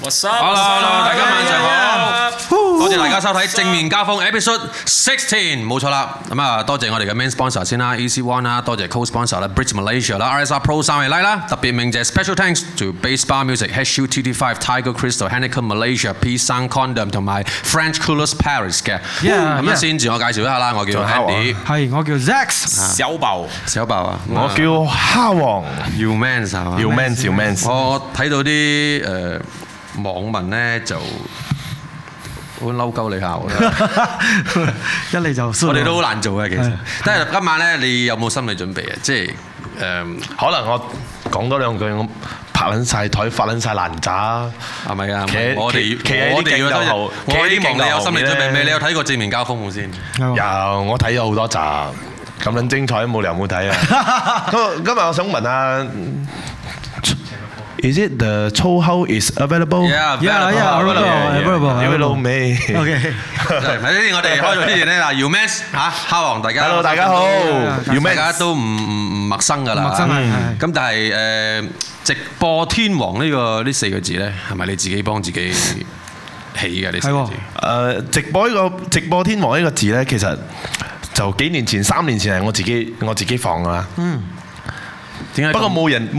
Hello， 大家晚上好，多謝大家收睇正面交鋒 Episode 16，冇錯啦。咁啊，多謝我哋嘅 Main Sponsor 先啦 ，EC One 啦，多謝 Co-Sponsor 啦 ，Bridge Malaysia 啦 ，RSR Pro 三位啦，特別鳴謝 Special Thanks to Bass Bar Music、HUTT5、Tiger Crystal、Heineken Malaysia、Peace Sound Condom 同埋 French Coolers Paris 嘅。咁啊，先自我介紹一下啦，我叫 Andy， 係我叫 Zax， 小爆啊， 我叫蝦王 ，You Man 係嘛 ，You Man，You Man。 我睇到啲網民咧就好嬲鳩你下我啦， 一嚟就我哋都好難做嘅其實。但係今晚咧，你有冇心理準備啊？即係可能我講多兩句，我拍撚晒台，發撚晒爛渣， 係咪啊？ 我哋我希望你有心理準備未？你有睇過正面交鋒冇先？ 有，我睇咗好多集，咁撚精彩，冇理由冇睇啊！今日我想問下。Is it the 粗口 is available? Yeah, available. You know me. OK。 喺呢啲我哋開咗之前咧，嗱 ，You Man 嚇，蝦王大家 ，Hello 大家好 ，You Man 大家都唔陌生㗎啦。 陌生係。 咁但係直播天王呢四個字咧，係咪你自己幫自己起嘅呢四個字？ 直播天王呢個字咧，其實就幾年前、3年前係我自己放㗎啦。不過冇人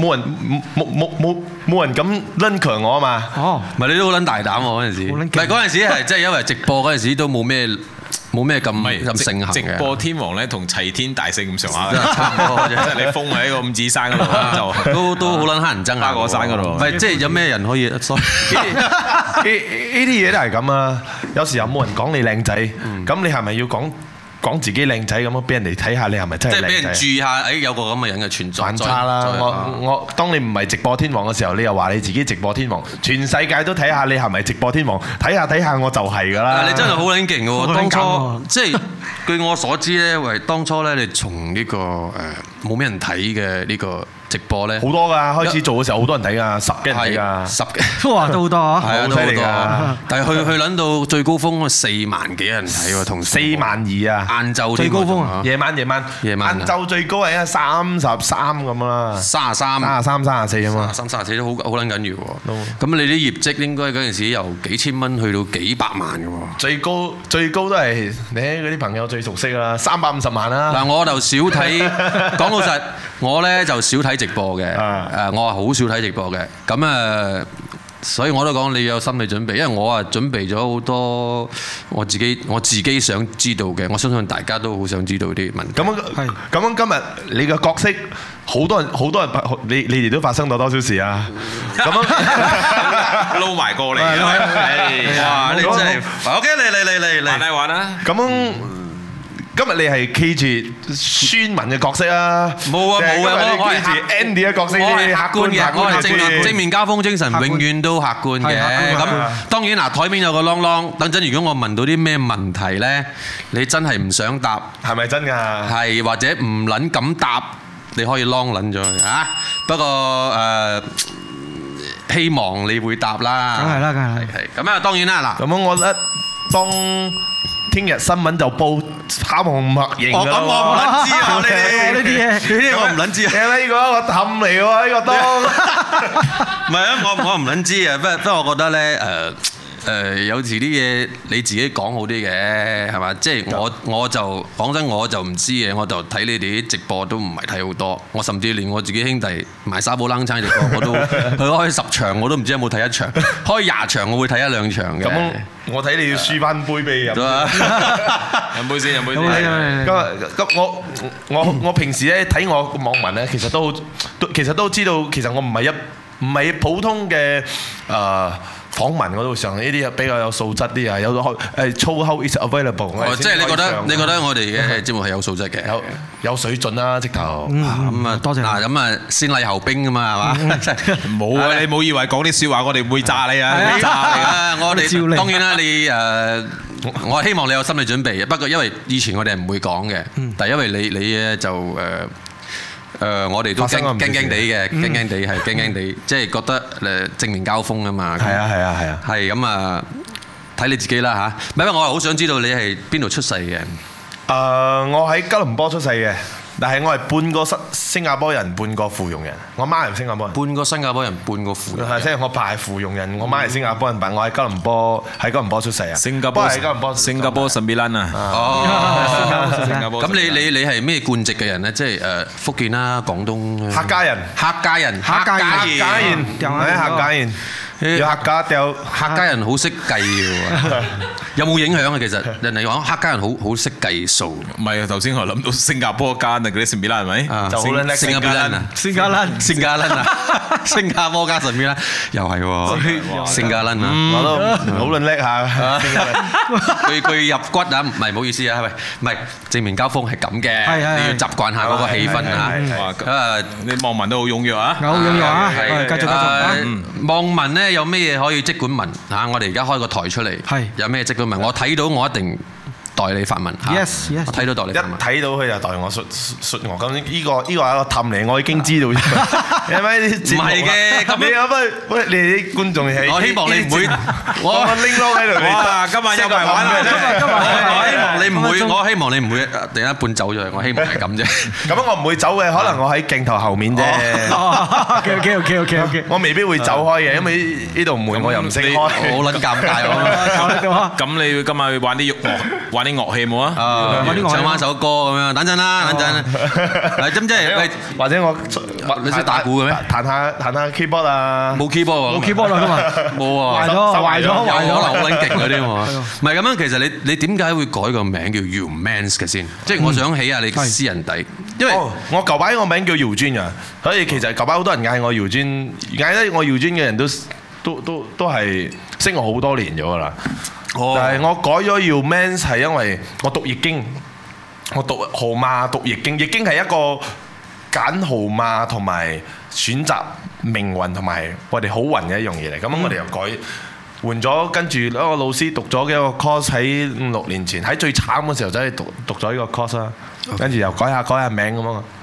咁撚強我啊嘛。 哦， 唔係你都好撚大膽喎嗰陣時。唔係嗰陣時係即係因為直播嗰陣時都冇咩咁盛行嘅。 直播天王咧同齊天大聖咁上下，差唔多即係你封喺個五指山嗰度都好撚乞人憎啊！ 花果山嗰度。 唔係即係有咩人可以？呢啲嘢都係咁啊！有時候冇人講你靚仔，咁你係咪要講自己靚仔咁樣俾人哋睇下你係咪真係靚仔？ 即係俾人注意下，有個咁嘅人嘅存在。 反差啦！我當你唔係直播天王嘅時候，你又話你自己直播天王，全世界都睇下你係咪直播天王，睇下我就係㗎啦！ 你真係好撚勁嘅喎！當初即係據我所知咧，為當初咧，你從呢個冇咩人睇嘅呢個直播咧， 好多㗎！開始做嘅時候好多人睇㗎，10幾人睇㗎 ，10幾哇都好多啊！ 係啊，都好多。但係去撚到最高峰4萬幾人睇喎，同 4萬2啊！ 晏晝最高峰啊！ 夜晚，晏晝最高係33咁啦，33、34咁嘛 ，34都好撚緊要喎。咁你啲業績應該嗰陣時由幾千蚊去到幾百萬嘅喎。 最高都係你嗰啲朋友最熟悉啦，350萬啦。 嗱，我就少睇，講老實，我咧就少睇直播嘅。我係好少睇直播嘅。咁所以我都講你有心理準備，因為我準備咗好多我自己想知道嘅，我相信大家都好想知道啲問題。 咁樣今日你嘅角色好多人，你哋都發生咗多少事啊？咁樣撈埋過嚟， 哇！你真係 OK，嚟玩啦！ 咁樣今日你係企住宣文嘅角色啊？ 冇啊， 我係企住 Andy 嘅角色， 我係客觀嘅，我係正面交鋒精神，永遠都客觀嘅。咁當然嗱，台面有個啷啷，等陣如果我問到啲咩問題咧，你真係唔想答， 係咪真㗎？係或者唔撚敢答，你可以啷撚咗佢嚇。不過希望你會答啦。 梗係啦，梗係。 咁啊，當然啦嗱。 咁樣我當聽日新聞就報蝦王默認㗎啦。 我唔撚知啊！ 呢啲嘢我唔撚知啊！ 呢個氹嚟喎，呢個都唔係啊！我唔撚知啊！不過我覺得咧有時啲嘢你自己講好啲嘅，係嘛？即係我就講真，我就唔知嘅，我就睇你哋啲直播都唔係睇好多。我甚至連我自己兄弟賣沙煲冷餐直播，我都佢開10場，我都唔知有冇睇1場。開20場，我會睇1-2場嘅。 咁我睇你要輸翻杯俾飲。 飲杯先。 咁我平時咧睇我網民咧，其實都知道，其實我唔係普通嘅訪問嗰度上呢啲比較有素質啲啊，有粗口 is available。 即係你覺得我哋嘅節目係有素質嘅， 有水準啦，直頭。 咁啊，多謝。 嗱，咁啊，先禮後兵㗎嘛，係嘛？ 冇啊！你冇以為講啲説話，我哋唔會炸你啊！炸你啊！ 我哋當然啦，你我希望你有心理準備。不過因為以前我哋係唔會講嘅，但係因為你咧就我哋都驚地嘅，驚地，即係覺得正面交鋒啊嘛。 係啊。 係咁啊，睇你自己啦嚇。唔係，我係好想知道你係邊度出世嘅。 我喺吉隆坡出世嘅。 但係我係半個新加坡人，半個芙蓉人。我媽係新加坡人， 半個新加坡人，半個芙蓉。 係即係我爸係芙蓉人，我媽係新加坡人，但我喺吉隆坡出世啊。 新加坡係吉隆坡， 新加坡神秘蘭啊！ 哦， 新加坡。 咁你係咩貫籍嘅人咧？即係福建啦、廣東。 客家人， 客家人， 客家人。有客家人好識計喎，有冇影響啊？其實人哋講客家人好識計數。 唔係啊，頭先我諗到新加坡間啊，嗰啲神秘蘭係咪？ 就好叻， 新加坡人啊，新加坡加神秘蘭，又係喎，新加坡人啊， 我都好撚叻下。 句入骨啊，唔係唔好意思啊，唔係正面交鋒係咁嘅，你要習慣下嗰個氣氛啊。 啲網民都好踴躍啊， 好踴躍啊，繼續。 網民咧。有咩嘢可以即管問嚇？我哋而家開個台出嚟，有咩即管問？我睇到我一定代你發問嚇。 Yes， 我睇到代你發問。 一睇到佢就代我述我。咁呢個係一個氹嚟，我已經知道。係咪？唔係嘅，咁你喂你啲觀眾係。 我希望你唔會。 我拎攞喺度。 哇！今日又埋玩啦！ 我希望你唔會。我希望你唔會突然間半走咗。我希望係咁啫。 咁我唔會走嘅，可能我喺鏡頭後面啫。 OK。 我未必會走開嘅，因為呢度門我又唔識開，好撚尷尬我。 咁你今日玩啲樂器冇啊？ 唱翻首歌咁樣，等陣啦，等陣。嗱，咁即係或者我你識打鼓嘅咩？ 彈下 keyboard 啊？ 冇 keyboard 喎， 冇 keyboard 啦嘛， 冇啊， 壞咗， 可能好撚勁嗰啲喎。唔係咁樣，其實你點解會改個名叫 Humans 嘅先？即係我想起下你私人底，因為我舊擺個名叫姚尊啊，所以其實舊擺好多人嗌我姚尊，嗌得我姚尊嘅人都係識我好多年咗噶啦。但係我改咗 Humans 係因為我讀易經，我讀號碼讀易經，易經係一個揀號碼同埋選擇命運同埋我哋好運嘅一樣嘢嚟。咁我哋又改換咗，跟住一個老師讀咗嘅一個 course 喺5-6年前，喺最慘嘅時候走去讀咗呢個 course 啦，跟住又改下名咁啊。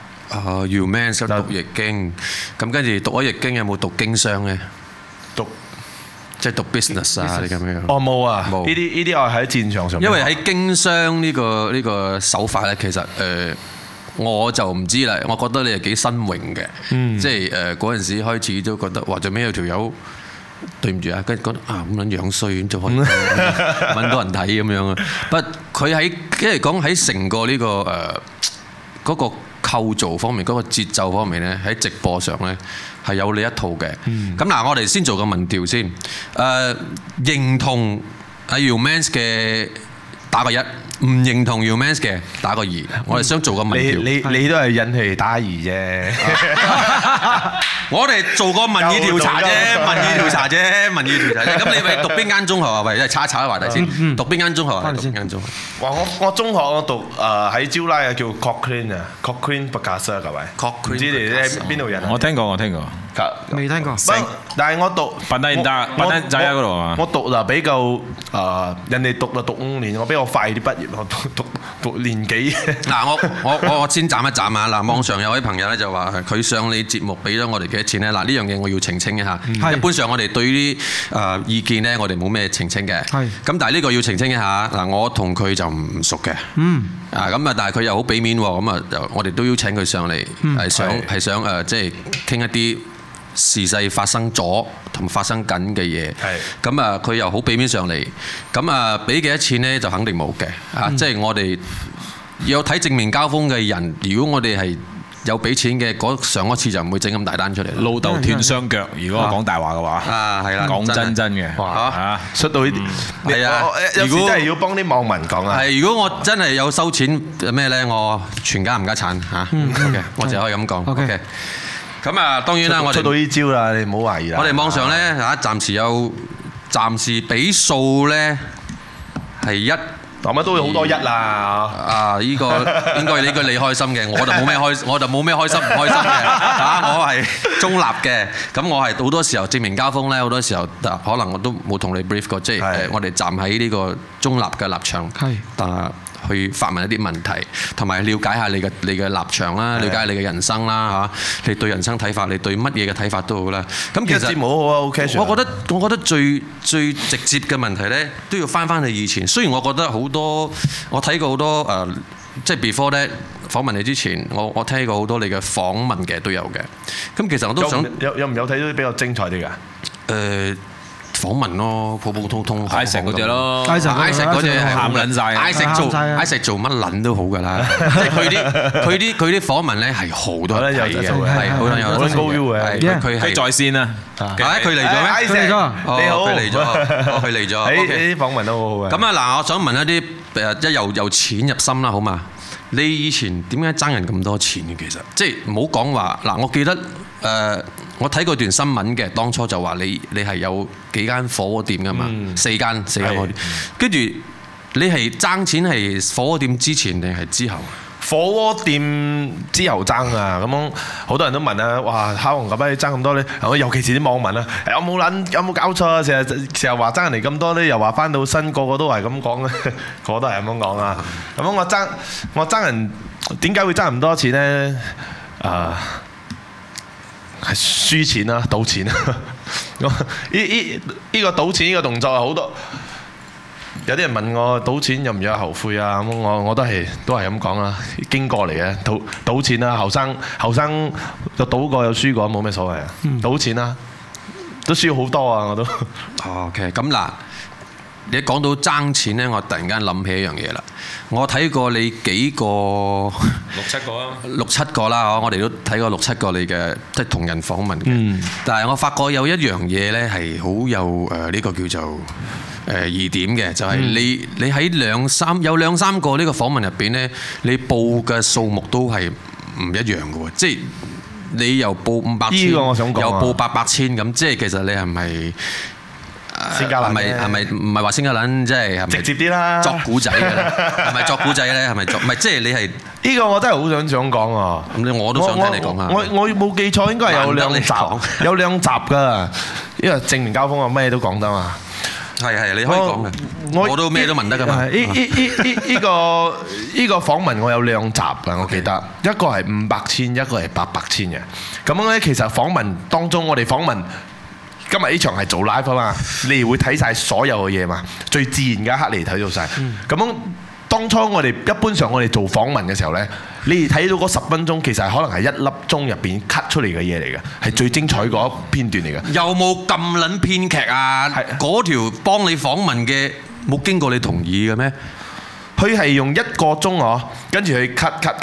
Humans 讀易經，咁跟住讀咗易經有冇讀經商咧？即係讀 business 啊啲咁樣。 哦冇啊，呢啲我喺戰場上。 因為喺經商呢個手法咧，其實我就唔知啦。我覺得你係幾新穎嘅，即係嗰陣時開始都覺得哇，做咩有條友對唔住啊，跟住覺得啊咁撚樣衰，咁就可以揾到人睇咁樣啊。不過佢喺即係講喺成個呢個嗰個構造方面，嗰個節奏方面咧，喺直播上咧係有你一套嘅。咁嗱，我哋先做個民調先。認同阿 Humans 嘅打個1，唔認同 Humans 嘅打個2。我哋想做個民調。 你都係引起打2啫。 我哋做個民意調查啫，民意調查啫。咁你咪讀邊間中學啊？喂，查一查啲話題先。讀邊間中學啊？讀邊間中學？ 哇！我中學我讀喺招拉啊，叫 Cochrane 啊 ，Cochrane Bagasa 係咪？唔知你喺邊度人啊？ 我聽過。 未聽過。 但係我讀笨仔仔嗰度啊嘛。 我讀就比較人哋讀就讀5年，我比較快啲畢業，我讀年幾。 嗱，我先斬一斬啊！嗱，網上有位朋友咧就話佢上你節目俾咗我哋幾多錢咧？嗱，呢樣嘢我要澄清一下。一般上我哋對於意見咧，我哋冇咩澄清嘅。咁但係呢個要澄清一下。嗱，我同佢就唔熟嘅。咁啊，但係佢又好俾面喎。咁啊，我哋都邀請佢上嚟，係想即係傾一啲時勢發生咗同發生緊嘅嘢，咁啊佢又好俾面上嚟，咁啊俾幾多錢呢？就肯定冇嘅，即係我哋有睇正面交鋒嘅人，如果我哋係有俾錢嘅，上一次就唔會整咁大單出嚟。 老豆斷雙腳，如果我講大話嘅話， 係啦， 講真嘅， 出到呢啲，係啊，有時真係要幫啲網民講啊。 係，如果我真係有收錢咩呢？我全家冚家產嚇，OK，我就可以咁講 ，OK。咁啊，當然啦，我哋出到呢招啦，你唔好懷疑啦。 我哋網上咧暫時比數咧係1， 咁啊都會好多1啦。 呢個應該你開心嘅，我就冇咩開心唔開心嘅。我係中立嘅。咁我係好多時候正面交鋒咧，好多時候可能我都冇同你 brief 過，即係我哋站喺呢個中立嘅立場。去發問一啲問題，同埋了解下你嘅立場啦，了解你嘅人生啦嚇，你對人生睇法，你對乜嘢嘅睇法都好啦。咁其實冇好啊，OK。 我覺得最直接嘅問題咧，都要翻去以前。雖然我覺得好多，我睇過好多即係 before 咧訪問你之前，我聽過好多你嘅訪問嘅都有嘅。咁其實我都想有唔有睇到比較精彩啲㗎？ 訪問咯，普普通通 ，Isaac嗰隻咯 ，Isaac嗰隻係喊撚晒 ，Isaac做乜撚都好㗎啦，即係佢啲訪問咧係好多人睇嘅，係好多人有高 U 嘅，佢係在線啊， 佢嚟咗咩？ 佢嚟咗，你好， 佢嚟咗， 呢啲訪問都好好嘅。 咁啊嗱，我想問一啲即由淺入深啦，好嘛？你以前點解爭人咁多錢嘅？其實即係唔好講話嗱，我記得我睇過段新聞嘅，當初就話你係有幾間火鍋店㗎嘛，四間火鍋店，跟住你係爭錢係火鍋店之前定係之後？ 火鍋店之後爭啊，咁樣好多人都問啊，哇，烤紅咁樣爭咁多咧，尤其是啲網民啊，有冇搞錯啊？成日話爭人哋咁多咧，又話翻到身個個都係咁講啊，個個都係咁講啊。咁樣我爭人點解會爭咁多錢咧？係輸錢啦，賭錢啦。呢個賭錢呢個動作係好多。有啲人問我賭錢有唔有後悔啊？咁我都係咁講啦，經過嚟嘅賭錢啦，後生就賭過有輸過冇咩所謂啊。賭錢啦，都輸好多啊我都。 OK， 咁嗱，你講到爭錢咧，我突然間諗起一樣嘢啦。我睇過你幾個六七個啦，我哋都睇過6、7個你嘅即係同人訪問嘅。但係我發覺有一樣嘢咧係好有呢個叫做疑點嘅，就係你喺有兩三個呢個訪問入邊咧，你報嘅數目都係唔一樣嘅喎，即係你又報500千，又報800千咁，即係其實你係咪？係咪唔係話先家撚，即係直接啲啦， 作古仔嘅咧？係咪作古仔咧？係咪作？唔係，即係你係呢個我真係好想講啊！ 咁我都想聽你講下。 我冇記錯，應該係有兩集㗎，因為正面交鋒啊，咩都講得嘛。 係你可以講嘅，我都咩都問得㗎嘛。 呢個訪問我有2集㗎，我記得一個係500千，一個係800千嘅。咁樣咧，其實訪問當中，我哋訪問。今日呢場係做 live 啊嘛，你會睇晒所有嘅嘢嘛，最自然嘅一刻你睇到晒。咁樣當初我哋一般上我哋做訪問嘅時候呢，你哋睇到嗰10分鐘其實可能係1粒鐘入邊 cut 出嚟嘅嘢嚟嘅，係最精彩嗰片段嚟嘅。有冇咁撚編劇啊？嗰條幫你訪問嘅冇經過你同意嘅咩？佢係用1個鐘啊，跟住佢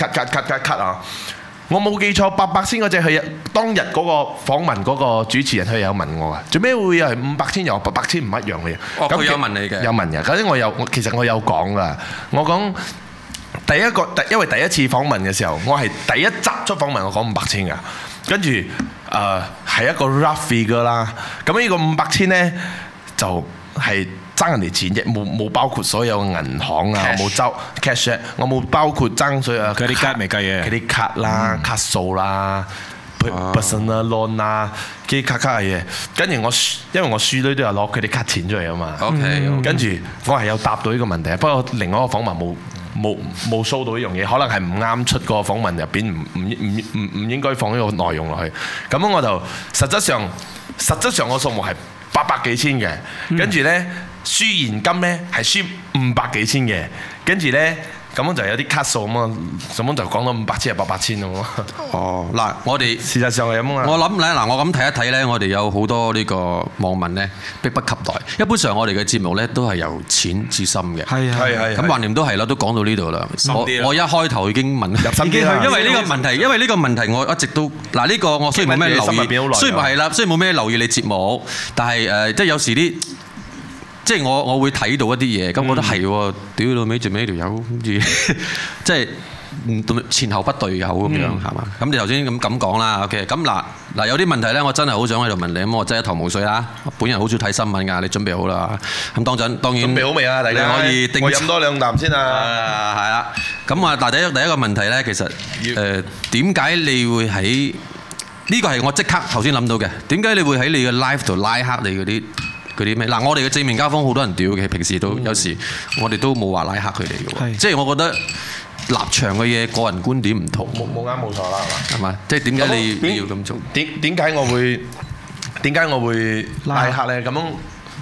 cut 啊。我冇記錯，800千嗰隻係當日嗰個訪問嗰個主持人，佢有問我啊，做咩會係500千又800千唔一樣嘅嘢？哦，佢有問你嘅，有問嘅。嗰啲其實我有講噶，我講因為第一次訪問嘅時候，我係第一集出訪問，我講500千㗎，跟住係一個 rough figure 啦。咁呢個500千咧就係爭人哋錢啫，冇包括所有銀行啊，冇收 cash， 我冇包括爭所有嗰啲卡未計嘅，嗰啲卡啦、卡數啦、personal loan 啦，啲卡嘅嘢。跟住因為我輸女都有攞佢啲卡錢出嚟啊嘛。OK， 跟住我係有答到呢個問題，不過另外一個訪問冇 show 到呢樣嘢，可能係唔啱出個訪問入邊，唔應該放呢個內容落去。咁我就實質上個數目係800幾千嘅，跟住咧。輸現金咧係輸500幾千嘅，跟住咧咁樣就有啲卡數咁啊，咁樣就講到500千係800千咯。哦，嗱，我哋事實上係咁啊。我諗咧，嗱，我咁睇一睇咧，我哋有好多呢個網民咧，迫不及待。一般上我哋嘅節目咧都係由淺至深嘅。係。咁橫掂都係啦，都講到呢度啦。我一開頭已經問入心機啦。因為呢個問題，我一直都嗱呢個我雖然冇咩留意，雖然係啦，雖然冇咩留意你節目，但係即係有時啲。即係我會睇到一啲嘢，咁我覺得係喎，屌到尾最尾條友，跟住即係前後不對口咁樣，係嘛？咁你頭先咁講啦 ，OK？ 咁嗱有啲問題咧，我真係好想喺度問你，咁我真係一頭霧水啦。本人好少睇新聞㗎，你準備好啦？咁當然準備好未啊？大家可以我飲多2啖先啊！係啦，咁啊，但係第一個問題咧，其實點解你會喺呢個係我即刻頭先諗到嘅？點解你會喺你嘅 live 度拉黑你嗰啲咩？嗱，我哋嘅正面交鋒好多人屌嘅，平時都有時我哋都冇話拉黑佢哋嘅喎。即係我覺得立場嘅嘢，個人觀點唔同。冇啱冇錯啦，係嘛？即係點解你要咁做？點解我會拉黑咧？咁樣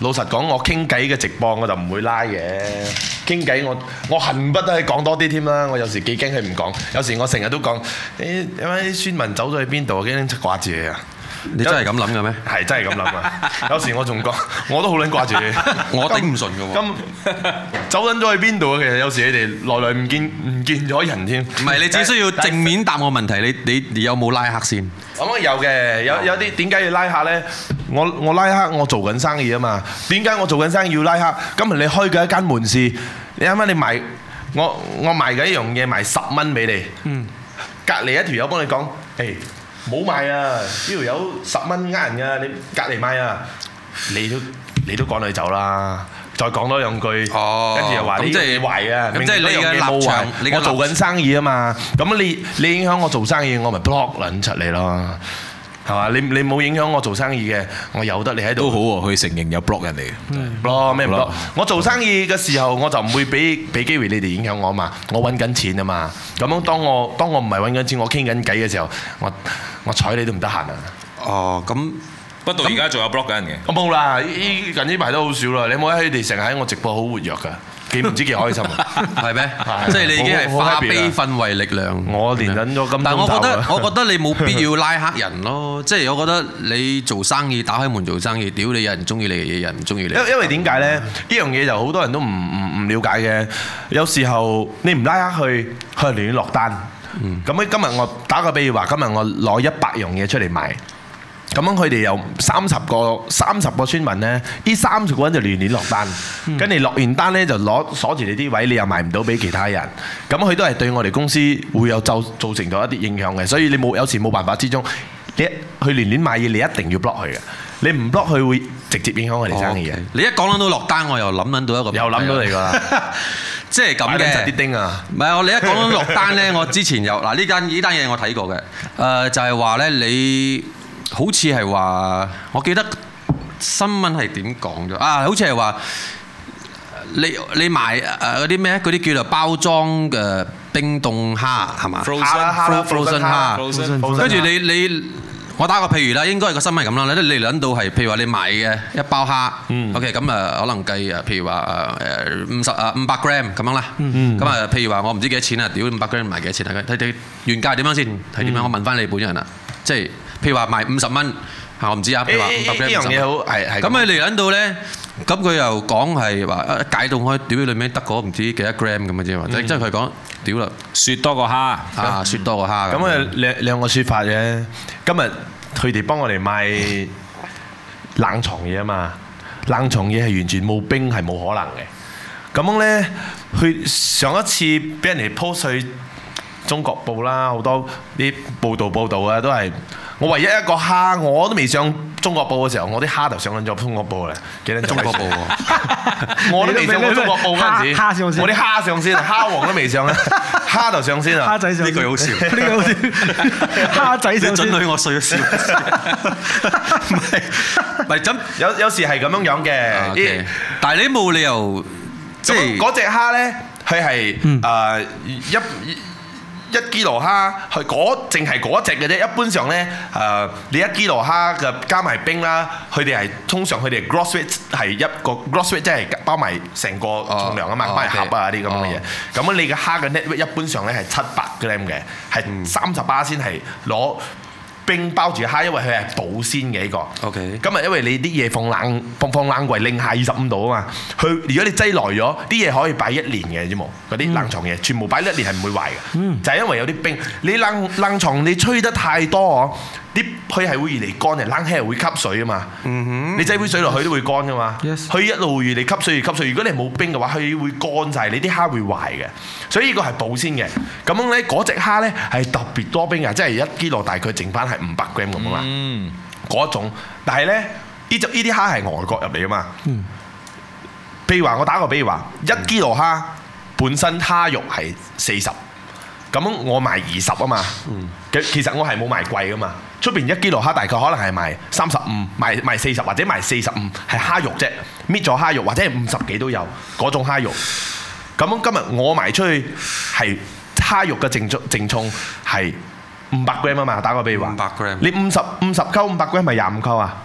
老實講，我傾偈嘅直播我就唔會拉嘅。傾偈我恨不得講多啲添啦。我有時幾驚佢唔講，有時我成日都講因為孫文走咗去邊度，我驚掛住你啊！ 你真係咁諗嘅咩？ 係真係咁諗啊！有時我仲講，我都好撚掛住你， 我頂唔順嘅喎。 咁走撚咗去邊度啊？其實有時你哋來唔見咗人添。唔係，你只需要正面答我問題。你有冇拉黑先？ 咁有嘅，有啲點解要拉黑咧？我拉黑，我做緊生意啊嘛。點解我做緊生意要拉黑？今日你開嘅一間門市，你啱啱你賣我賣嘅一樣嘢賣10蚊俾你，隔離一條友幫你講，冇賣啊！呢條友10蚊呃人㗎，你隔離賣啊！你都趕佢走啦，再講多兩句，跟住又話你壞啊！ 咁即係你嘅立場， 我做緊生意啊嘛，咁你影響我做生意，我咪 block 撚出你咯，係嘛？你冇影響我做生意嘅，我由得你喺度。 都好喎，佢承認有 block 人哋嘅。 block 咩唔 block？我做生意嘅時候，我就唔會俾機會你哋影響我嘛。我揾緊錢啊嘛。咁樣當我唔係揾緊錢，我傾緊偈嘅時候，我睬你都唔得閒啊。 哦，咁不過到而家仲有 block 緊人嘅。 我冇啦，近呢排都好少啦。你冇睇佢哋成日喺我直播好活躍㗎。唔知幾開心啊！ 係咩？即係你已經係化悲憤為力量。 我連忍咗咁多， 但係我覺得你冇必要拉黑人咯。即係我覺得你做生意打開門做生意，屌你有人中意你嘅嘢，有人唔中意你。 因為點解咧？呢樣嘢就好多人都唔了解嘅。有時候你唔拉黑佢亂落單。咁今日我打個比喻話，今日我攞100樣嘢出嚟賣。咁樣佢哋有30個村民咧，呢30個人就亂落單，跟住落完單咧就鎖住你啲位，你又賣唔到俾其他人，咁佢都係對我哋公司會有造成咗一啲影響嘅，所以你有時冇辦法之中，你去亂買嘢，你一定要 block 佢嘅，你唔 block 佢會直接影響我哋生意嘅。 你一講到落單，我又諗到一個， 又諗到你㗎啦， 即係咁嘅。 啲丁啊， 唔係你一講到落單咧，我之前有嗱呢單嘢我睇過嘅，就係話咧你。好似係話，我記得新聞係點講咗啊？好似係話你賣嗰啲咩？嗰啲叫做包裝嘅冰凍蝦係嘛？Frozen 蝦，跟住你我打個譬如啦，應該係個新聞係咁啦。你諗到係譬如話你買嘅一包蝦，OK 咁可能計譬如話500 gram 咁樣啦。咁譬如話我唔知幾多錢啊？屌500 gram 賣幾多錢啊？睇原價點樣先？睇點樣？我問翻你本人啦，即係。譬如話賣50蚊，我唔知啊。譬如話500 gram 呢樣嘢好係。咁你嚟緊到咧，咁佢又講係話解凍開，屌裏面得嗰唔知幾多 gram 咁嘅啫嘛。即係佢講屌啦， 雪多個蝦啊，雪多個蝦。 咁兩個説法嘅。今日佢哋幫我哋賣冷藏嘢啊嘛，冷藏嘢係完全冇冰係冇可能嘅。咁樣咧，佢上一次俾人哋 post 去中國報啦，好多啲報道啊，都係。我唯一一個蝦，我都未上中國報嘅時候，我啲蝦就上緊咗中國報啦。幾多中國報喎？我都未上過中國報嗰陣時， 蝦上先， 我啲蝦上先，蝦王都未上啊，蝦就上先啊。 蝦仔上， 呢句好笑， 呢句好笑。蝦仔上先， 你準許我衰咗笑。唔係咁， 有時係咁樣嘅。 但係你冇理由，即係嗰隻蝦咧，佢係1 kilo 蝦，佢淨係嗰隻嘅啫。一般上咧，你1 kilo 蝦嘅加埋冰啦，佢哋係通常佢哋 gross weight 係一個 gross weight 即係包埋成個重量啊嘛，包埋盒啊啲咁嘅嘢。咁你嘅蝦嘅 net weight 一般上咧係700 gram 嘅，係30%先係攞冰包住蝦，因為佢係保鮮嘅呢個。OK。咁啊，因為你啲嘢放冷櫃，零下25度啊嘛。佢如果你擠耐咗，啲嘢可以擺1年嘅啫冇。嗰啲冷藏嘢全部擺1年係唔會壞嘅。就係因為有啲冰，你冷藏你吹得太多啲佢係會越嚟乾嘅，冷氣係會吸水啊嘛。你擠杯水落去都會乾噶嘛。佢一路越嚟吸水越吸水。如果你冇冰嘅話，佢會乾晒，你啲蝦會壞嘅。所以呢個係保鮮嘅。咁樣咧，嗰隻蝦咧係特別多冰嘅，即係1 kilo 大概剩翻係500 gram 咁啊嘛。嗰種，但係咧呢啲蝦係外國入嚟噶嘛。譬如話我打個比喻話，1 kilo 蝦本身蝦肉係40。咁我賣20啊嘛，其實我係冇賣貴噶嘛。出邊1 kilo 蝦大概可能係賣35，賣40或者賣45，係蝦肉啫，搣咗蝦肉或者係50幾都有嗰種蝦肉。咁今日我賣出去係蝦肉嘅淨重係500 gram 啊嘛，打個比喻話， 500 gram， 你50溝500 gram 咪25溝啊？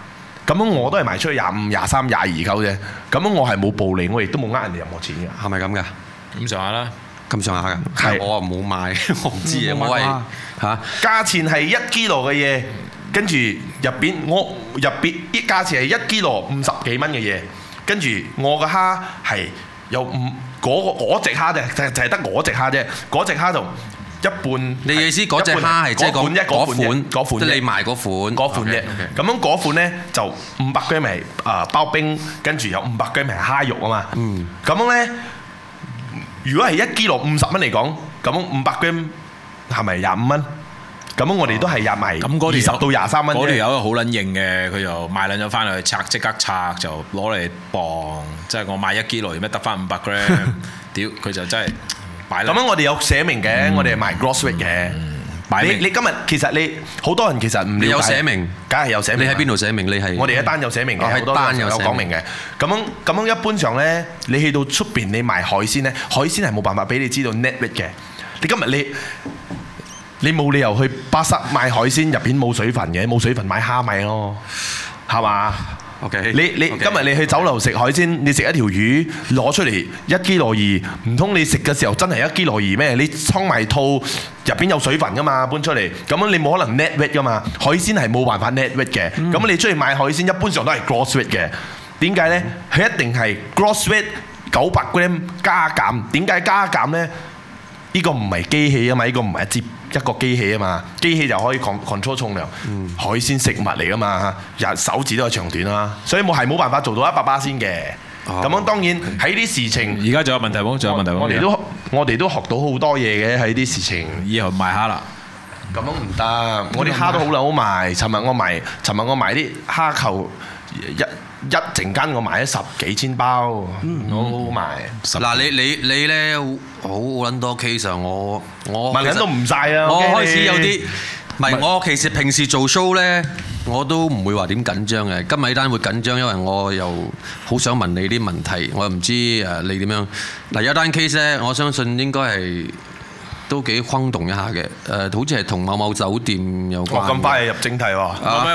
咁樣我都係賣出去25、23、22嚿啫。咁樣我係冇暴利，我亦都冇呃人哋任何錢嘅。 係咪咁㗎？ 咁上下啦， 咁上下㗎。係我冇買，我唔知嘢，我係嚇。 價錢係1 kilo 嘅嘢，跟住入邊啲價錢係1 kilo 50幾蚊嘅嘢，跟住我嘅蝦係有嗰隻蝦啫，就係得我隻蝦啫，嗰隻蝦就一半。你意思嗰隻蝦係即係嗰款，即係你賣嗰款啫。咁樣嗰款咧就500 gram 係包冰，跟住有500 gram 係蝦肉啊嘛。咁樣咧，如果係1 kilo 50蚊嚟講，咁樣500 gram 係咪25蚊？咁樣我哋都係入埋20到23蚊啫。嗰條友好撚型嘅，佢就買撚咗翻嚟拆，即刻拆就攞嚟磅，即係我買1 kilo 而咩得翻500 gram， 屌佢就真係擺。咁樣我哋有寫明嘅，我哋係賣 gross weight 嘅。你今日其實你好多人其實唔了解。你有寫明，梗係有寫明。你喺邊度寫明？你係我哋一單有寫明嘅，好多單有講明嘅。咁樣一般上咧，你去到出邊你賣海鮮咧，海鮮係冇辦法俾你知道 net weight 嘅。你今日你冇理由去巴剎買海鮮入邊冇水分嘅，冇水分買蝦米咯，係嘛 ？OK。你今日你去酒樓食海鮮，你食一條魚攞出嚟1 kilo 2，唔通你食嘅時候真係1 kilo 2咩？你倉埋肚入邊有水分噶嘛，搬出嚟，咁樣你冇可能 net weight 噶嘛。海鮮係冇辦法 net weight 嘅，咁你出去買海鮮一般上都係 gross weight 嘅。點解呢？佢一定係 gross weight 900 gram 加減。點解加減呢？呢個唔係機器啊嘛，呢個唔係一個機器啊嘛，機器就可以 control 重量。海鮮食物嚟噶嘛，手指都有長短啦，所以冇辦法做到100%先嘅。咁樣當然喺啲事情， 而家仲有問題冇？仲有問題冇？ 我哋都學到好多嘢嘅喺啲事情。 以後賣蝦啦， 咁樣唔得。我啲蝦都好撚好賣。尋日我賣啲蝦球一陣間我賣咗10幾千包，好好賣。 嗱你咧好撚多 case 啊！我問緊都唔晒啊！ 我開始有啲唔係我其實平時做 show 咧，我都唔會話點緊張嘅。今日呢單會緊張，因為我又好想問你啲問題，我又唔知你點樣。嗱有單 case 咧，我相信應該係都幾轟動一下嘅。好似係同某某酒店有關。 咁快入正題喎！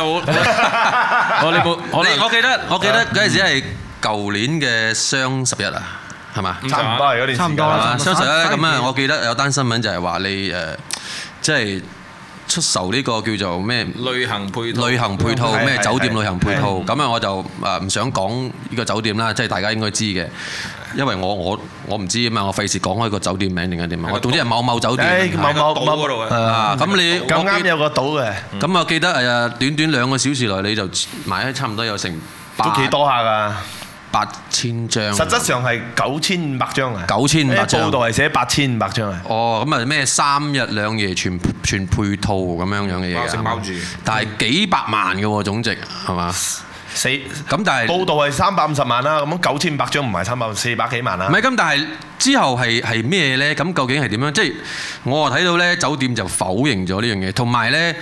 我記得嗰陣時係舊年嘅雙11啊，係嘛？ 差唔多係嗰段時間。差唔多啦。 雙11咧咁啊，我記得有單新聞就係話你即係出售呢個叫做咩？ 旅行配套咩酒店旅行配套。咁啊，我就唔想講呢個酒店啦，即係大家應該知嘅。因為我唔知啊嘛，我費事講開個酒店名定係點啊！我總之係某某酒店， 某島嗰度嘅。咁你咁啱有個島嘅。咁我記得短短2個小時內你就賣咗差唔多有成都幾多下㗎 ，8000張。 實質上係9500張啊 ！9500張。 報道係寫8500張啊！ 哦，咁啊咩3日2夜全配套咁樣嘅嘢㗎。 包住。 但係幾百萬嘅喎總值係嘛？咁但係報道係350萬啦，咁樣9500張唔係400幾萬啦。 唔係咁，但係之後係咩咧？咁究竟係點樣？即係我睇到咧，酒店就否認咗呢樣嘢，同埋咧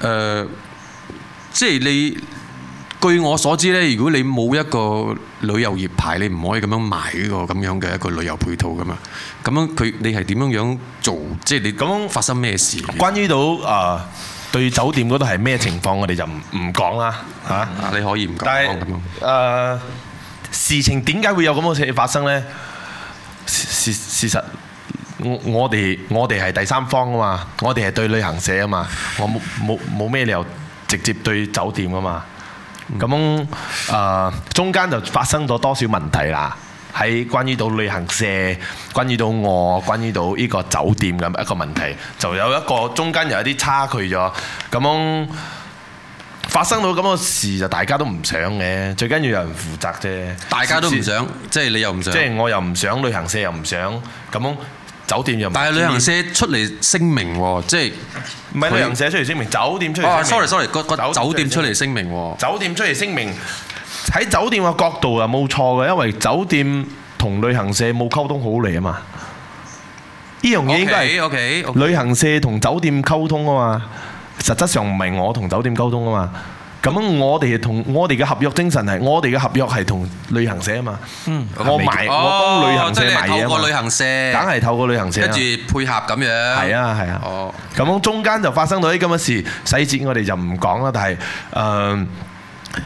即係你據我所知咧，如果你冇一個旅遊業牌，你唔可以咁樣賣呢個咁樣嘅一個旅遊配套噶嘛。咁樣你係點樣做？即係你咁發生咩事？ 關於到對酒店嗰度係咩情況，我哋就唔講啦嚇。 你可以唔講。 但係事情點解會有咁嘅事發生呢？事實我哋係第三方啊嘛，我哋係對旅行社啊嘛，我冇咩理由直接對酒店啊嘛。咁中間就發生咗多少問題啦？喺關於到旅行社，關於到我，關於到呢個酒店嘅一個問題，就有一個中間有一啲差距咗。咁樣發生到咁嘅事，就大家都唔想嘅，最緊要有人負責啫。 大家都唔想，即係你又唔想， 即係我又唔想，旅行社又唔想，咁樣酒店又唔。 但係旅行社出嚟聲明喎，即係唔係旅行社出嚟聲明，酒店出嚟聲明。 sorry，個酒店出嚟聲明喎。 酒店出嚟聲明。喺酒店嘅角度啊，冇錯嘅，因為酒店同旅行社冇溝通好嚟啊嘛。呢樣嘢應該係旅行社同酒店溝通啊嘛。實質上唔係我同酒店溝通啊嘛。咁我哋嘅合約精神係，我哋嘅合約係同旅行社啊嘛。我幫旅行社賣嘢啊嘛。 透過旅行社， 梗係透過旅行社。 跟住配合咁樣。係啊。咁樣中間就發生到啲咁嘅事，細節我哋就唔講啦。但係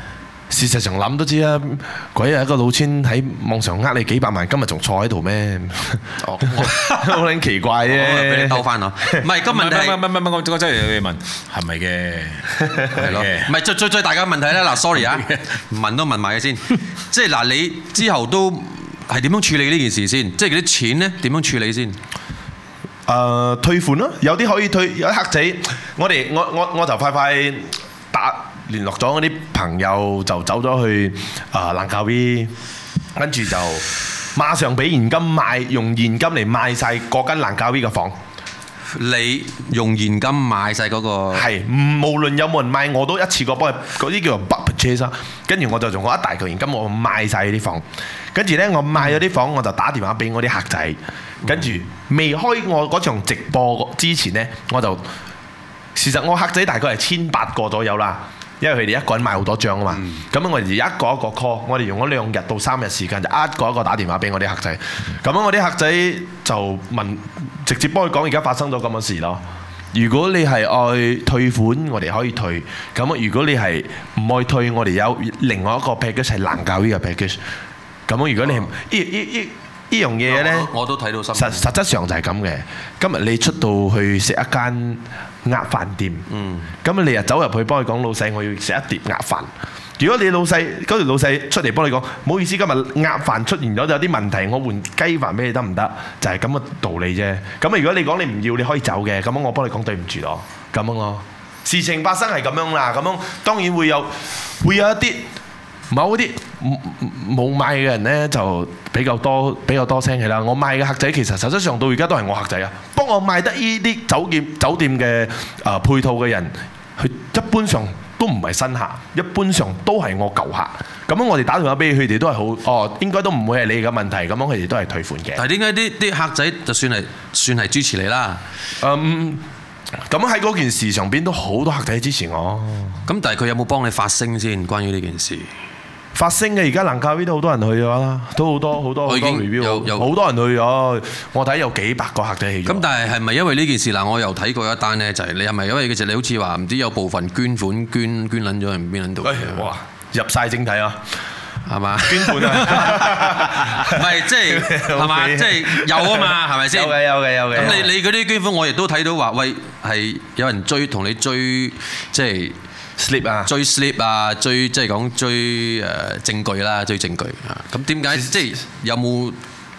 事實上諗都知啦，鬼係一個老千喺網上呃你幾百萬，今日仲坐喺度咩？好撚奇怪啫！ 俾你兜翻我，唔係個問題， 我真係要問係咪嘅？ 係咯，唔係最大嘅問題咧。嗱，sorry 啊，問都問埋嘅先，即係嗱，你之後都係點樣處理呢件事先？即係嗰啲錢咧點樣處理先？ 退款咯，有啲可以退，有啲客仔，我就快聯絡咗嗰啲朋友，就走咗去蘭卡威，跟住就馬上俾現金買，用現金嚟買晒嗰間蘭卡威嘅房。 你用現金買晒嗰個？係， 無論有冇人買，我都一次過幫佢嗰啲叫做 bulk purchase。跟住我就用我一大嚿現金，我買晒啲房。跟住呢，我買咗啲房，我就打電話俾我啲客仔。跟住未開我嗰場直播之前呢，我就事實我客仔大概係1800個左右啦。因為佢哋一個人買好多張啊嘛，咁我哋一個一個 call，我哋用咗2日到3日時間，就一個一個打電話俾我啲客仔。咁我啲客仔就問，直接幫佢講而家發生咗咁嘅事咯。如果你係愛退款，我哋可以退。咁如果你係唔愛退，我哋有另外一個 package 係蘭卡威嘅 package。咁如果你呢樣嘢呢， 我都睇到新聞。 實質上就係咁嘅。今日你出到去食一間鴨飯店，咁你又走入去幫佢講，老細我要食一碟鴨飯。如果你老細嗰條老細出嚟幫你講，唔好意思，今日鴨飯出現咗有啲問題，我換雞飯俾你得唔得？就係咁嘅道理啫。咁如果你講你唔要，你可以走嘅，咁我幫你講對唔住咯，咁樣咯。事情發生係咁樣啦，咁樣當然會有一啲某啲冇買嘅人呢，就比較多聲氣啦。我買嘅客仔其實實質上到而家都係我客仔啊。幫我買得呢啲酒店嘅配套嘅人，佢一般上都唔係新客，一般上都係我舊客。咁樣我哋打電話俾佢哋都係好應該都唔會係你嘅問題。咁樣佢哋都係退款嘅。 但係點解啲客仔就算係支持你啦？ 咁喺嗰件事上邊都好多客仔支持我。 咁但係佢有冇幫你發聲先？關於呢件事？ 發聲嘅，而家蘭卡威都好多人去咗啦，都好多 review， 好多人去咗。我睇有幾百個客仔去咗。咁但係咪因為呢件事嗱？我又睇過一單呢，就係你係咪因為其實你好似話唔知有部分捐款捐撚咗去邊撚度？ 哇！入晒正題啊， 係嘛？ 捐款啊， 唔係即係嘛？即係有啊嘛？係咪先？ 有嘅。 咁你嗰啲捐款我亦都睇到話，喂係有人同你追即係。 slip 啊， 追 slip 啊，即係講追證據啦，追證據啊。咁點解即係有冇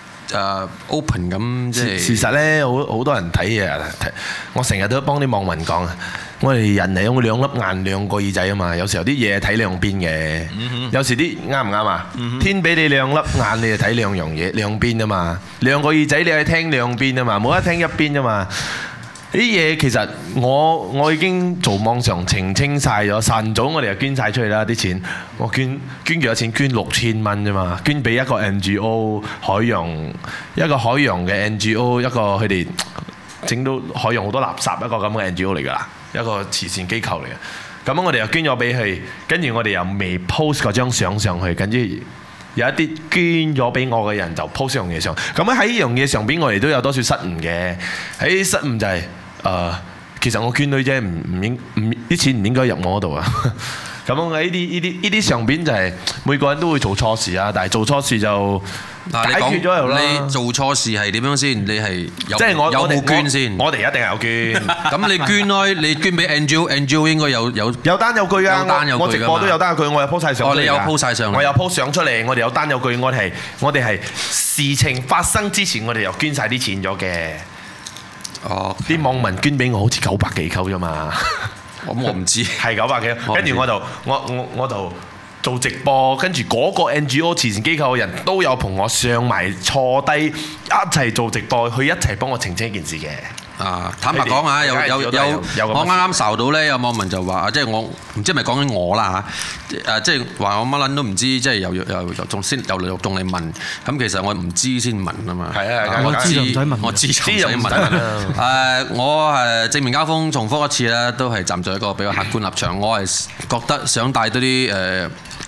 open 咁即係？事實咧，好多人睇嘢。我成日都幫啲網民講啊，我哋人係用兩粒眼兩個耳仔啊嘛。有時候啲嘢睇兩邊嘅，有時啲啱唔啱啊？天俾你兩粒眼，你就睇兩樣嘢兩邊啊嘛。兩個耳仔你係聽兩邊啊嘛，冇得聽一邊啊嘛。呢啲嘢其實我已經做網上澄清晒咗，晨早我哋就捐晒出去啦啲錢。我捐幾多錢？捐6000蚊啫嘛，捐俾一個 NGO 一個海洋嘅 NGO， 一個佢哋整到海洋好多垃圾一個咁嘅 NGO 嚟㗎啦，一個慈善機構嚟嘅。咁我哋又捐咗俾佢，跟住我哋又未 post 嗰張相上去，跟住有一啲捐咗俾我嘅人就 post 樣嘢上。咁喺呢樣嘢上邊，我哋都有多少失誤嘅。喺失誤就係、其實我捐女啫，啲錢唔應該入我嗰度啊。咁喺呢啲上邊就係每個人都會做錯事啊，但係做錯事就解決咗又啦。 你做錯事係點樣先？你係有冇捐先？ 我哋一定係有捐。 咁你捐開，你捐俾 NGO 應該有單有據啊。 我直播都有單有據，我有 post 晒上。 你有 post 晒上嚟。 我有 post 上出嚟，我哋有單有據，我哋係事情發生之前，我哋又捐晒啲錢咗嘅。啲網民捐俾我好似900幾嚿啫嘛。 我唔知係900幾，跟住我就做直播，跟住嗰個 NGO 慈善機構嘅人都有同我上埋坐低一齊做直播，佢一齊幫我澄清一件事嘅。 坦白講啊，有我啱啱受到咧，有網民就話，即係我唔知係咪講緊我啦嚇，即係話我乜撚都唔知，即係又仲嚟問，咁其實我唔知先問啊嘛。 係啊， 我知就唔使問， 我知就唔使問。我正面交鋒重複一次啦，都係站在一個比較客觀立場，我係覺得想帶多啲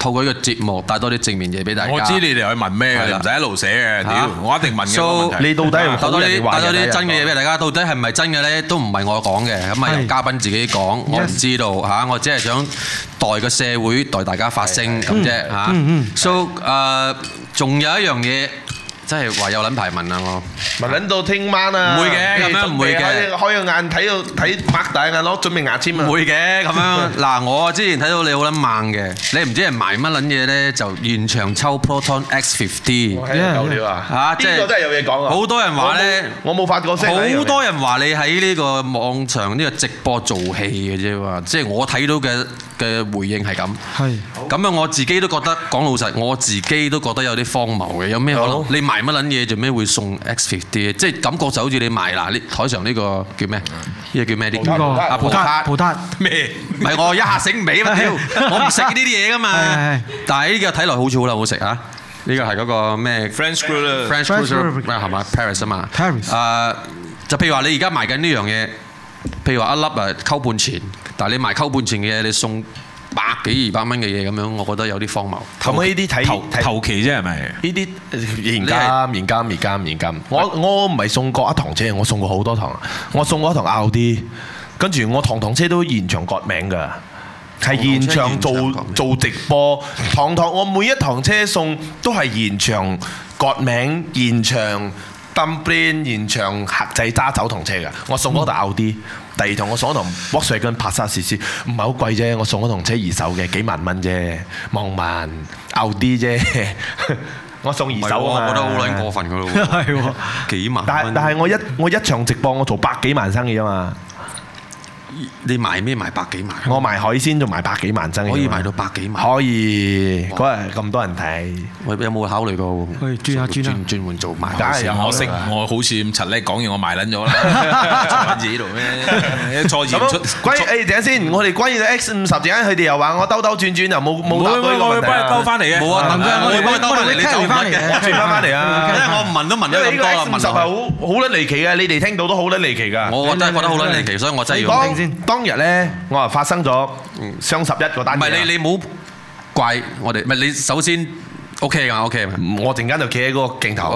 透過呢個節目帶多啲正面嘢俾大家。 我知你哋去問咩嘅，你唔使一路寫嘅。屌，我一定問嘅問題。 你到底係帶多啲真嘅嘢俾大家，到底係唔係真嘅咧？都唔係我講嘅，咁係由嘉賓自己講。我唔知道嚇，我只係想代個社會代大家發聲咁啫嚇。So 仲有一樣嘢。真係話有撚排問啊！我問撚到聽晚啊！ 唔會嘅，咁樣唔會嘅。 開個眼睇擘大眼攞準備牙籤啊！ 唔會嘅咁樣。嗱，我之前睇到你好撚猛嘅，你唔知係埋乜撚嘢咧，就現場抽 Proton X50。 夠料啊！ 嚇，即係呢個真係有嘢講啊！好多人話咧， 我冇發過聲。 好多人話你喺呢個網上呢個直播做戲嘅啫喎，即係我睇到嘅回應係咁。係。咁啊，我自己都覺得講老實，我自己都覺得有啲荒謬嘅。有咩可能？你埋乜撚嘢做咩會送 X50？即係感覺就好似你賣嗱，呢台上呢個叫咩？呢個叫咩？呢個啊葡撻咩？唔係我一下醒唔起啊！屌，我唔食呢啲嘢噶嘛。但係呢個睇落好似好撚好食啊！呢個係嗰個咩 ？French Cruiser 係嘛 Paris 啊嘛。Paris。就譬如話你而家賣緊呢樣嘢，譬如話一粒溝半錢，但係你賣溝半錢嘅嘢，你送100幾200蚊嘅嘢咁樣，我覺得有啲荒謬。咁呢啲睇頭期啫係咪？ 呢啲現金。我唔係送過一堂車，我送過好多堂。我送過一堂Audi，跟住我堂車都現場割名㗎，係現場做直播。我每一堂車送都係現場割名，現場dumpling，現場客仔揸走堂車㗎。我送嗰台Audi。第二堂我送一堂 Volkswagen Passat CC， 唔係好貴啫，我送一堂車二手嘅幾萬蚊啫，望萬 Audi 啫，我送二手啊嘛， 我覺得好撚過分㗎咯喎，係喎，幾萬蚊。 但係我一場直播我做100幾萬生意啊嘛。 你賣咩賣100幾萬？ 我賣海鮮仲賣100幾萬生意。可以賣到100幾萬？ 可以，嗰日咁多人睇。 我有冇考慮過？ 轉換做賣海鮮？ 我好似咁柒叻，講完我賣撚咗啦，做緊自己度咩？錯言出。 等陣先，我哋關於 X50，陣間佢哋又話我兜兜轉轉又冇答到呢個問題。 我幫你兜翻嚟嘅。冇啊， 我哋幫你兜翻嚟，你走翻嚟嘅。 轉翻嚟啊！ 因為我問都問咗咁多啦。 X50係好撚離奇嘅，你哋聽到都好撚離奇㗎。 我真係覺得好撚離奇，所以我真係要聽先。 當日咧，我話發生咗雙11嗰單嘢。 唔係你冇怪我哋，唔係你首先 OK 㗎 OK 我陣間就企喺嗰個鏡頭。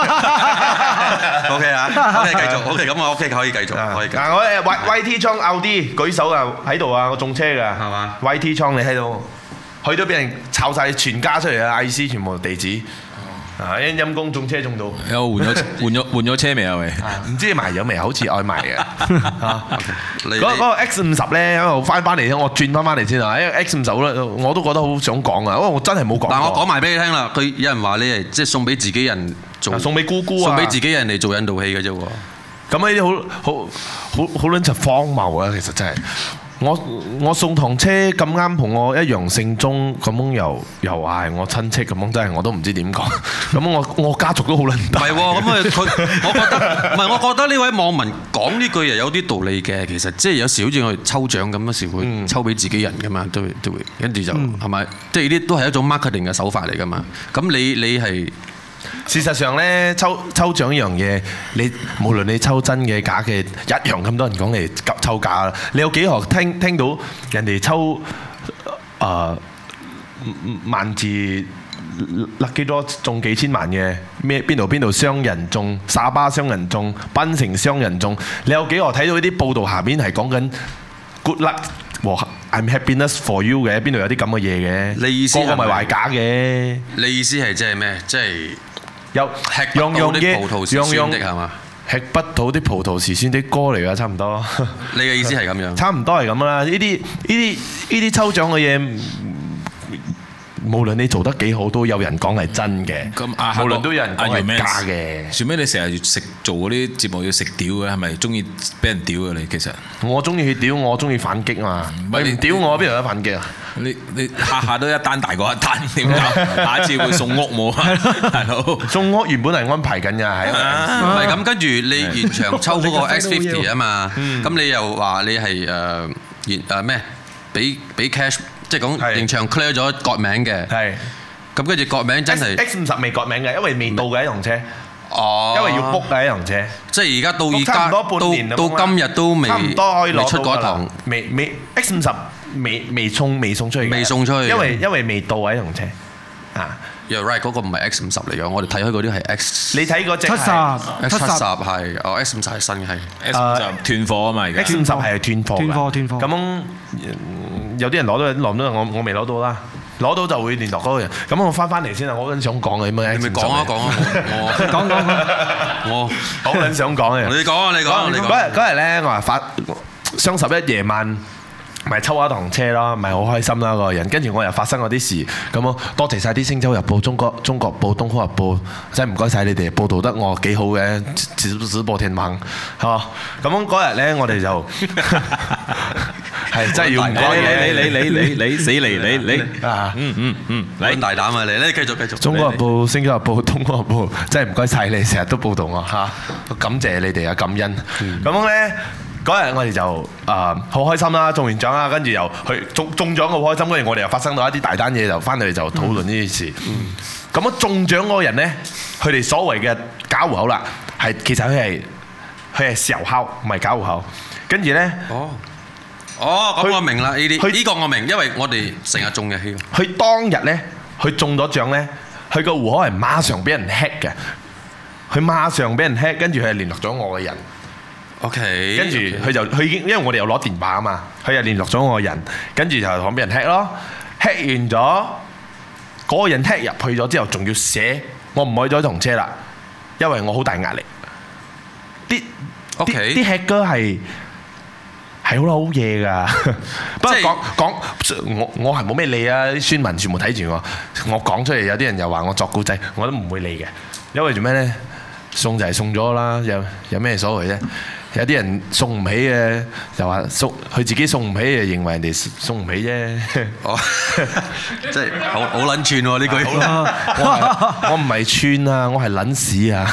OK 啊 ，OK 繼續 OK 咁我 OK 可以繼續可以。 嗱我YT 倉 Audi舉手啊喺度啊，我中車㗎係嘛 ？YT 倉你喺度，去到俾人炒曬全家出嚟啊！IC 全部地址。陰公中車中到， 有換咗車未啊？喂， 唔知賣咗未？好似愛賣嘅。嗰個 X50咧，我翻嚟我轉翻嚟先啊！因為 X50咧，我都覺得好想講啊，因為我真係冇講。 但我講埋俾你聽啦，佢有人話你係即係送俾自己人做，送俾姑姑啊，送俾自己人嚟做引導器嘅啫喎。 咁呢啲好撚就荒謬啊！其實真係。我送堂車咁啱同我一樣姓鐘，咁樣又係我親戚咁樣，真係我都唔知點講。咁我家族都好撚大。唔係喎，咁我覺得呢位網民講呢句又有啲道理嘅。其實即係有時好似我哋抽獎咁，有時會抽俾自己人噶嘛，都會跟住就係咪？即係呢啲都係一種 marketing 嘅手法嚟噶嘛。咁你係。事實上咧，抽獎呢樣嘢，你無論你抽真嘅假嘅，一樣咁多人講嚟抽假啦。你有幾何聽到人哋抽萬字lucky draw中幾千萬嘅咩？邊度商人中，沙巴商人中，檳城商人中？你有幾何睇到呢啲報道下邊係講緊 good luck 和 I'm happiness for you 嘅？邊度有啲咁嘅嘢嘅？你意思係咪壞假嘅？你意思係即係咩？即係有吃不到啲葡萄是酸的係嘛？吃不到啲葡萄是酸的歌嚟㗎，差唔多。你嘅意思係咁樣？差唔多係咁啦。呢啲抽獎嘅嘢，無論你做得幾好，都有人講係真嘅。無論都有人講係假嘅。做咩你成日做嗰啲節目要食屌嘅？係咪中意俾人屌嘅你？其實我中意去屌，我中意反擊啊嘛。你唔屌我，邊度有得反擊啊？你下下都一單大過一單，點解？下次會送屋冇啊？大佬，送屋原本係安排緊㗎，係唔係咁？跟住你現場抽嗰個 X50 啊嘛，咁你又話你係咩？俾 cash。即係講現場 clear 咗割名嘅，咁跟住割名真係 X50未割名嘅，因為未到嘅一樣車，因為要 book 嘅一樣車。即係而家到今日都未出過一堂，未 X50 未送出去， 未送出去， 因為未到位同車啊。 You're right，嗰個唔係 X50嚟嘅，我哋睇開嗰啲係 X。 你睇嗰隻 70係X50係新嘅係 X50斷貨啊嘛，而家 X50係斷貨。 斷貨。 咁有啲人攞到，我未攞到啦。攞到就會聯絡嗰個人。咁我翻嚟先啊！我嗰陣想講嘅咩？你咪講啊！ 我好撚想講嘅。 你講。 嗰日咧，我話雙11夜晚。咪抽一堂車咯，咪好開心啦個人。跟住我又發生嗰啲事，咁咯，多謝晒啲《星洲日報》、中國報、東方日報，真係唔該晒你哋報導得我幾好嘅，直播天網，係嘛？咁嗰日咧，我哋就係真係要唔該你死嚟你啊！ 你大膽啊你繼續。 中國日報、星洲日報、東方日報，真係唔該晒你，成日都報導我嚇，感謝你哋啊，感恩。咁咧。嗰日我哋就好開心啦，中完獎啦，跟住又去中獎好開心，跟住我哋又發生到一啲大單嘢，就翻嚟就討論呢件事。咁啊中獎嗰個人咧，佢哋所謂嘅假戶口啦，其實佢係小號，唔係假戶口。跟住咧， 咁我明啦，呢個我明，因為我哋成日中嘅戲。 佢當日咧，佢中咗獎咧，佢個戶口係馬上俾人 hack 嘅，佢馬上俾人 hack，跟住佢係聯絡咗我嘅人。 OK， 跟住佢已經，因為我哋有攞電話啊嘛，佢又聯絡咗我個人，跟住就講俾人 hack 咯，hack 完咗，嗰個人 hack 入去咗之後，仲要寫我唔可以再同車啦，因為我好大壓力。啲 hack 哥係好撈嘢㗎，不過講我係冇咩理啊，啲宣文全部睇住我講出嚟，有啲人又話我作古仔，我都唔會理嘅，因為做咩呢？送就係送咗啦，有咩所謂啫？有啲人送唔起嘅，就話佢自己送唔起，就認為人哋送唔起啫。 即係好撚串喎呢句。 我唔係串啊，我係撚屎啊。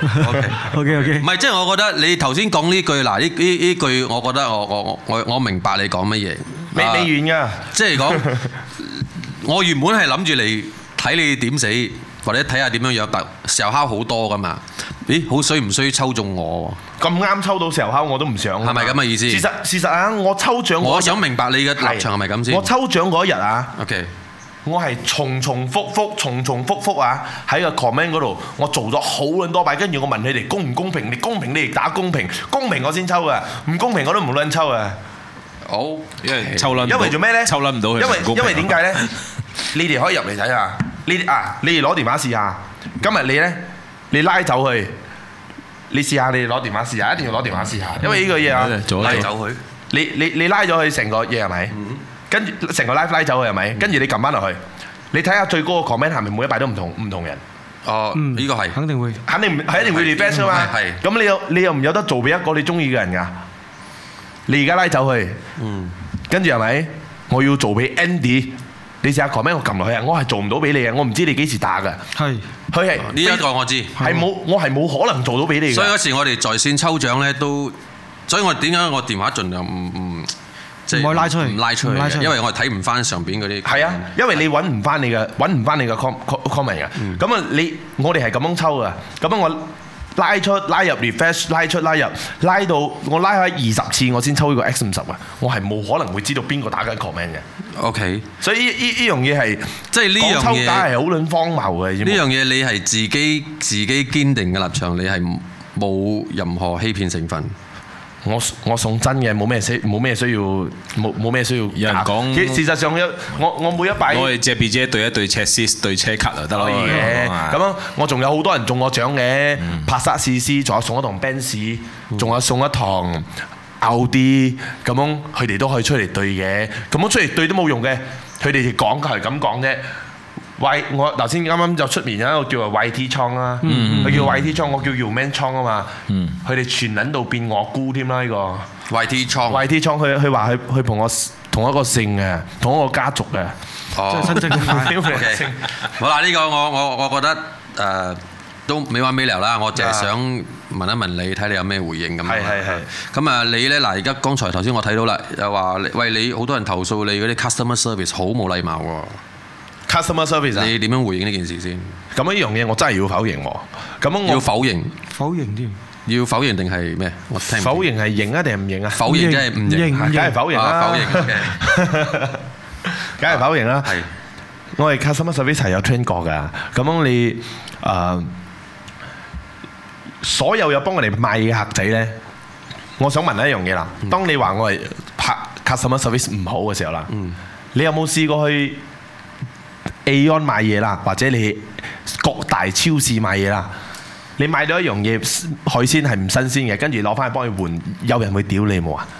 OK。唔係，即係我覺得你頭先講呢句，嗱呢句，我覺得我明白你講乜嘢。 未完㗎。即係講， 我原本係諗住嚟睇你點死。或者睇下點樣樣，但時候敲好多噶嘛？咦，好衰唔衰抽中我喎？ 咁啱抽到時候敲我都唔想。 係咪咁嘅意思？ 事實啊，我抽獎我想明白你嘅立場係咪咁先？ 我抽獎嗰日啊 ，OK， 我係重重複複啊，喺個 comment 嗰度，我做咗好撚多擺，跟住我問你哋公唔公平？你公平你哋打公平，公平我先抽噶，唔公平我都唔撚抽啊！ 好， 因為抽撚， 因為做咩咧？ 抽撚唔到佢， 因為點解咧？你哋可以入嚟睇下。你哋攞電話試下。今日你拉走佢，你試下你攞電話試下，一定要攞電話試下，因為呢個嘢啊， 拉走佢。 你拉咗佢成個嘢係咪？跟住成個 live 拉走佢係咪？跟住你撳翻落去，你睇下最高個 comment 係咪每一排都唔同人？ 呢個係肯定會， 一定會 refresh 㗎嘛。咁你又唔有得做俾一個你中意嘅人㗎？你而家拉走佢，跟住係咪？我要做俾 Andy。你試下 comment 我撳落去啊！我係做唔到俾你啊！我唔知你幾時打㗎。係，佢係呢一個我知。 我係冇可能做到俾你嘅。 所以嗰時我哋在線抽獎咧都，所以我點解我電話盡量唔即係唔拉出去，因為我係睇唔翻上邊嗰啲。係啊， 因為你揾唔翻你嘅 comment 㗎。咁啊，我哋係咁樣抽㗎。咁樣我拉出拉入 refresh 拉出拉入拉到我拉開20次我先抽呢個 X50啊！我係冇可能會知道邊個打緊 comment 嘅。 OK， 所以呢樣嘢係即係呢樣嘢抽打係好撚荒謬嘅。 呢樣嘢你係自己堅定嘅立場，你係冇任何欺騙成分。 我送真嘅，冇咩需要。有人講，事實上我每一擺， 我哋借 B 姐對一對 chassis 對車卡就得咯。 咁樣我仲有好多人中我獎嘅，帕薩試試，仲有送一堂 Benz，仲有送一堂奧迪，咁樣佢哋都可以出嚟對嘅。咁樣出嚟對都冇用嘅，佢哋講係咁講啫。我頭先啱啱就出面有一個叫做 YT 倉啦，佢叫 YT 倉，我叫 Uman 倉啊嘛。佢哋全撚到變我姑添啦呢個 YT 倉。 YT 倉佢話佢同我同一個姓嘅，同一個家族嘅。 哦，即係親戚咁解。好啦，呢個我覺得都未完未了啦，我淨係想問一問你，睇你有咩回應咁。係。咁啊，你咧嗱，而家剛才頭先我睇到啦，又話喂你好多人投訴你嗰啲 customer service 好冇禮貌喎。 Customer service 啊！ 你點樣回應呢件事先？ 咁呢樣嘢我真係要否認喎。咁我否認添。 要否認定係咩？我聽唔。 否認係認啊定係唔認啊？ 否認即係唔認， 梗係否認啦。 否認嘅， 梗係否認啦。 係。 我哋 customer service 係有 train 過㗎。咁樣你所有幫我哋賣嘅客仔咧，我想問一樣嘢啦。當你話我係拍 customer service 唔好嘅時候啦，你有冇試過去 Aeon 買嘢啦，或者你各大超市買嘢啦？你買到一樣嘢海鮮係唔新鮮嘅，跟住攞翻去幫佢換，有人會屌你冇啊？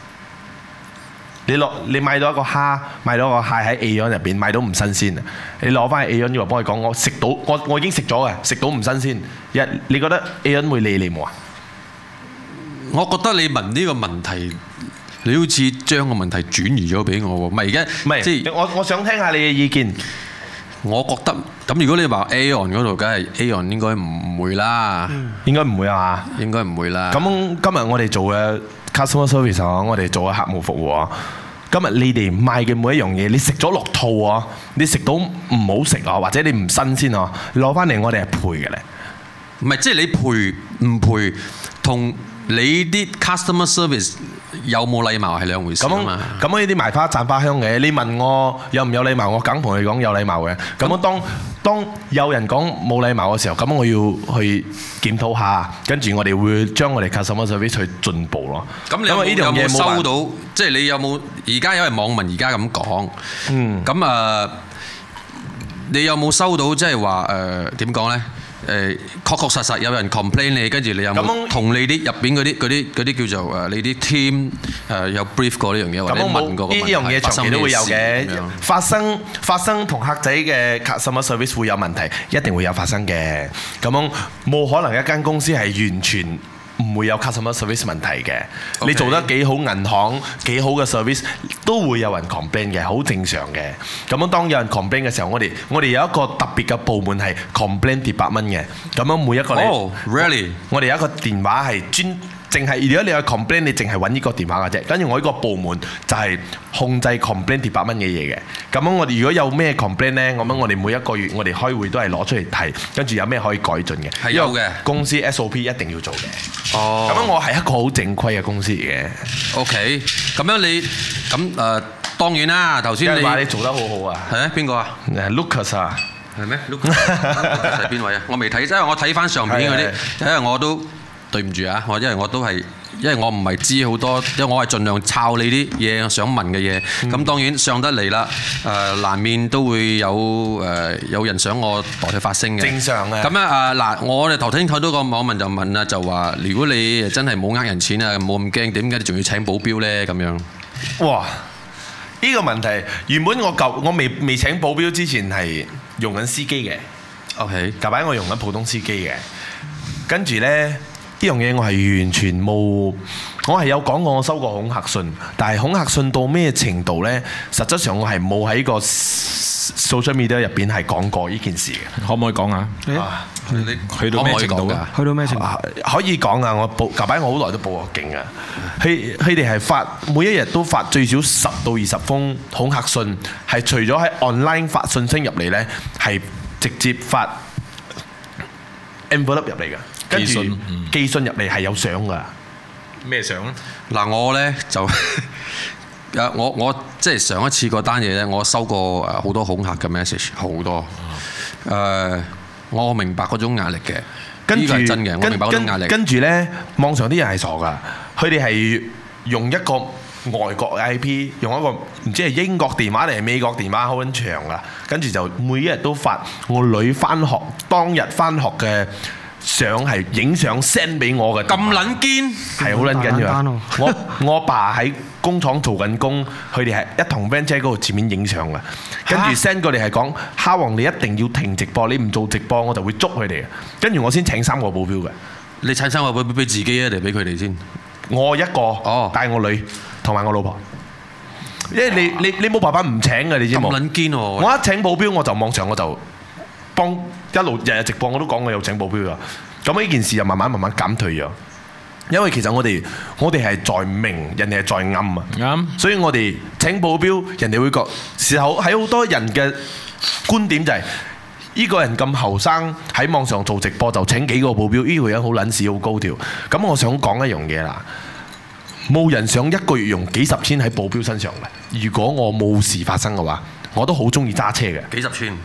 你買到一個蝦，買到個蟹喺 Aeon 入邊買到唔新鮮啊！你攞翻去 Aeon 要幫佢講，我食到我已經食咗嘅，食到唔新鮮。你覺得 Aeon 會理你冇啊？ 我覺得你問呢個問題，你好似將個問題轉移咗俾我喎。唔係而家， 唔係即係我想聽下你嘅意見。我覺得咁，如果你話 Aeon 嗰度，梗係 Aeon 應該唔會啦， 應該唔會啊嘛， 應該唔會啦。 咁今日我哋做嘅 customer service 啊，我哋做嘅客戶服務啊，今日你哋賣嘅每一樣嘢，你食咗落肚啊，你食到唔好食啊，或者你唔新鮮啊，攞翻嚟我哋係賠嘅咧。 唔係，即係你賠唔賠同你啲 customer service 有冇禮貌係兩回事啊嘛。 咁呢啲賣花讚花香嘅，你問我有唔有禮貌，我梗同你講有禮貌嘅。咁當有人講冇禮貌嘅時候，咁我要去檢討下，跟住我哋會將我哋 customer service 去進步咯。 咁你有冇收到？即係你有冇？而家因為網民而家咁講，咁你有冇收到？即係話點講咧？確確實實有人 complain 你，跟住你有冇同你啲入邊嗰啲叫做你啲 team 有 brief 過呢樣嘢，或者問過個問題？呢樣嘢長期都會有嘅，發生同客仔嘅 customer service 會有問題，一定會有發生嘅。咁樣冇可能一間公司係完全唔會有 customer service 問題嘅。Okay. 你做得幾好，銀行幾好嘅 service 都會有人 complain 嘅，好正常嘅。咁樣當有人 complain 嘅時候，我哋有一個特別嘅部門係 complain department嘅。咁樣每一個 really？ 我哋有一個電話係淨係如果你有 complain，你淨係揾呢個電話嘅啫。跟住我呢個部門就係控制 complain department 嘅嘢嘅。咁樣我哋如果有咩 complain 呢，咁樣我哋每一個月我哋開會都係攞出嚟睇，跟住有咩可以改進嘅。係有嘅。公司 SOP 一定要做嘅。哦。咁樣我係一個好正規嘅公司嚟嘅。OK。咁樣你咁當然啦，頭先你話你做得好好啊。係啊？邊個啊？Lucas 啊。係咩？Lucas 係邊位啊？我未睇，因為我睇翻上邊嗰啲，因為我都。對唔住啊！因為我唔係知好多，因為我係盡量抄你啲嘢，想問嘅嘢。咁當然上得嚟啦，難免都會有人想我代佢發聲嘅。正常嘅。咁啊嗱，我哋頭先睇到個網民就問啦，就話如果你真係冇呃人錢啊，冇咁驚，點解你仲要請保鏢呢？咁樣。哇！呢個問題原本我未請保鏢之前係用緊司機嘅。OK。近排我用緊普通司機嘅，跟住呢。呢樣嘢我係完全冇，我係有講過我收過恐嚇信，但係恐嚇信到咩程度呢？實質上我係冇喺個 social media 入邊係講過呢件事嘅。可唔可以講下？你去到咩程度啊？去到咩程度？可以講啊！近排我好耐都報過警啊！佢哋係每一日都發最少10到20封恐嚇信，係除咗喺 online 發信息入嚟呢，係直接發 envelope 入嚟嘅。跟住寄信入嚟係有相噶。咩相咧？嗱，我咧就我即係上一次嗰單嘢咧，我收過好多恐嚇嘅 message， 好多。我明白嗰種壓力嘅，呢個係真嘅，我明白嗰種壓力。跟住咧，網上啲人係傻噶，佢哋係用一個外國 IP， 用一個唔知係英國電話定係美國電話，好撚長噶。跟住就每一日都發我女翻學當日翻學嘅。相係影相 send 俾我嘅，咁撚堅係好撚緊要。我爸喺工廠做緊工，佢哋係一同 van 車嗰度前面影相嘅，跟住 send 過嚟係講蝦王你一定要停直播，你唔做直播我就會捉佢哋嘅。跟住我先請3個保鏢嘅。你請3個保鏢俾自己啊定俾佢哋先？我一個，帶我女同埋我老婆。因為你冇辦法唔請嘅，你知冇？咁撚堅喎！我一請保鏢我就網上我就。幫一路日日直播我都講我有請保鏢啊，咁呢件事就慢慢減退咗，因為其實我哋係在明，人哋係在暗啊，啱，所以我哋請保鏢，人哋會覺時候喺好多人嘅觀點就係呢個人咁後生喺網上做直播就請幾個保鏢，呢個人好撚屎好高調。咁我想講一樣嘢啦，冇人想一個月用幾十千喺保鏢身上嘅。如果我冇事發生嘅話，我都好中意揸車嘅。 幾十千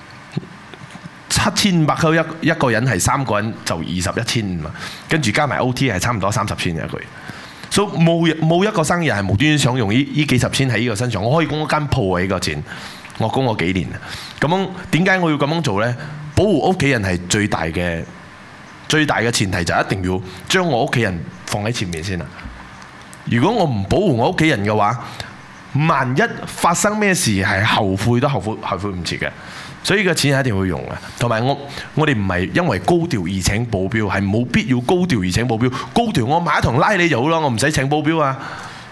，7500溝一個人係3個人就21,500嘛，跟住加埋 OT 係差唔多30千一個月。所以冇一個生意人係無端端想用呢幾十千喺呢個身上。我可以供一間鋪啊！呢個錢我供我幾年啊！咁樣點解我要咁樣做呢？保護屋企人係最大嘅前提，就一定要將我屋企人放喺前面先啦。如果我唔保護我屋企人嘅話，萬一發生咩事係後悔都後悔唔切嘅。所以個錢係一定會用嘅。同埋我哋唔係因為高調而請保鏢，係冇必要高調而請保鏢。高調我買一堂拉你就好咯，我唔使請保鏢啊。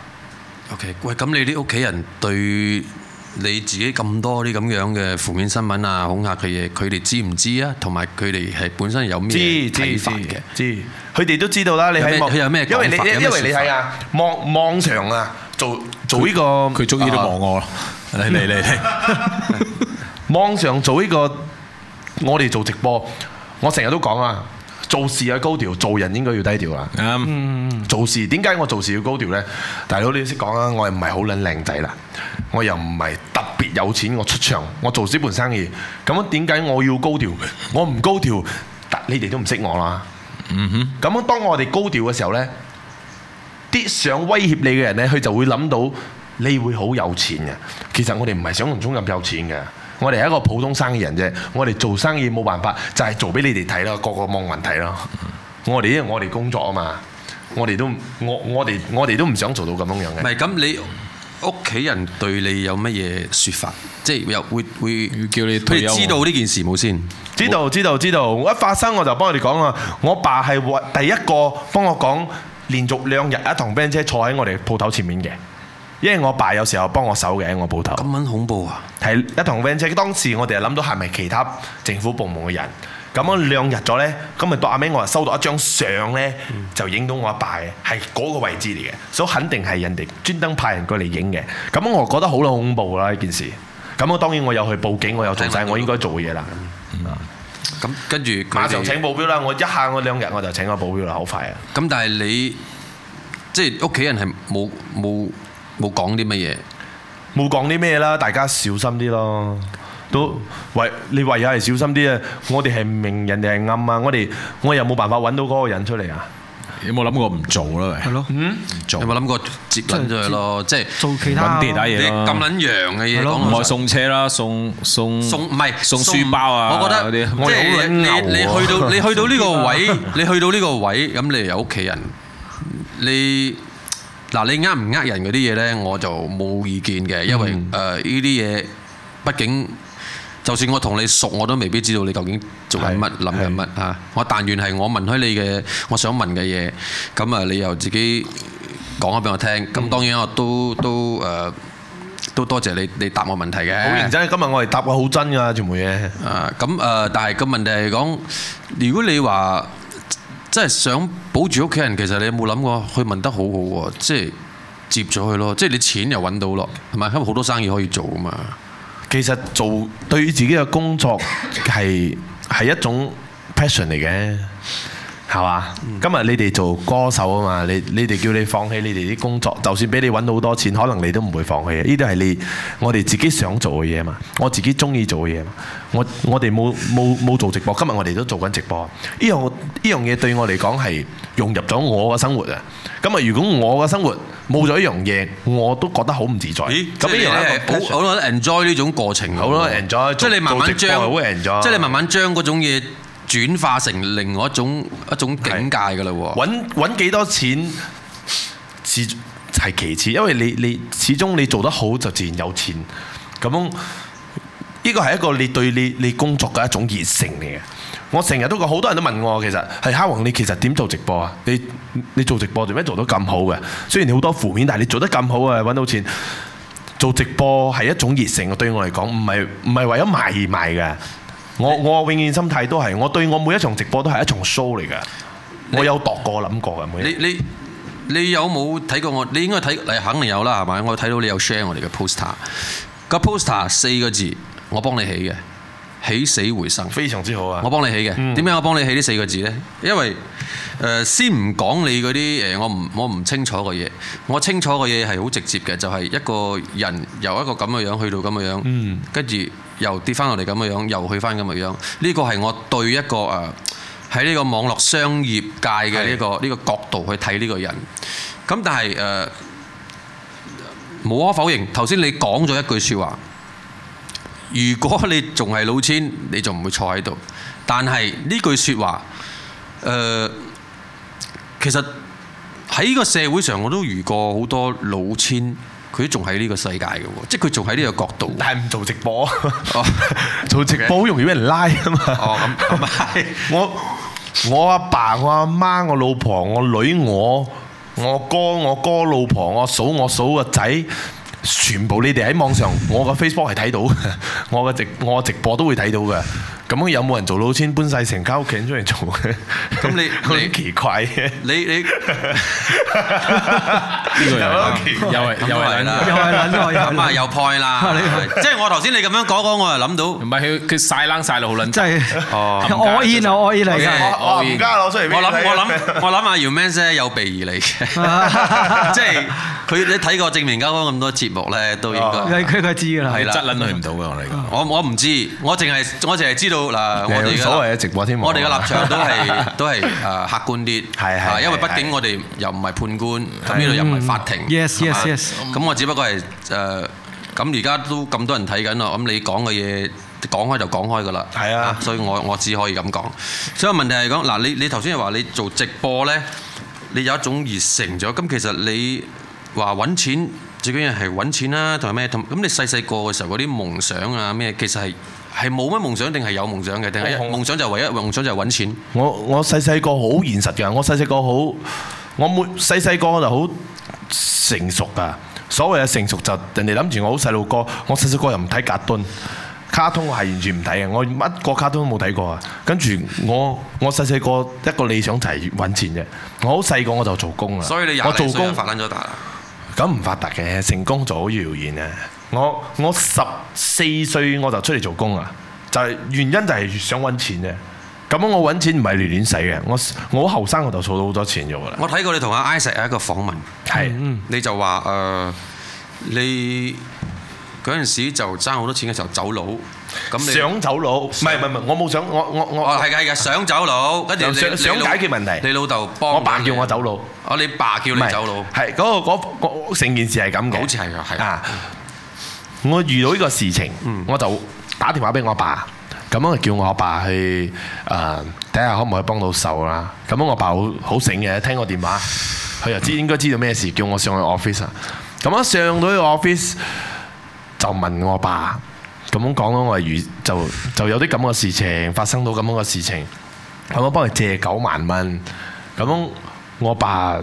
OK， 喂，咁你啲屋企人對你自己咁多啲咁樣嘅負面新聞啊、恐嚇嘅嘢，佢哋知唔知啊？同埋佢哋係本身有咩睇法嘅？ 知，佢哋都知道啦。你喺佢有咩講法？ 因為你睇下網上啊，做呢個佢終於都望我啦。嚟。 網上做呢個，我哋做直播，我成日都講啊，做事要高調，做人應該要低調啦。做事點解我做事要高調呢？大佬你識講啊，我又唔係好撚靚仔啦，我又唔係特別有錢，我出場，我做呢盤生意，咁點解我要高調？我唔高調，你哋都唔識我啦。咁樣當我哋高調嘅時候呢，啲想威脅你嘅人呢，佢就會諗到你會好有錢嘅。其實我哋唔係想象中咁有錢嘅。我哋係一個普通生意人啫，我哋做生意冇辦法，就係做俾你哋睇咯，個網民睇咯。我哋因為我哋工作啊嘛，我哋都唔想做到咁樣嘅。 唔係咁，你屋企人對你有乜嘢説法？即係又會叫你退休？佢哋知道呢件事冇先？ 知道。我一發生我就幫佢哋講啊。我爸係第一個幫我講，連續2日一堂 band 車坐喺我哋鋪頭前面嘅。因為我爸有時候幫我手嘅，我鋪頭。咁撚恐怖啊！係一堂 van 車，當時我哋係諗到係咪其他政府部門嘅人？咁樣2日咗呢，咁咪到阿尾我收到一張相呢，就影到我阿爸嘅，係嗰個位置嚟嘅，所以肯定係人哋專登派人過嚟影嘅。咁我覺得好恐怖啦呢件事。咁我當然我有去報警，我有做晒我應該做嘅嘢啦。 咁跟住馬上請保鏢啦！我2日我就請個保鏢啦，好快啊！ 咁但係你即係屋企人係冇講啲乜嘢， 冇講啲咩啦，大家小心啲咯。你唯有係小心啲啊！我哋係明，人哋係暗啊！我又冇辦法揾到嗰個人出嚟啊！ 有冇諗過唔做啦？係咯，唔做。 有冇諗過接撚咗佢咯？即係做其他其他嘢咯。咁撚洋嘅嘢， 唔係送車啦，送唔係送書包啊！ 我覺得即係你去到呢個位，咁你有屋企人，你呃唔呃人嗰啲嘢呢，我就冇意見嘅，因為呢啲嘢畢竟就算我同你熟，我都未必知道你究竟做緊乜、諗緊乜嚇。我但願係我問開你嘅，我想問嘅嘢，咁啊你又自己講咗俾我聽。咁當然我都多謝你答我問題嘅。 好認真，今日我哋答我好真㗎，全部嘢。 但係個問題係講，如果你話真係想保住屋企人，其實你有冇諗過？佢問得好好喎，即係接咗佢咯，即係你錢又揾到咯，係咪？因為好多生意可以做啊嘛。 其實做對於自己嘅工作係一種 passion 嚟嘅，係嘛？今日你哋做歌手啊嘛，你哋叫你放棄你哋啲工作，就算俾你揾到好多錢，可能你都唔會放棄嘅。呢啲係我哋自己想做嘅嘢嘛，我自己中意做嘅嘢嘛。我哋冇做直播，今日我哋都做緊直播。呢樣嘢對我嚟講係融入咗我嘅生活啊！咁啊，如果我嘅生活冇咗一樣嘢，我都覺得好唔自在。咁呢樣係好多 enjoy 呢種過程，好多 enjoy，即係你慢慢將嗰種嘢轉化成另外一種境界㗎啦喎。揾幾多錢係其次，因為你始終你做得好就自然有錢。咁呢個係一個你對你工作嘅一種熱誠嚟嘅。我成日都講，好多人都問我，其實係哈王，你其實點做直播啊？你做直播做咩做得咁好嘅？雖然你好多負面，但係你做得咁好啊，揾到錢。做直播係一種熱誠，對我嚟講唔係為咗賣而賣嘅。我永遠心態都係，我對我每一場直播都係一場 show 嚟嘅。我有度過諗過嘅。你有冇睇過我？你應該睇，你肯定有啦，係咪？我睇到你有 share 我哋嘅 poster。個 poster 4個字，我幫你起嘅。 起死回生， 非常之好啊！ 我幫你起嘅。點解我幫你起呢4個字呢？因為先唔講你嗰啲我唔清楚嘅嘢，我清楚嘅嘢係好直接嘅，就係一個人由一個咁嘅樣去到咁嘅樣，跟住又跌翻落嚟咁嘅樣，又去翻咁嘅樣。呢個係我對一個喺呢個網絡商業界嘅呢個角度去睇呢個人。咁但係無可否認，頭先你講咗一句説話。如果你仲係老千，你就唔會坐喺度。但係呢句説話，其實喺呢個社會上，我都遇過好多老千，佢都仲喺呢個世界嘅喎，即係佢仲喺呢個角度。但係唔做直播，做直播好容易俾人拉啊嘛。哦，咁係。我阿爸、我阿媽、我老婆、我女、我哥老婆、我嫂個仔。全部你哋喺網上，我個 Facebook 係睇到，我直播都會睇到嘅。咁有冇人做老千搬晒成間屋企出嚟做嘅？咁你好奇怪嘅。你呢個又係咁啊，又 point 啦。即係我頭先你咁樣講，我又諗到，唔係佢曬冷曬到好撚，真係我煙嚟嘅。我唔加攞出嚟。我諗阿姚 Man 咧有備而嚟嘅，即係佢你睇過正面交鋒咁多節目咧，都應該佢知㗎啦。係啦，質撚佢唔到㗎，我嚟講。我唔知，我淨係知道。嗱，我哋所謂嘅直播添，我哋嘅立場都係客觀啲，係因為畢竟我哋又唔係判官，咁呢度又唔係法庭，yes。咁我只不過係咁而家都咁多人睇緊咯，咁你講嘅嘢講開就講開㗎啦，係啊，所以我只可以咁講。所以問題係講嗱，你頭先又話你做直播咧，你有一種熱誠咗，咁其實你話揾錢最緊要係揾錢啦，同埋咩？咁你細個嘅時候嗰啲夢想啊咩，其實係冇乜夢想定係有夢想嘅？定係夢想就唯一夢想就係揾錢？我細個好現實㗎，我細個就好成熟㗎。所謂嘅成熟就人哋諗住我好細路哥，我細個又唔睇卡通，我係完全唔睇嘅，我乜個卡通都冇睇過啊。跟住我細個一個理想就係揾錢啫。我好細個我就做工啦。所以你廿零歲就發撚咗達啦？咁唔發達嘅，成功就好遙遠啊！我14歲我就出嚟做工啊，就係原因就係想揾錢啫。咁我揾錢唔係亂使嘅，我好後生我就儲到好多錢咗啦。我睇過你同阿 Isaac 有一個訪問，係你就話你嗰陣時就爭好多錢嘅時候走佬，咁你想走佬？唔係，我冇想，我係想走佬，跟住想解決問題。你老豆幫我爸叫我走佬，你爸叫你走佬，係嗰成件事係咁嘅，好似係㗎，係啊。我遇到呢個事情，我就打電話俾我爸，咁樣叫我阿爸去睇下可唔可以幫到手啦。咁樣我爸好醒嘅，聽我電話，佢又應該知道咩事，叫我上去 office 啊。咁一上到呢個 office 就問我爸，咁樣講咯，我就有啲咁嘅事情發生到咁樣嘅事情，咁我幫佢借9萬蚊。咁樣我爸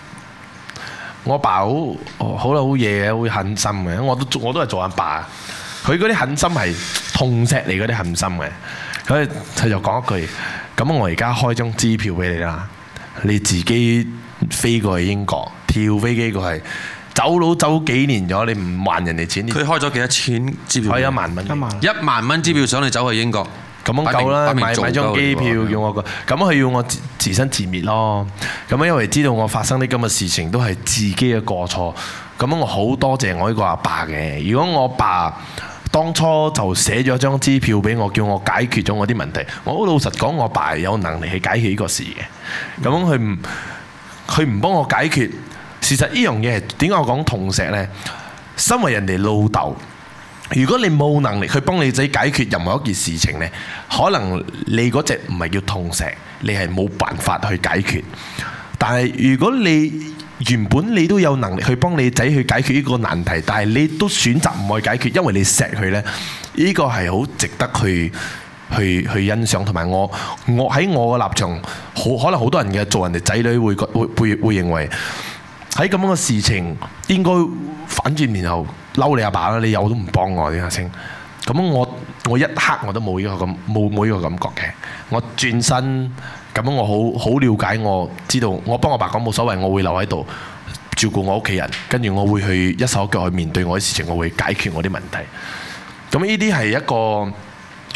好嘢嘅，好狠心嘅。我都係做阿爸，佢嗰啲狠心係痛錫你嗰啲狠心嘅。佢就講一句：咁我而家開張支票俾你啦，你自己飛過去英國，跳飛機過去，走佬走幾年咗，你唔還人哋錢。佢開咗幾多錢支票？開1萬蚊。1萬蚊支票想你走去英國。咁樣夠啦，買張機票叫我個，咁佢要我自生自滅咯。咁因為知道我發生啲咁嘅事情都係自己嘅過錯，咁我好多謝我呢個阿爸嘅。如果我爸當初就寫咗張支票俾我，叫我解決咗我啲問題，我好老實講，我爸有能力去解決呢個事嘅。咁佢唔幫我解決，事實呢樣嘢係點解我講痛錫呢？身為人哋老豆。如果你冇能力去幫你仔解決任何一件事情呢，可能你嗰隻唔係叫痛錫，你係冇辦法去解決。但係如果你原本你都有能力去幫你仔去解決呢個難題，但係你都選擇唔去解決，因為你錫佢呢，呢個係好值得去欣賞。同埋我喺我嘅立場，可能好多人嘅做人哋仔女會認為喺咁樣嘅事情應該反轉然後嬲你阿爸啦，你有都唔幫我點解先？咁我一刻我都冇呢個感覺嘅。我轉身咁我好了解，我知道我幫我爸講冇所謂，我會留喺度照顧我屋企人，跟住我會去一手一腳去面對我啲事情，我會解決我啲問題。咁呢啲係一個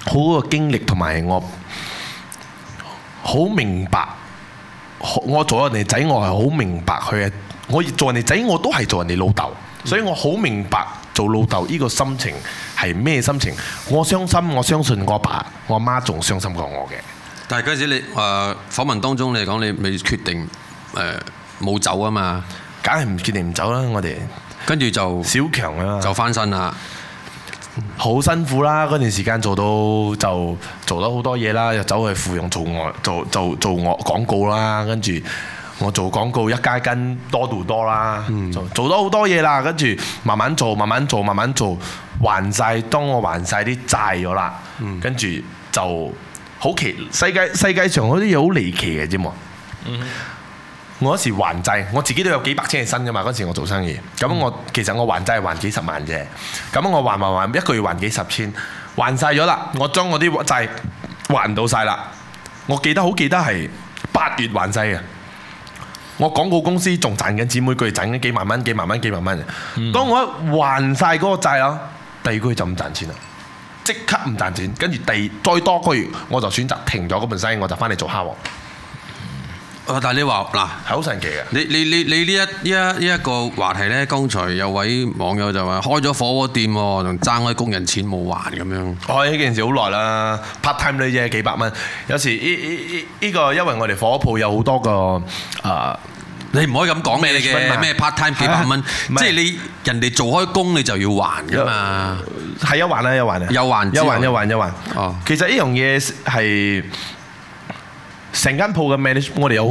好嘅經歷，同埋我好明白。我做人哋仔，我係好明白佢嘅。我做人哋仔，我都係做人哋老豆，所以我好明白做老豆呢個心情係咩心情。我傷心，我相信我爸我媽仲傷心過我嘅。 但係嗰陣時你訪問當中你講你未決定冇走啊嘛， 梗係唔決定唔走啦。我哋跟住就小強啊， 就翻身啦。 好辛苦啦！嗰段時間做咗好多嘢啦，又走去芙蓉做我廣告啦，跟住我做廣告一加一斤多到多啦，做咗好多嘢啦，跟住慢慢做，還晒。當我還晒啲債咗啦，跟住就好奇世界上嗰啲嘢好離奇嘅啫嘛。我嗰時還債，我自己都有幾百千嘅身㗎嘛。嗰時我做生意，咁其實我還債係還幾十萬啫。咁我還一個月還幾十千，還晒咗啦。我將我啲債還到晒啦。我好記得係8月還晒嘅。我廣告公司仲賺緊錢，每個月賺緊幾萬蚊。當我一還晒嗰個債啦，第二個月就唔賺錢啦，即刻唔賺錢。跟住再多個月，我就選擇停咗嗰盤生意，我就翻嚟做蝦王。 但係你話嗱係好神奇嘅。 你呢一個話題咧，剛才有位網友就話開咗火鍋店喎，仲爭開工人錢冇還咁樣。我呢件事好耐啦 ，part time 呢啫，幾百蚊。有時呢個因為我哋火鋪有好多個你唔可以咁講嘅，你嘅咩 part time 幾百蚊，即係你人哋做開工你就要還㗎嘛。 係有還啊，有還啊，有還。哦，其實呢樣嘢係。成間鋪嘅 manage， 我哋有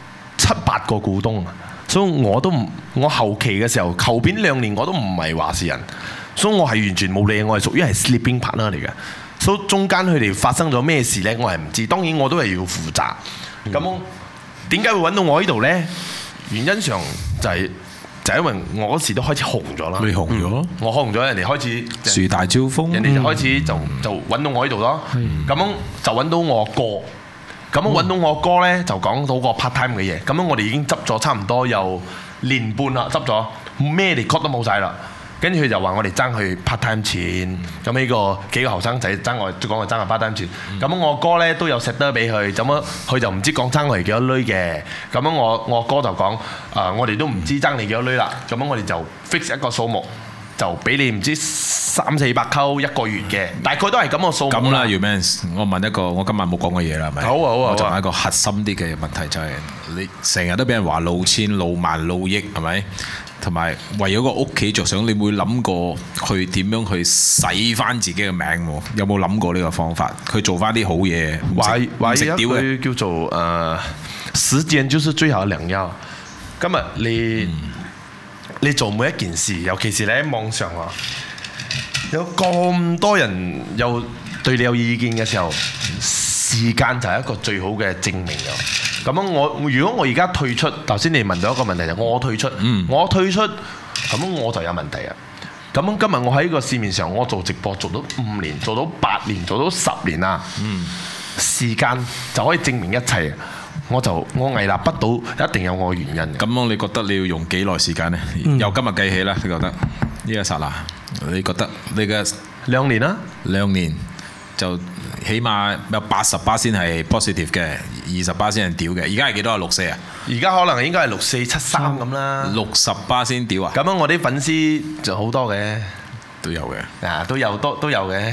7、8個股東，所以我後期嘅時候，後邊2年我都唔係話事人，所以我係完全冇理，我係屬於係 sleeping partner 嚟嘅，所以中間佢哋發生咗咩事呢？我係唔知，當然我都係要負責。咁點解會揾到我呢度呢？原因上就係因為我嗰時都開始紅咗啦。你紅咗？我紅咗，人哋開始樹大招風， 人哋就開始就揾到我呢度咯。咁樣就揾到我哥。咁樣揾到我哥呢，就講到個 part time 嘅嘢。咁樣我哋已經執咗差唔多有1年半啦，執咗咩嚟 cut 都冇晒啦。跟住佢就話我哋爭佢 part time 錢。咁呢個幾個後生仔爭我，講我爭佢 part time 錢。咁我哥呢都有 set 得俾佢，咁樣佢就唔知講爭我哋幾多鐳嘅。咁樣我哥就講我哋都唔知爭你幾多鐳啦。咁樣我哋就 fix 一個數目。就俾你唔知300-400溝1個月嘅，大概都係咁個數目啦。咁啦 ，Humans，我問一個，我今晚冇講嘅嘢啦，係咪？好啊。我就問一個核心啲嘅問題，就係你成日都俾人話撈錢、撈萬、撈億，係咪？同埋為咗個屋企着想，你會諗過去點樣去洗翻自己嘅命喎？有冇諗過呢個方法？去做翻啲好嘢，唔食屌嘅叫做時間就是最好嘅良藥。今日你做每一件事，尤其是你喺網上有咁多人又對你有意見嘅時候，時間就係一個最好嘅證明咗。咁樣如果我而家退出，頭先你問到一個問題就我退出，咁我就有問題啊。咁樣今日我喺個市面上，我做直播做到5年，做到8年，做到10年啦。時間就可以證明一切。我屹立不倒，一定有我嘅原因。咁你覺得你要用幾耐時間呢？由今日計起啦，你覺得呢一剎那，你覺得你嘅2年啦，2年就起碼有80%先係 positive 嘅，20%先係屌嘅。而家係幾多啊？64啊？而家可能應該係6473咁啦。60%先屌啊？咁樣我啲粉絲就好多嘅。都有嘅，都有嘅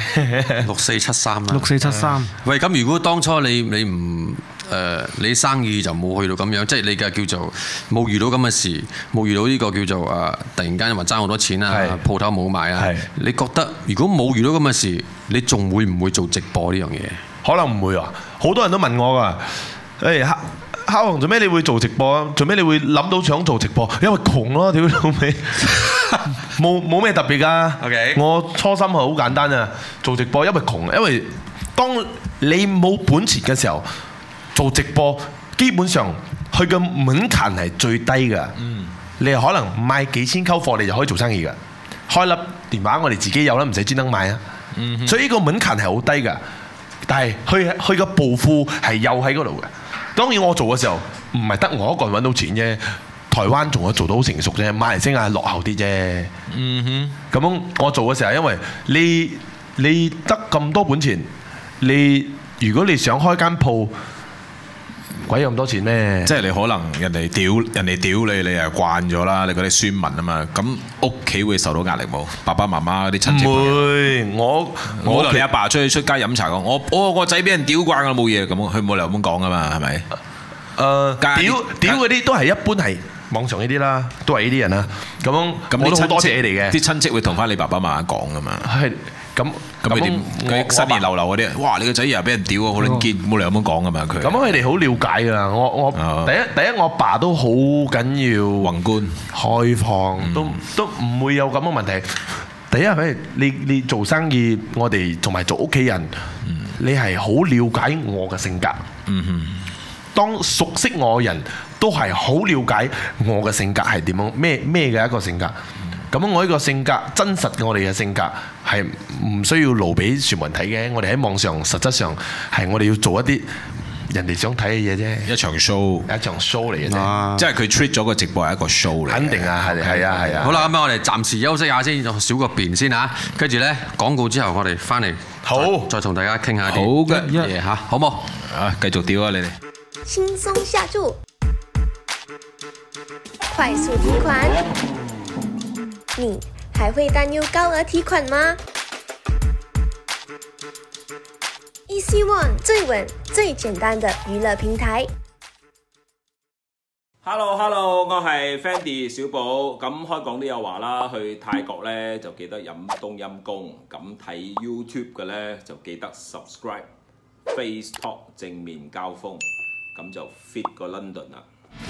，6473啦，6473。喂，咁如果當初你唔你生意就冇去到咁樣，即係你嘅叫做冇遇到咁嘅事，冇遇到呢個叫做突然間話爭好多錢啊，鋪頭冇賣啊，你覺得如果冇遇到咁嘅事，你仲會唔會做直播呢樣嘢？可能唔會啊！好多人都問我㗎，蝦王做咩你會做直播啊？做咩你會諗到想做直播？因為窮咯，屌老味，冇咩特別㗎。Okay. 我初心係好簡單啊，做直播因為窮，因為當你冇本錢嘅時候，做直播基本上佢嘅門檻係最低㗎。你可能賣幾千溝貨，你就可以做生意㗎。開粒電話我哋自己有啦，唔使專登買啊。所以呢個門檻係好低㗎，但係佢嘅暴富係又喺嗰度嘅。當然我做嘅時候唔係得我一個人揾到錢啫，台灣仲有做到好成熟啫，馬來西亞落後啲啫。咁我做嘅時候，因為你得咁多本錢， 如果你想開間鋪，鬼有咁多錢咩？ 即係你可能人哋屌你，你又慣咗啦，你嗰啲孫文啊嘛，咁屋企會受到壓力冇？爸爸媽媽嗰啲親戚？ 唔會，我同你阿爸出街飲茶講，我個仔俾人屌慣啦，冇嘢咁，佢冇理由咁講噶嘛，係咪？屌嗰啲都係一般係網上呢啲啦，都係呢啲人啦。咁我都好多謝你哋嘅。啲親戚會同翻你爸爸媽媽講噶嘛？係咁你點？嗰啲新年流流嗰啲，哇！你個仔又俾人屌啊，好撚堅，冇理由咁講噶嘛佢。咁佢哋好了解㗎。我第一我阿爸都好緊要宏觀開放，都唔會有咁嘅問題。第一係你做生意，我哋同埋做屋企人，你係好了解我嘅性格。當熟悉我嘅人都係好了解我嘅性格係點樣，咩嘅一個性格。咁我呢個性格真實嘅我哋嘅性格係唔需要露俾全部人睇嘅。我哋喺網上實質上係我哋要做一啲人哋想睇嘅嘢啫，一場 show 嚟嘅啫。即係佢 treat 咗個直播係一個 show 嚟。肯定啊，係啊。好啦，咁我哋暫時休息下先，小個便先嚇。跟住咧廣告之後，我哋翻嚟再同大家傾下啲嘢嚇，好冇？啊，繼續屌啊你哋！ 輕鬆下注，快速提款。你還會擔憂高額提款嗎？Easy One 最穩、最簡單的娛樂平台。 Hello， 我係 Fendi 小寶。咁開講都有話啦，去泰國呢就記得飲冬陰功。咁睇 YouTube 嘅呢就記得 subscribe。Face Talk 正面交鋒，咁就 fit 個 London 啦。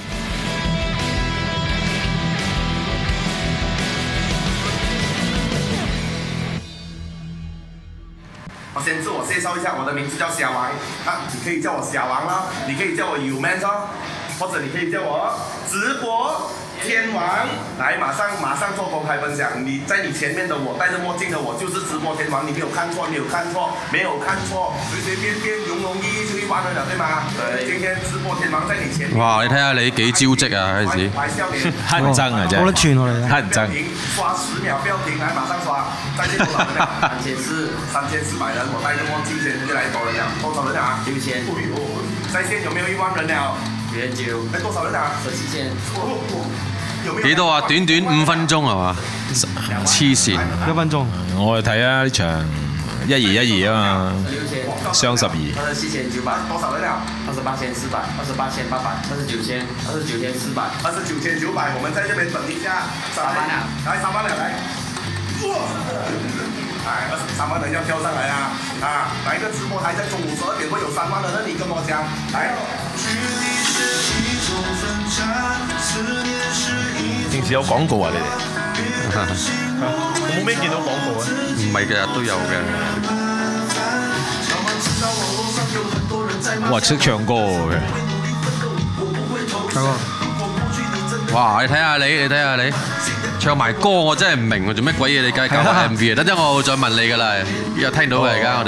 我先自我介紹一下，我的名字叫小王啊，你可以叫我小王啦，你可以叫我UManz哦，或者你可以叫我直播天王。來，馬上做公開分享。你在你前面的我，戴着墨鏡的我，就是直播天王。你沒有看錯，隨隨便便容易就1萬人了，對嗎？對。今天直播天王在你前面。哇！你睇下你幾招積啊，開始。 黑人憎啊，真係。 我都串我哋。 黑人憎。刷10秒不要停，來馬上刷。再見多少人？3400人，我戴着墨鏡先就來多人了，多少人啊？6000。在線有沒有1萬人了？900。哎，多少人啊？17,000。 幾多啊？短短5分鐘係嘛？黐線 ！1分鐘。 我哋睇下呢場1212啊嘛，雙12。 27900，多少人了？28400、28800、29000、29400、29900。我們在這邊等一下。3萬了，來3萬了，來。哎，3萬人要跳上來啊！啊，哪一個直播台在中午12點會有3萬的人？你跟我講，來。 平時有廣告啊你哋？我冇咩見到廣告啊。 唔係嘅，都有嘅。 哇，識唱歌嘅。 哇！你睇下你唱埋歌，我真係唔明喎，做咩鬼嘢？你梗係搞 MV 啊？等陣我再問你㗎啦，又聽到嘅而家我哋。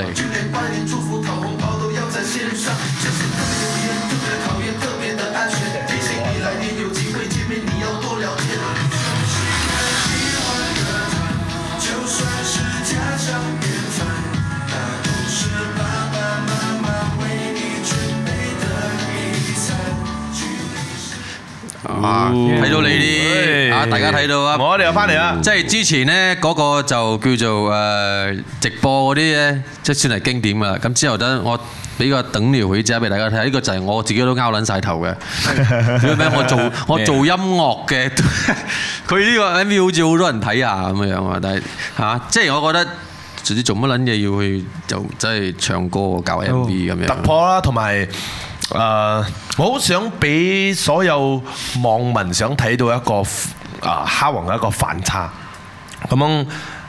睇到你啲啊，大家睇到啊！ 我哋又翻嚟啦。 即係之前呢嗰個就叫做直播嗰啲咧，即係算係經典㗎啦。咁之後等我俾個等條會者俾大家睇，呢個就係我自己都拗撚晒頭嘅。做咩？我做音樂嘅，佢呢個 MV 好似好多人睇下咁樣啊！但係嚇，即係我覺得唔知做乜撚嘢要去就真係唱歌搞 MV 咁樣。 突破啦，同埋。我好想俾所有網民想睇到一個蝦王嘅一個反差，咁樣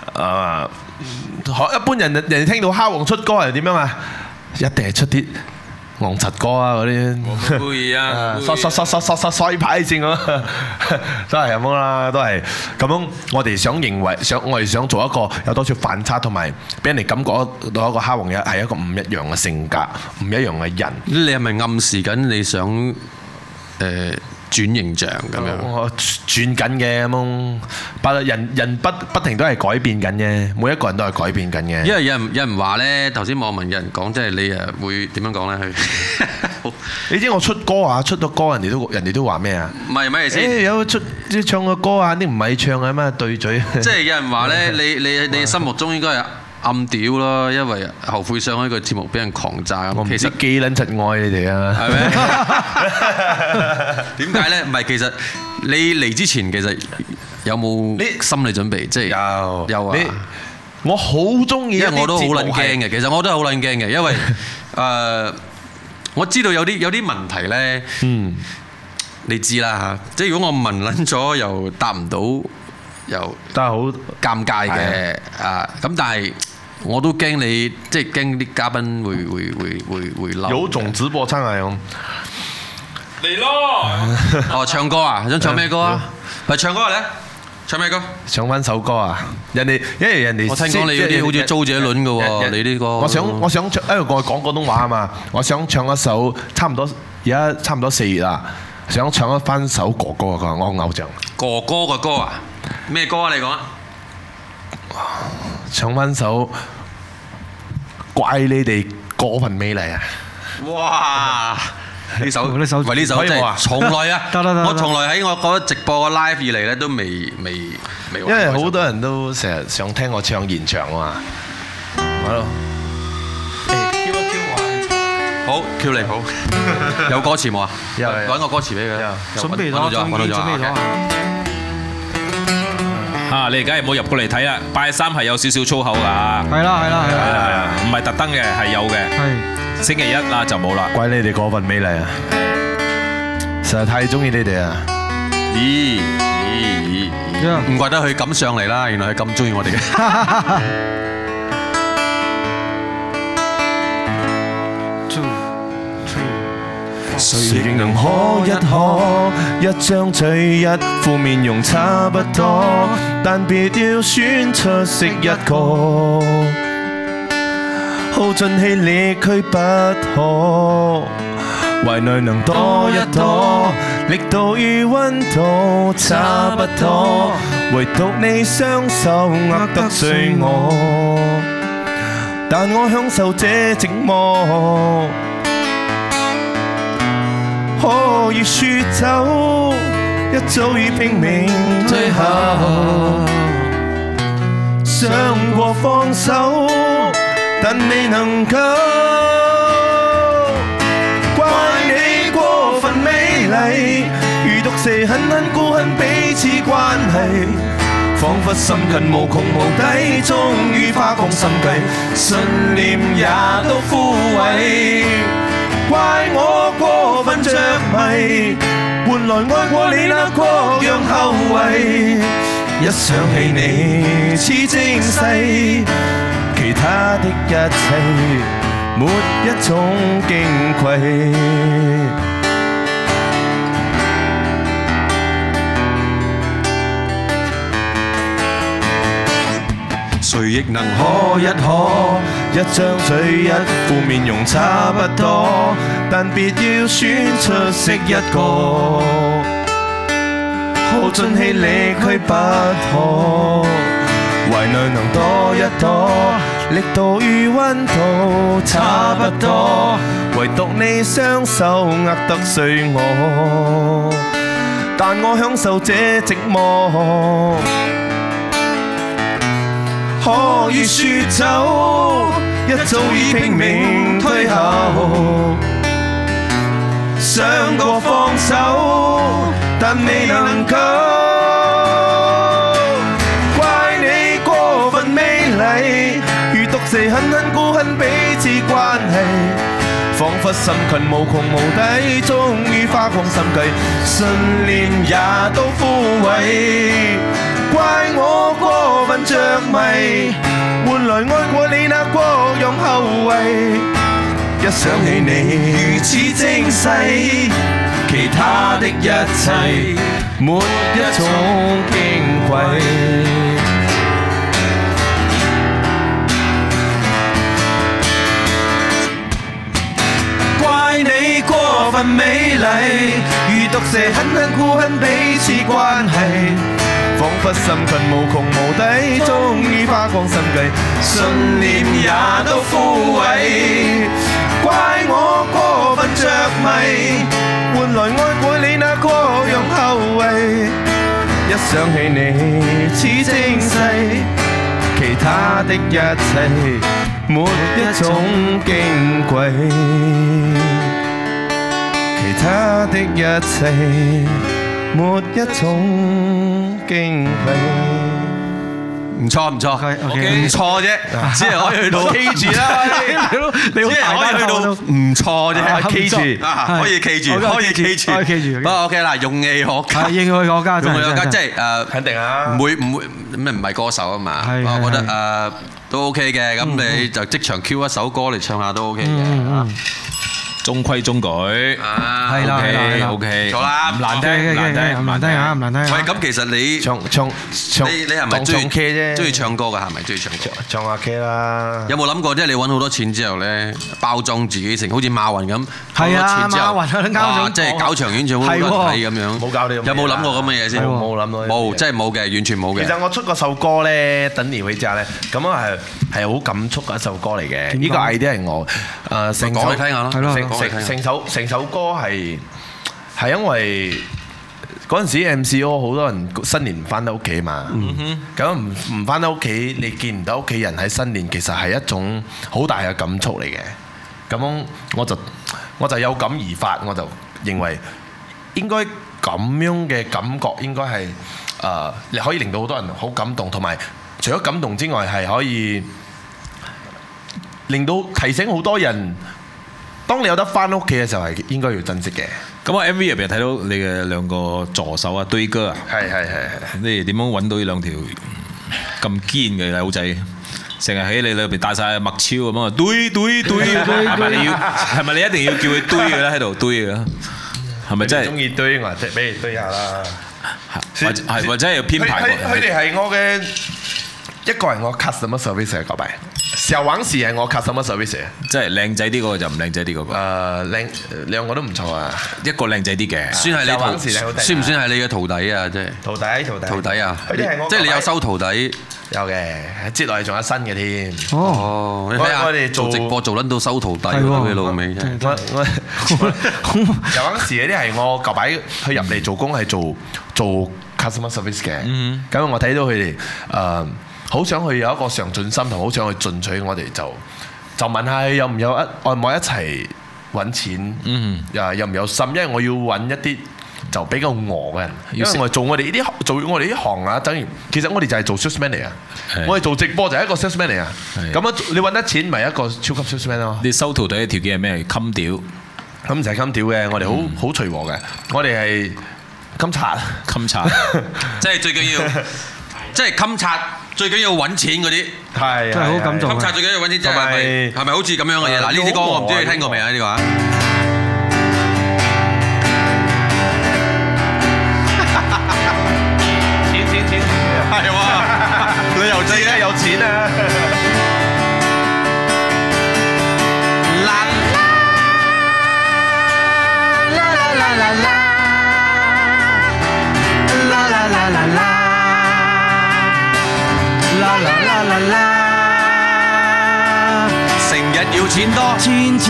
一般人聽到蝦王出歌係點樣啊？一定係出啲昂柒歌啊嗰啲， 故意啊， 衰牌先咁，都係咁樣啦，都係咁樣。我哋我哋想做一個有多少反差，同埋俾人哋感覺到一個蝦王係一個唔一樣嘅性格，唔一樣嘅人。 你係咪暗示緊你想轉形象咁樣。 我轉緊嘅咁，人不停都係改變緊嘅，每一個人都係改變緊嘅。 因為有人話咧，頭先網民有人講，即係你會點樣講咧？ 你知我出歌啊，出咗歌人哋都話咩啊？ 唔係咩意思？ 有唱個歌啊，啲唔係唱嘅咩對嘴。 即係有人話咧，你心目中應該係暗屌咯，因為後悔上開個節目俾人狂炸咁。 我唔知幾撚柒愛你哋啊？ 係咩？點解咧？唔係，其實你嚟之前其實有冇心理準備？即係有啊！ 我好中意， 因為我都好撚驚嘅。其實我都係好撚驚嘅，因為我知道有啲問題咧，你知啦嚇。即係如果我問撚咗又答唔到，又都係好尷尬嘅啊！咁但係我都驚你，即係驚啲嘉賓會嬲。 有種直播上嚟嚟咯！ 哦，唱歌啊！想唱咩歌啊？咪唱歌嚟！唱咩歌？ 唱翻首歌啊！因為人哋我聽講你嗰啲好似周杰倫嘅喎，你啲歌。 我想唱，因為我講廣東話啊嘛，我想唱一首差唔多4月啦，想唱一翻首哥哥嘅歌，我偶像。哥哥嘅歌啊？ 咩歌啊？你講啊！ 唱翻首怪你哋過分美麗啊！ 哇！呢首真係從來啊，我從來喺我嗰直播個 live 以嚟咧都未。因為好多人都成日想聽我唱現場啊嘛。好咯。Q 一 Q 我。 好 Q 你好。有歌詞冇啊？ 有。 揾個歌詞俾佢。 準備咗。 啊！你而家係冇入過嚟睇啦，拜三係有少少粗口㗎。 係啦， 唔係特登嘅，係有嘅。係。星期一啦就冇啦。 怪你哋過分美麗啊！實在太中意你哋啊！ 咦？唔怪得佢咁上嚟啦，原來係咁中意我哋嘅。 誰亦能可一可，一張嘴一副面容差不多，但別要選出色一個，耗盡氣力卻不可，懷內能多一多，力度與溫度差不多，唯獨你雙手握得碎我，但我享受這寂寞。可以說走，一早已拼命退後，想過放手，但未能夠。怪你過分美麗，如毒蛇狠狠孤恨彼此關係，彷彿深近無窮無底，終於花光心計，信念也都枯萎。怪我過分着迷，換來愛過你那各樣後遺。一想起你似精細，其他的一切沒一種矜貴。誰亦能可一可，一張嘴一副面容差不多，但別要選出色一個，耗盡氣力卻不可，懷內能多一多，力度與溫度差不多，唯獨你雙手握得碎我，但我享受這寂寞。可以說走，一早已拼命退後，想過放手，但未能夠。怪你過分美麗，如毒蛇狠狠孤恨彼此關係，彷彿深近無窮無底，終於花光心計，信念也都枯萎。怪我過分着迷，換來愛過你那各樣後遺。一想起你如此精細，其他的一切沒一種矜貴。怪你過分分美麗，如毒蛇狠狠箍恨彼此關係，彷彿心困無窮無底，終於花光心計，信念也都枯萎，怪我過分着迷，換來愛過你那個樣後遺，一想起你似精細，其他的一切沒一種矜貴，其他的一切沒一種矜貴。 唔錯唔錯，唔錯啫，只係可以去到 K 住啦，只係可以去到唔錯啫，K 住，可以 K 住，可以 K 住， 可以 K 住。 不過 OK 啦，勇氣可嘉， 勇氣可嘉， 勇氣可嘉，即係肯定啊， 唔會咩唔係歌手啊嘛，我覺得都 OK 嘅，咁你就即場 Q 一首歌嚟唱下都 OK 嘅。 中規中矩， 係啦 ，OK， 錯啦， 唔難聽， 唔難聽嚇，唔難聽。 喂，咁其實你唱， 你係咪中意唱歌㗎？係咪中意唱歌？ 唱下 K 啦。 有冇諗過即係你揾好多錢之後咧，包裝自己成好似馬雲咁， 係啊，馬雲啱即係搞場演唱會好多睇咁樣。 冇搞呢啲。有冇諗過咁嘅嘢先？ 冇諗到。 冇，真係冇嘅，完全冇嘅。 其實我出嗰首歌咧，等年尾之後咧，咁啊係好感觸嘅一首歌嚟嘅。呢個 idea 係我成首講嚟聽下咯，係咯。 成首歌係因為嗰陣時 MCO 好多人新年唔翻到屋企嘛，咁唔翻到屋企，你見唔到屋企人喺新年，其實係一種好大嘅感觸嚟嘅。咁我就有感而發，我就認為應該咁樣嘅感覺應該係你可以令到好多人好感動，同埋除咗感動之外，係可以令到提醒好多人。當你有得翻屋企嘅時候，係應該要珍惜嘅。 咁我 MV 入邊睇到你嘅兩個助手啊，堆哥啊， 係， 你哋點樣揾到呢兩條咁堅嘅友仔？成日喺你裏邊帶晒麥超咁啊，堆，係咪你一定要叫佢堆嘅咧？喺度堆嘅，係咪真係？中意堆我即係俾你堆下啦。 或者係要編排。 佢哋係我嘅一個係我 customer service 嘅個幣。小王時係我 customer service， 即係靚仔啲嗰個就唔靚仔啲嗰個。 靚兩個都唔錯啊， 一個靚仔啲嘅， 算係你算唔算係你嘅徒弟啊？即係徒弟啊！即係你有收徒弟？ 有嘅，接落嚟仲有新嘅添。 哦，你睇下我哋做直播做撚到收徒弟嘅老味真係。 小王時嗰啲係我舊擺去入嚟做工係做 customer service 嘅。咁我睇到佢哋好想去有一個上進心，同好想去進取，我哋就問下佢有唔有愛唔愛一齊揾錢，有唔有心，因為我要揾一啲就比較餓嘅人，因為我做我哋呢行啊，等於其實我哋就係做 salesman 嚟啊，我哋做直播就係一個 salesman 嚟啊，咁樣你揾得錢咪一個超級 salesman 咯。 你收徒弟嘅條件係咩？襟屌， 咁唔使襟屌嘅，我哋好隨和嘅，我哋係襟擦， 即係最緊要，即係襟擦。最緊要揾錢嗰啲， 係真係好感動。 襟擦最緊要揾錢，係咪好似咁樣嘅嘢？嗱，呢啲歌我唔知你聽過未啊？呢個啊，錢，係喎，旅遊節咧有錢啊！成日要錢多，錢，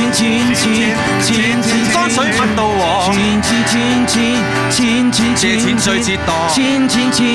乾水分到鑊，錢，借錢最折墮，錢，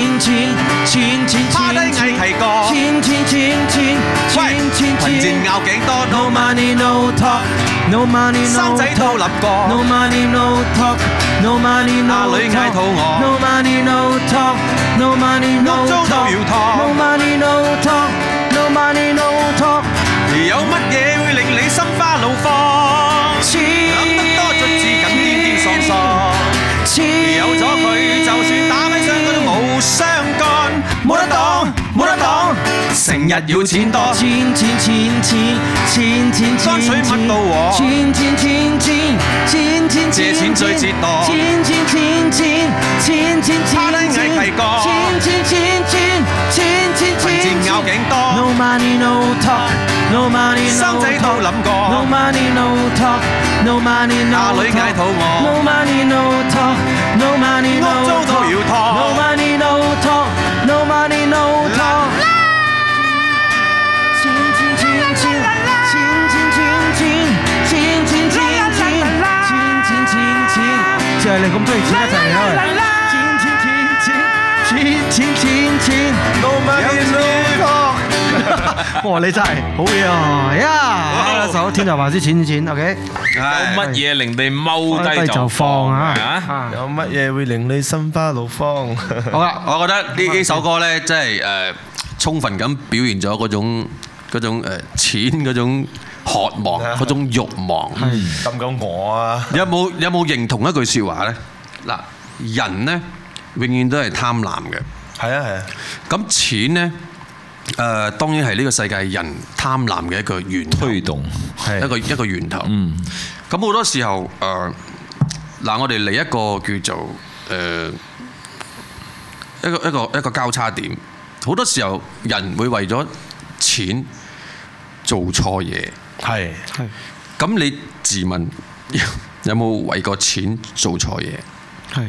趴低嗌提過，喂，貧賤拗頸多 ，no money no talk，no money no talk， 生仔都諗過 ，no money no talk，no money no talk， 阿女嗌肚餓 ，no money no talk，no money no talk，no money no talk，no money no talk， 有乜嘢會令你心花怒放？諗得多卒至咁癲癲喪喪，有咗佢就算打mấy槍佢都冇相干，冇得擋，成日要錢多，錢，乾水乜到鑊，錢，借錢最折墮，錢，趴低嗌提過，錢，貧賤拗頸多。 No money no talk，No money no talk， 生仔都諗過。 No money no talk，No money no talk， 阿女嗌肚餓。 No money no talk，No money no talk， 屋租都要拖。 No money no talk，No money no talk。就係你咁中意錢一齊嚟啦！錢 ，No money no talk。哇！你真係好嘢啊！呀，一首《天才還是錢》 ，OK。 有乜嘢令你踎低就放啊？ 有乜嘢會令你心花怒放？ 好啦，我覺得呢首歌咧，真係充分咁表現咗嗰種錢嗰種渴望，嗰種慾望。 咁講我啊， 有冇認同一句説話咧？嗱，人咧永遠都係貪婪嘅。 係啊。 咁錢咧，當然係呢個世界人貪婪嘅一個源頭， 推動一個源頭。咁好多時候嗱，我哋嚟一個叫做一個交叉點。好多時候人會為咗錢做錯嘢。係。咁你自問有冇為個錢做錯嘢？係。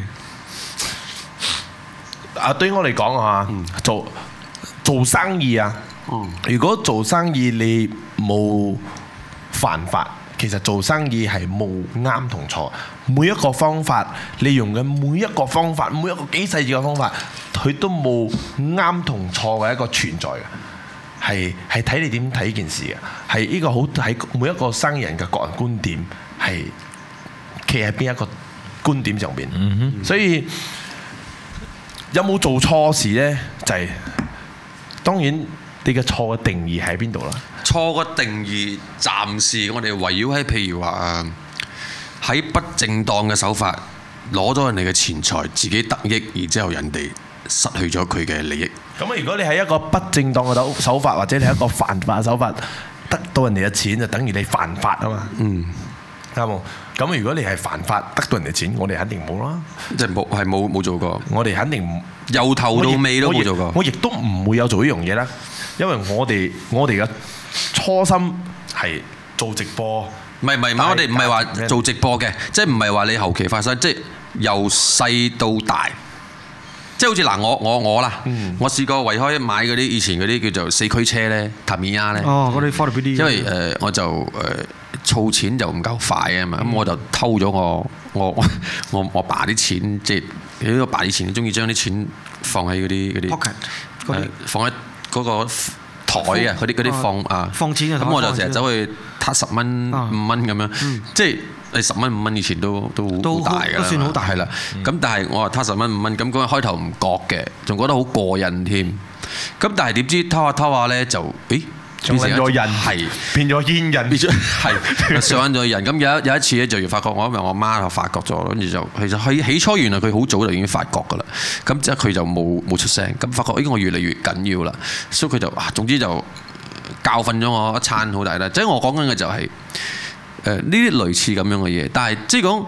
對於我嚟講啊，做生意啊，如果做生意你冇犯法，其實做生意係冇啱同錯。每一個方法，你用嘅每一個方法，每一個幾細緻嘅方法，佢都冇啱同錯嘅一個存在嘅。係睇你點睇件事嘅，係呢個好喺每一個生意人嘅個人觀點，係企喺邊一個觀點上邊。所以有冇做錯事呢？就係當然你嘅錯嘅定義喺邊度啦？ 錯嘅定義暫時我哋圍繞喺譬如話喺不正當嘅手法攞咗人哋嘅錢財，自己得益，然之後人哋失去咗佢嘅利益。 咁如果你係一個不正當嘅手法，或者你係一個犯法嘅手法，得到人哋嘅錢就等於你犯法啊嘛。啱冇？咁如果你係犯法得到人哋錢，我哋肯定冇啦。 即係冇做過。 我哋肯定由頭到尾都冇做過。 我亦都唔會有做呢樣嘢啦，因為我哋嘅初心係做直播。 唔係，我哋唔係話做直播嘅，即係唔係話你後期發生，即係由細到大。即係好似嗱，我啦，我試過為開買嗰啲以前嗰啲叫做四驅車咧，塔米亞咧。嗰啲 Ford BD。因為我就儲錢就唔夠快啊嘛，咁我就偷咗我爸啲錢，即係我爸以前中意將啲錢放喺嗰啲 pocket，放喺嗰個台啊，嗰啲放啊。放錢嘅台。咁我就成日走去撻10蚊5蚊咁樣，即係。你10蚊5蚊以前都好大㗎啦，都算好大係啦。咁但係我話攤10蚊5蚊，咁嗰個開頭唔覺嘅，仲覺得好過癮添。咁但係點知偷下咧就，變成咗人，係變咗煙人，變咗係上咗人。咁有一次咧就要發覺，因為我媽就發覺咗，跟住就其實起初原來佢好早就已經發覺㗎啦。咁即係佢就冇出聲。咁發覺我越嚟越緊要啦，所以佢就總之就教訓咗我一餐好大啦。即係我講緊嘅就係。呢啲類似咁樣嘅嘢，但係即係講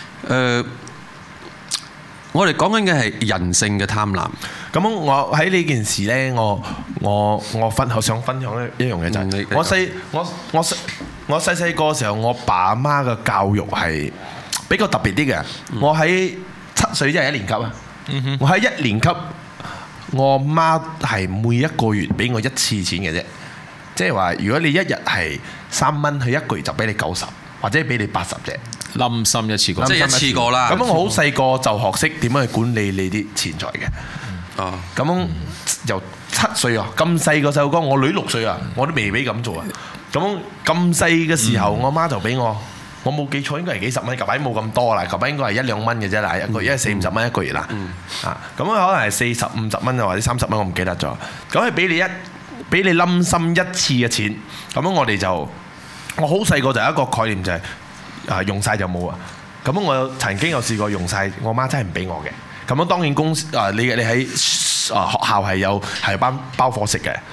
我哋講緊嘅係人性嘅貪婪。 咁我喺呢件事呢，我想分享一樣嘢就係我細個嘅時候，我爸阿媽嘅教育係比較特別啲嘅。我喺7歲即係1年級啊。我喺1年級，我媽係每一個月俾我1次錢嘅啫。即係話，如果你一日係3蚊，佢一個月就俾你90，或者俾你80啫。 冧心一次過， 即係一次過啦。 咁我好細個就學識點樣去管理你啲錢財嘅。咁由7歲啊，咁細個細路哥，我女6歲啊，我都未俾咁做啊。咁細嘅時候，我媽就俾我冇記錯應該係幾十蚊，舊擺冇咁多啦，舊擺應該係1-2蚊嘅啫啦，一個月40-50蚊一個月啦。咁可能係40-50蚊啊，或者30蚊，我唔記得咗。咁係俾你冧心一次嘅錢，咁樣我好細個就有一個概念就係用晒就冇啊。咁我曾經有試過用晒，我媽真係唔俾我嘅。咁樣當然你喺學校係有包伙食嘅。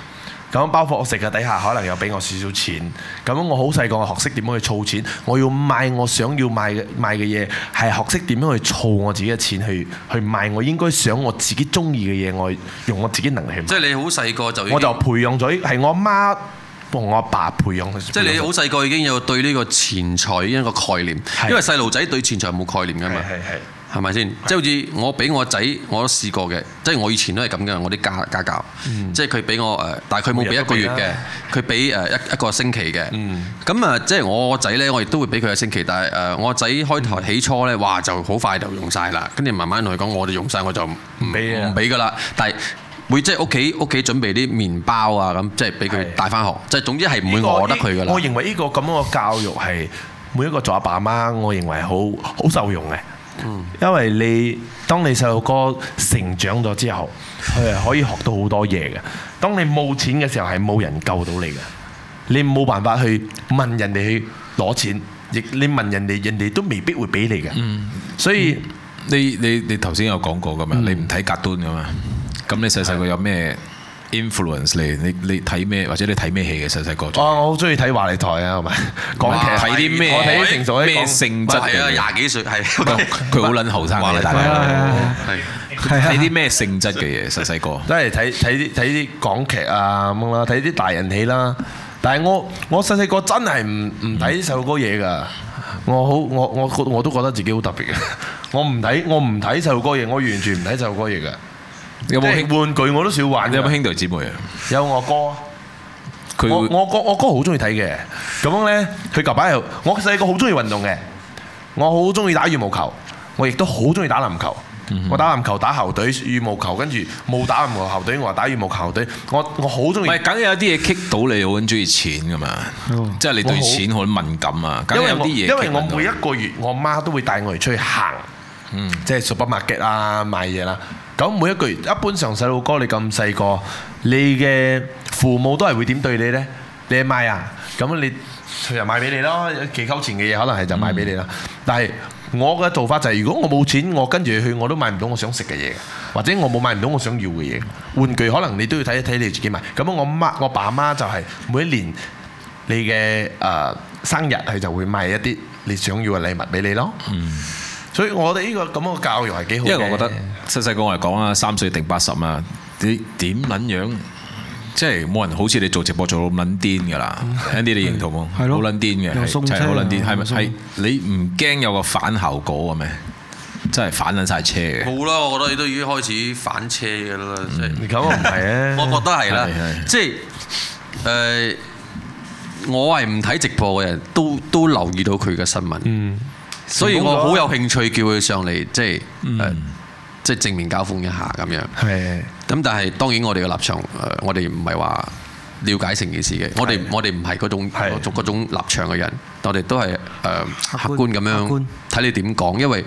咁包括我食嘅底下可能又俾我少少錢，咁我好細個學識點樣去儲錢，我要買我想要買嘅嘢，係學識點樣去儲我自己嘅錢去買我應該想我自己中意嘅嘢，我用我自己能力去買。 即係你好細個就已經， 我就培養咗，係我阿媽同我阿爸培養。 即係你好細個已經有對呢個錢財一個概念，因為細路仔對錢財冇概念㗎嘛。係咪先？即係好似我俾我仔，我都試過嘅。即係我以前都係咁嘅，我啲家教。即係佢俾我但係佢冇俾一個月嘅，佢俾一個星期嘅。咁啊，即係我個仔咧，我亦都會俾佢一個星期。但係我個仔開頭起初咧，哇就好快就用晒啦。跟住慢慢同佢講，我哋用晒我就唔俾㗎啦。但係會即係屋企準備啲麵包啊咁，即係俾佢帶翻學。即係總之係唔會餓得佢㗎啦。 我認為呢個咁樣嘅教育係每一個做阿爸阿媽，我認為好受用嘅。因為當你細路哥成長咗之後，佢係可以學到好多嘢嘅。當你冇錢嘅時候，係冇人救到你嘅。你冇辦法去問人哋去攞錢，亦你問人哋都未必會俾你嘅。所以你頭先有講過㗎嘛？你唔睇格端㗎嘛？咁你細個有咩influence 你睇咩或者你睇咩戲嘅細個？ 我好中意睇華麗台啊，係咪？港劇睇啲咩？我睇啲成熟咩性質嘅？ 廿幾歲係佢好撚後生嘅，大家睇啲咩性質嘅嘢？細個都係睇啲港劇啊咁啦，睇啲大人戲啦。但係我細個真係唔睇細路哥嘢㗎。我都覺得自己好特別嘅。我唔睇細路哥嘢，我完全唔睇細路哥嘢㗎。 有冇玩具我都少玩。 你有冇兄弟姊妹啊？ 有我哥。我哥好中意睇嘅。咁樣咧，佢舊擺又我細個好中意運動嘅。我好中意打羽毛球，我亦都好中意打籃球。我打籃球打校隊，羽毛球跟住冇打籃球校隊，我話打羽毛球校隊。我好中意。唔係， 梗係有啲嘢棘到你，好中意錢㗎嘛。即係你對錢好敏感啊。 因為我每一個月，我媽都會帶我哋出去行。即係 supermarket 啊，買嘢啦。咁每一個月，一般上細路哥你咁細個，你嘅父母都係會點對你呢？你係買啊，咁你佢就買俾你咯。寄扣錢嘅嘢可能係就買俾你啦。但係我嘅做法就係，如果我冇錢，我跟住去我都買唔到我想食嘅嘢，或者我冇買唔到我想要嘅嘢。玩具可能你都要睇一睇你自己買。咁我爸媽就係每一年你嘅生日，佢就會買一啲你想要嘅禮物俾你咯。所以我哋呢個咁嘅教育係幾好嘅。因為我覺得細個我嚟講啊，3歲定80啊，你點撚樣？即係冇人好似你做直播做到咁撚癲㗎啦。Andy 你認同冇？係咯，好撚癲嘅，係好撚癲。係咪係你唔驚有個反效果嘅咩？真係反撚晒車嘅。冇啦，我覺得你都已經開始反車㗎啦。 你咁唔係啊？ 我覺得係啦，即係我係唔睇直播嘅人都留意到佢嘅新聞。所以我好有興趣叫佢上嚟，即係正面交鋒一下咁樣。係。咁但係當然我哋嘅立場，我哋唔係話了解成件事嘅。我哋唔係嗰種立場嘅人，我哋都係客觀咁樣睇你點講。因為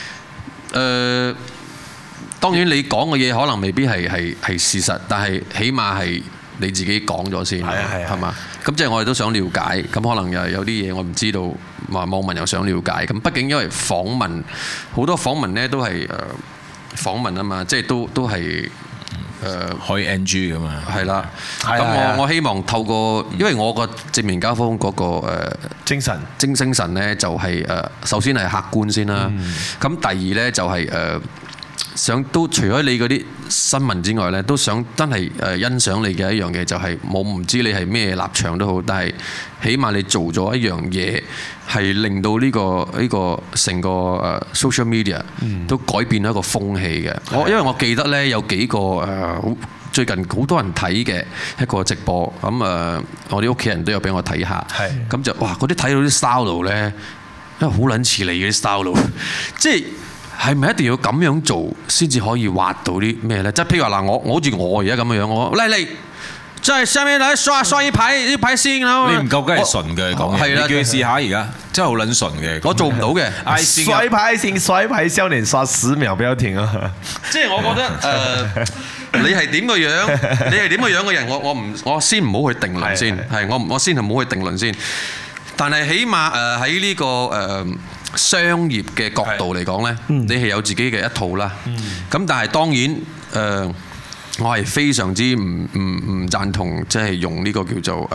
當然你講嘅嘢可能未必係事實，但係起碼係你自己講咗先，係嘛？咁即係我哋都想了解，咁可能又有啲嘢我唔知道，話網民又想了解。咁畢竟因為訪問好多訪問咧都係訪問啊嘛，即係都係可以 NG 噶嘛。係啦， 咁我希望透過，因為我個正面交鋒嗰個精神咧，就係首先係客觀先啦。咁第二咧就係想都除咗你嗰啲新聞之外咧，都想真係欣賞你嘅一樣嘢，就係我唔知你係咩立場都好，但係起碼你做咗一樣嘢，係令到呢個成個social media 都改變咗一個風氣嘅。因為我記得咧有幾個最近好多人睇嘅一個直播，咁我啲屋企人都有俾我睇下，咁就哇嗰啲睇到啲 style 咧，因為好撚似你嘅啲 style，即係。係咪一定要咁樣做先至可以畫到啲咩咧？即係譬如話嗱，我好似我而家咁嘅樣，我嚟，即係上面嚟刷一排先啦。你唔夠梗係純嘅講嘢，你叫佢試下而家，真係好撚純嘅。我做唔到嘅。 刷一排少年刷10秒不要停啊！ 即係我覺得你係點個樣？你係點個樣嘅人？我先唔好去定論先，係我先唔好去定論先。但係起碼喺呢個商業嘅角度嚟講呢，你係有自己嘅一套啦。咁但係當然我係非常之唔贊同，即係用呢個叫做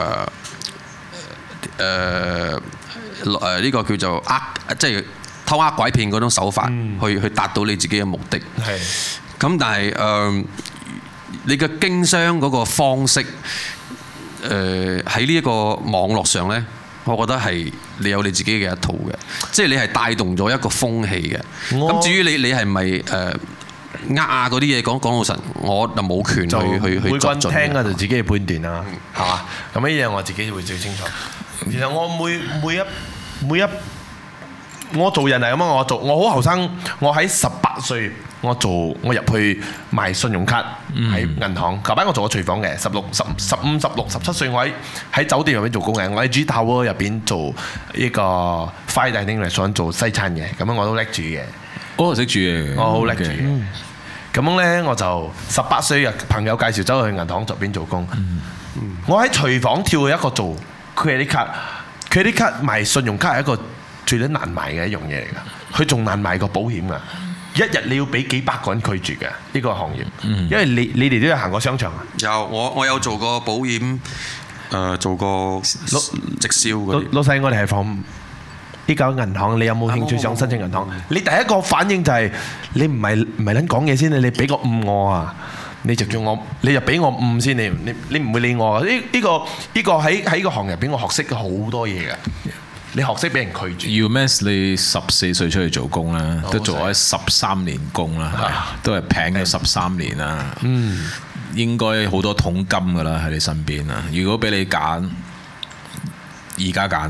呢個叫做即係偷呃拐騙嗰種手法去達到你自己嘅目的。 係。 咁但係你嘅經商嗰個方式，喺呢一個網絡上呢，我覺得係你有你自己嘅一套嘅，即係你係帶動咗一個風氣嘅。咁至於你係咪嗰啲嘢講老實，我就冇權去每個人進聽啊，就自己嘅判斷啦，係嘛？咁呢樣我自己會最清楚。其實我每一我做人係咁啊！我好後生，我喺18歲，我入去賣信用卡喺銀行。舊班我做過廚房嘅，15、16、17歲我喺酒店入邊做工嘅，我喺 G Tower 入邊做呢個 fine dining restaurant做西餐嘅，咁樣我都叻煮嘅。 我識煮嘢， 我好叻煮嘅。咁樣咧，我就18歲朋友介紹走去銀行入邊做工。我喺廚房跳去一個做 credit card 賣信用卡係一個最難賣嘅一樣嘢嚟㗎，佢仲難賣過保險㗎。一日你要俾幾百個人拒絕嘅呢個行業，因為你哋都有行過商場啊。 有我有做過保險，做過直銷嗰啲。 老細，我哋係放呢間銀行，你有冇興趣想申請銀行？你第一個反應就係你唔係撚講嘢先，你俾個5我啊！你就叫我，你就俾我5先，你唔會理我啊！呢個喺個行入邊，我學識好多嘢嘅。你學識俾人拒絕。 UMass 你14歲出去做工啦，都做咗13年工啦，都係平咗13年啦。應該好多桶金㗎啦喺你身邊啊！如果俾你揀，而家揀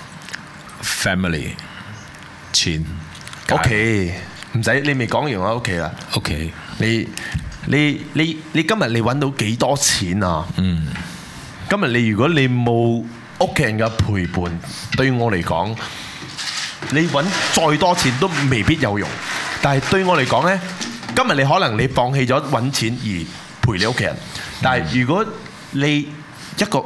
family 錢屋企，唔使你未講完我屋企啦。 屋企， 你今日你揾到幾多錢啊？今日如果你冇屋企人嘅陪伴，對我嚟講，你揾再多錢都未必有用。但係對我嚟講呢，今日你可能你放棄咗揾錢而陪你屋企人，但係如果你一個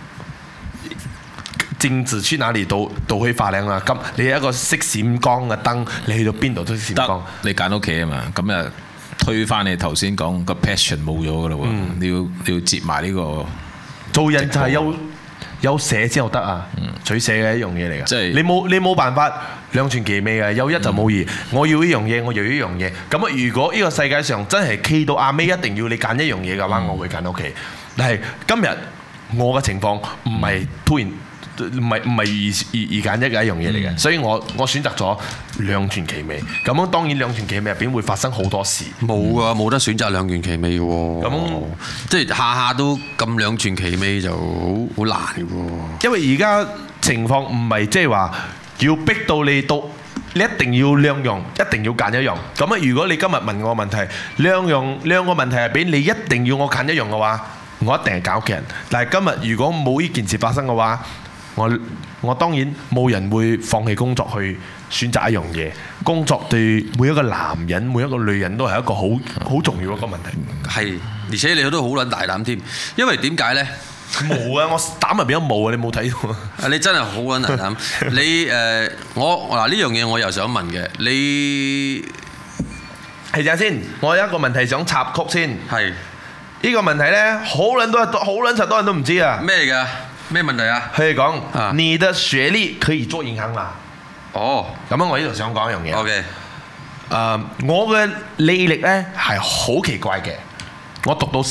政治去哪裡都可以發亮啦。咁你一個識閃光嘅燈，你去到邊度都閃光。 你揀屋企啊嘛，咁啊推翻你頭先講個 passion 冇咗㗎啦喎，你要接埋呢個。 做人就係有捨先有得啊，取捨嘅一樣嘢嚟㗎。 即係你冇辦法兩全其美嘅，有一就冇二。我要呢樣嘢，我要呢樣嘢。咁啊，如果呢個世界上真係企到阿尾，一定要你揀一樣嘢嘅話，我會揀屋企。但係今日我嘅情況唔係突然。唔係二揀一嘅一樣嘢嚟嘅，所以我選擇咗兩全其美。咁樣當然兩全其美入邊會發生好多事。 冇啊，冇得選擇兩全其美嘅喎。咁即係下下都咁兩全其美就好難嘅喎。 因為而家情況唔係即係話要逼到你一定要兩樣，一定要揀一樣。咁啊，如果你今日問我問題，兩個問題入邊你一定要我揀一樣嘅話，我一定係揀屋企人。但係今日如果冇呢件事發生嘅話，我當然冇人會放棄工作去選擇一樣嘢。工作對每一個男人、每一個女人都係一個好重要一個問題。 係，而且你都好撚大膽添。因為點解呢？ 冇啊！我膽入邊都冇啊！你冇睇到啊？ 你真係好撚大膽。你我嗱呢樣嘢我又想問嘅，你係陣先。我有一個問題想插曲先。 係呢個問題呢，好撚多人都唔知啊。 咩嚟㗎？咩問題啊？ 佢哋講，你的學歷可以做銀行啦。 哦， 咁樣我呢度想講一樣嘢。 OK， 我嘅履歷呢係好奇怪嘅。我讀到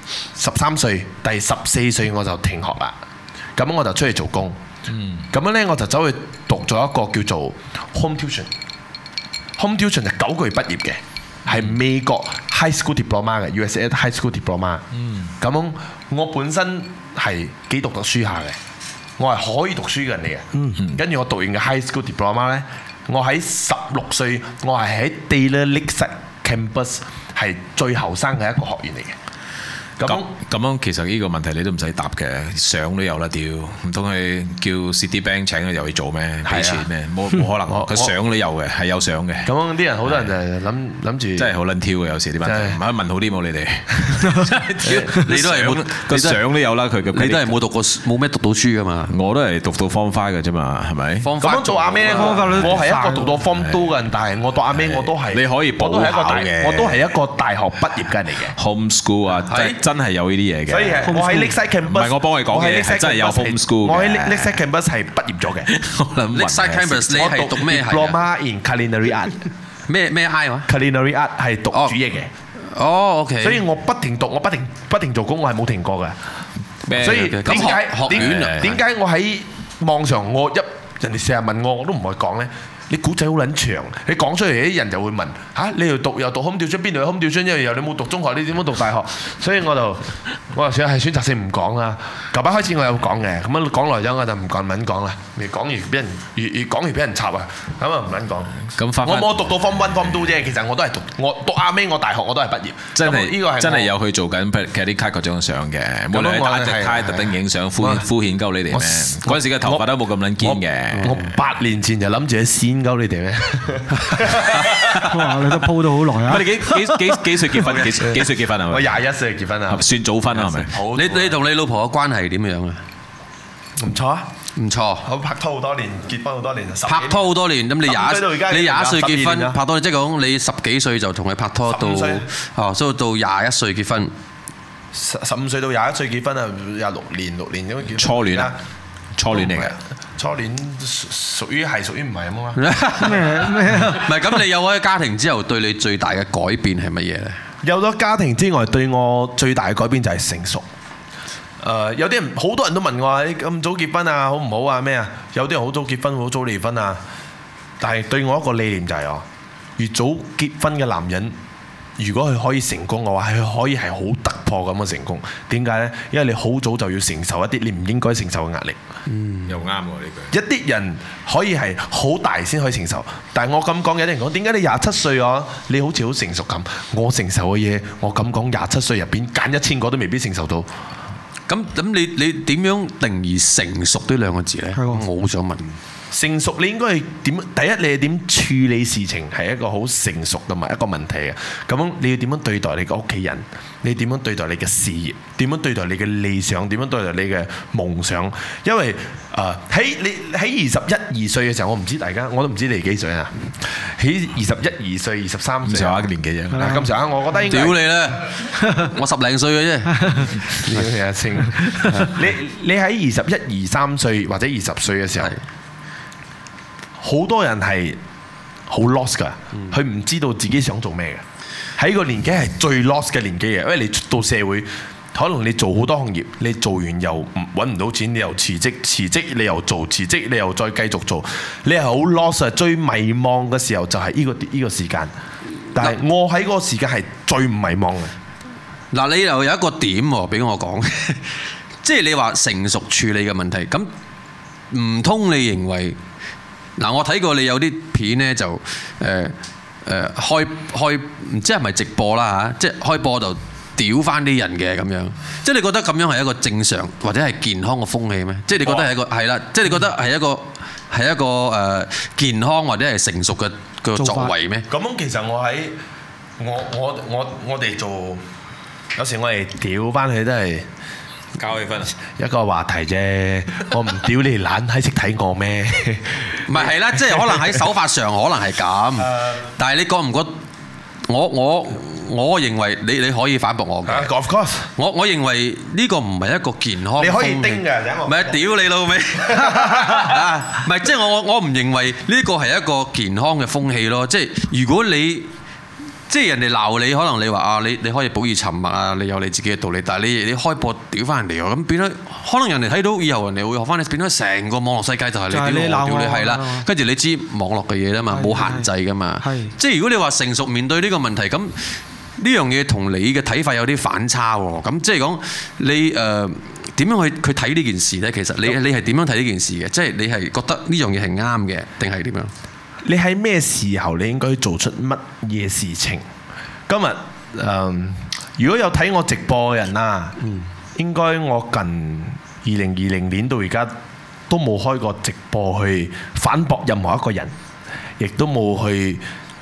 13歲，第14歲我就停學啦。咁我就出去做工。咁樣呢，我就走去讀咗一個叫做 home tuition。home tuition 係9個月畢業嘅，係美國 high school diploma 嘅 USA high school diploma。咁樣我本身係幾讀書下嘅，我係可以讀書嘅人嚟嘅。跟住我讀完嘅 high school diploma 呢，我喺16歲，我係喺 Taylor Lakeside Campus 係最後生嘅一個學員嚟嘅。 咁樣其實呢個問題你都唔使答嘅，相都有啦，屌唔通佢叫 Citibank 請佢入去做咩？俾錢咩？冇可能，佢相都有嘅，係有相嘅。 咁啲人好多人就諗住， 真係好撚挑嘅，有時啲問題。唔係問好啲冇你哋， 你都係冇個相都有啦，佢嘅。 你都係冇讀過冇咩讀到書噶嘛？ 我都係讀到 Form 5嘅啫嘛，係咪？ 咁樣做阿咩？我係一個讀到 Form 2嘅人，但係我讀阿咩我都係。 你可以補考嘅， 我都係一個大學畢業嘅人嚟嘅。 Homeschool 啊，真係有呢啲嘢嘅。 所以我喺 Lakeside Campus， 唔係我幫你講嘅，係真係有 homeschool 嘅。 我喺 Lakeside Campus 係畢業咗嘅。 Lakeside Campus 你係讀咩係 ？Diploma in Culinary Art。 咩 I 話 ？Culinary Art 係讀煮嘢嘅。 哦，OK。 所以我不停讀，我不停做工，我係冇停過嘅。所以點解我喺網上人哋成日問我都唔會講咧？你古仔好撚長，你講出嚟啲人就會問嚇，你又讀空調窗，邊度有空調窗？因為又你冇讀中學，你點樣讀大學？所以我就選擇性唔講啦。舊班開始我有講嘅，咁樣講耐咗我就唔講啦。越講越俾人越講越俾人插啊，咁啊唔撚講。我冇讀到 Form 1 Form 2啫，其實我都係讀啱尾，我大學我都係畢業。 真係有去做緊 credit card 嗰張相嘅，冇理由打隻卡特登影相敷衍鳩你哋咩？嗰陣時嘅頭髮都冇咁撚堅嘅。 我8年前就諗住先鳩你哋咩？ 哇！你都鋪到好耐啊！ 你幾歲結婚？幾歲結婚啊？ 我21歲結婚啊， 算早婚啊，係咪？ 你同你老婆嘅關係點樣啊？ 唔錯啊， 唔錯。 我拍拖好多年，結婚好多年， 拍拖好多年，咁你21歲結婚，拍拖即係講你10幾歲就同佢拍拖到所以到21歲結婚。 15歲到21歲結婚啊，6年咁結婚。 初戀啊？初戀嚟嘅。 初戀屬於唔係咁啊？ 咩？ 唔係咁，你有咗家庭之後，對你最大嘅改變係乜嘢咧？ 有咗家庭之外，對我最大嘅改變就係成熟。有啲人好多人都問我話：你咁早結婚啊，好唔好啊？咩啊？有啲人好早結婚，好早離婚啊。但係對我一個理念就係越早結婚嘅男人，如果佢可以成功嘅話，佢可以係好突破咁嘅成功。點解呢？因為你好早就要承受一啲你唔應該承受嘅壓力。 又啱喎呢句。 一啲人可以係好大先可以承受，但係我咁講，有啲人講點解你27歲啊？你好似好成熟咁。我承受嘅嘢，我咁講27歲入邊揀1000個都未必承受到。 咁你點樣定義成熟呢兩個字呢？我好想問。 成熟你應該係點？第一，你係點處理事情係一個好成熟同埋一個問題嘅。咁你要點樣對待你嘅屋企人？你點樣對待你嘅事業？點樣對待你嘅理想？點樣對待你嘅夢想？因為喺21、2歲嘅時候，我唔知大家，我都唔知你幾歲啊？喺21、2歲、23歲咁上下嘅年紀啫。咁上下，我覺得應該屌你啦！我10零歲嘅啫。 你喺21、23歲或者20歲嘅時候。好多人係好 lost 㗎，佢唔知道自己想做咩嘅。喺個年紀係最 lost 嘅年紀嘅，因為你出到社會，可能你做好多行業，你做完又揾唔到錢，你又辭職你又做，辭職你又再繼續做，你係好 lost 啊！最迷茫嘅時候就係呢個時間。但係我喺嗰個時間係最唔迷茫嘅。 嗱，你又有一個點喎，俾我講，即係你話成熟處理嘅問題，咁唔通你認為？嗱，我睇過你有啲片咧，就開唔知係咪直播啦嚇，即係開播就屌翻啲人嘅咁樣，即係你覺得咁樣係一個正常或者係健康嘅風氣咩？即係你覺得係一個係啦，即係你覺得係一個健康或者係成熟嘅作為咩？ 咁其實我哋做有時我哋屌翻佢都係。 搞氣氛一個話題啫，我唔屌你懶閪識睇我咩？ 唔係啦，即係可能喺手法上可能係咁，但係你覺唔覺？我認為你可以反駁我嘅。 Of course， 我認為呢個唔係一個健康。 你可以叮嘅， 唔係屌你老味。唔係即係我唔認為呢個係一個健康嘅風氣咯。即係如果你即係人哋鬧你，可能你話啊，你可以保持沉默啊，你有你自己嘅道理。但係你開播屌翻人哋喎，咁變咗可能人哋睇到以後，人哋會學翻你，變咗成個網絡世界就係你屌我屌你係啦。跟住你知網絡嘅嘢啦嘛，冇限制噶嘛。即係如果你話成熟面對呢個問題，咁呢樣嘢同你嘅睇法有啲反差喎。咁即係講你點樣去睇呢件事咧？其實你係點樣睇呢件事嘅？即係你係覺得呢樣嘢係啱嘅，定係點樣？ 你喺咩時候你應該做出乜嘢事情？今日如果有睇我直播嘅人啦，應該我近2020年到而家都冇開過直播去反駁任何一個人，亦都冇去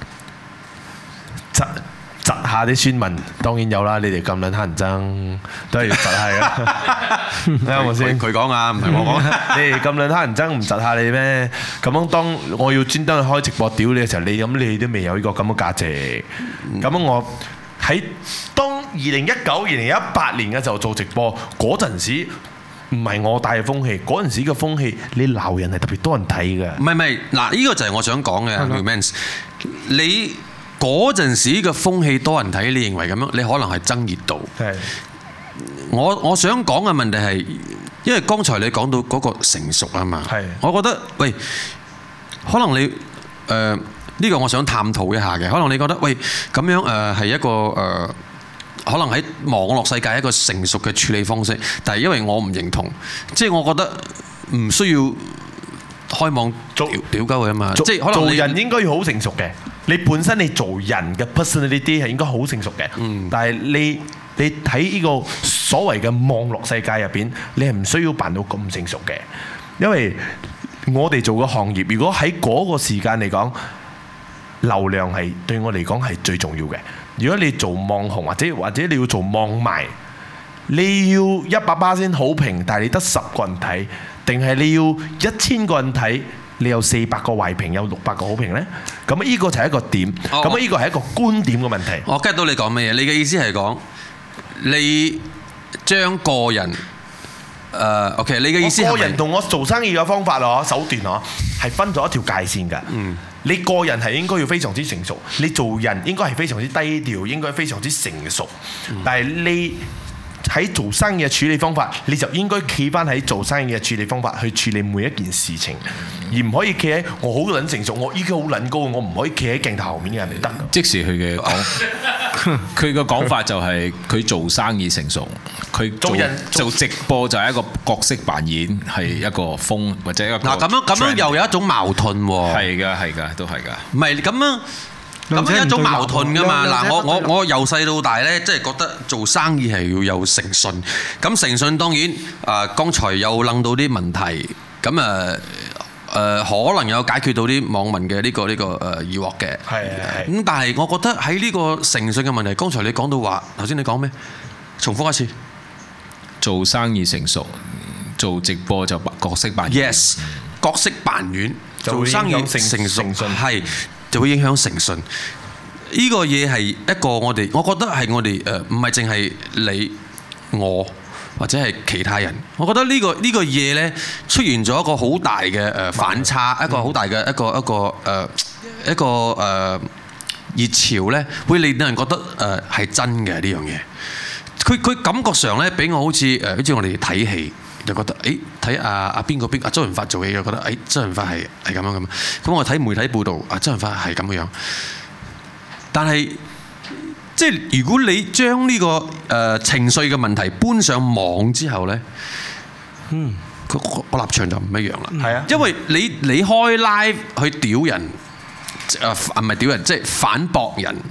窒下啲宣文。當然有啦，你哋咁撚乞人憎，都係要窒下嘅。啱我先，佢講啊，唔係我講。你哋咁撚乞人憎，唔窒下你咩？咁樣當我要專登去開直播屌你嘅時候，你都未有呢個咁嘅價值。咁樣我喺當2019、2018年嘅時候做直播嗰陣時，唔係我帶嘅風氣，嗰陣時嘅風氣，你鬧人係特別多人睇嘅。唔係，嗱，呢個就係我想講嘅 Mans， 你嗰陣時嘅風氣多人睇，你認為咁樣，你可能係爭熱度。係。我想講嘅問題係，因為剛才你講到嗰個成熟啊嘛。係。我覺得，喂，可能你呢個我想探討一下嘅，可能你覺得，喂，咁樣係一個可能喺網絡世界一個成熟嘅處理方式，但係因為我唔認同，即係我覺得唔需要開網屌鳩佢啊嘛，即係可能做人應該要好成熟嘅。你本身你做人嘅 personality 係應該好成熟嘅，但係你睇呢個所謂嘅網絡世界入邊，你係唔需要扮到咁成熟嘅，因為我哋做嘅行業，如果喺嗰個時間嚟講，流量係對我嚟講係最重要嘅。如果你做網紅或者你要做網賣，你要100%好評，但係你得10個人睇，定係你要1000個人睇，你有400個壞評，有600個好評呢？咁呢個就係一個點，咁呢個係一個觀點嘅問題。 我 get 到你講乜嘢？你嘅意思係講你將個人OK， 你嘅意思係個人同我做生意嘅方法手段係分咗一條界線㗎。你個人係應該要非常之成熟，你做人應該係非常之低調，應該非常之成熟。但係你喺做生意嘅處理方法，你就應該企翻喺做生意嘅處理方法去處理每一件事情，而唔可以企喺我好撚成熟，我依家好撚高，我唔可以企喺鏡頭後面嘅人嚟得。 即時佢嘅講，佢嘅講法就係佢做生意成熟，佢做直播就係一個角色扮演，係一個風或者一個嗱咁樣又有一種矛盾喎。 係㗎，都係㗎。 唔係咁樣。咁係一種矛盾㗎嘛。嗱，我由細到大咧，即係覺得做生意係要有誠信。咁誠信當然剛才有諗到啲問題，咁可能有解決到啲網民嘅呢個疑惑嘅。係。咁但係我覺得喺呢個誠信嘅問題，剛才你講到話，頭先你講咩？重複一次。 做生意成熟，做直播就角色扮演。 Yes， 角色扮演，做生意成熟係。就會影響誠信，呢個嘢係一個我覺得係我哋唔係淨係你我或者係其他人，我覺得呢個嘢呢出現咗一個好大嘅反差，一個好大嘅一個熱潮呢，會令到人覺得係真嘅呢樣嘢。佢感覺上呢，俾我好似我哋睇戲。就覺得睇阿邊個阿周潤發做戲，就覺得周潤發係咁樣咁。咁我睇媒體報導，周潤發係咁樣。但係即係如果你將呢個情緒嘅問題搬上網之後呢，個立場就唔一樣啦。係啊，因為你開 live 去屌人，唔係屌人，即係反駁人。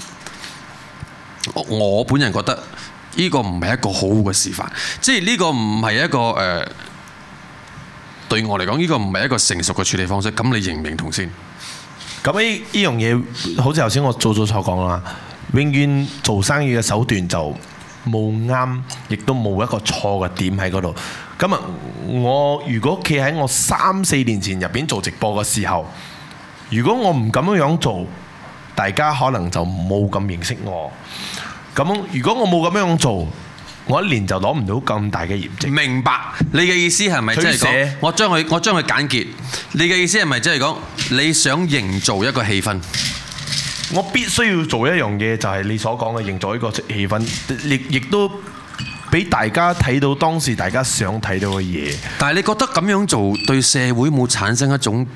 我本人覺得。呢個唔係一個好嘅示範，即係呢個唔係一個對我嚟講，呢個唔係一個成熟嘅處理方式。咁你認唔認同先？ 咁呢樣嘢，好似頭先我早講啦，永遠做生意嘅手段就冇啱，亦都冇一個錯嘅點喺嗰度。咁啊，我如果企喺我3-4年前入邊做直播嘅時候，如果我唔咁樣做，大家可能就冇咁認識我。咁如果我冇咁樣做，我一年就攞唔到咁大嘅業績。明白你嘅意思係咪即係講？我將佢簡潔。你嘅意思係咪即係講你想營造一個氣氛？我必須要做一樣嘢，就係你所講嘅營造一個氣氛，亦都俾大家睇到當時大家想睇到嘅嘢。但係你覺得咁樣做對社會冇產生一種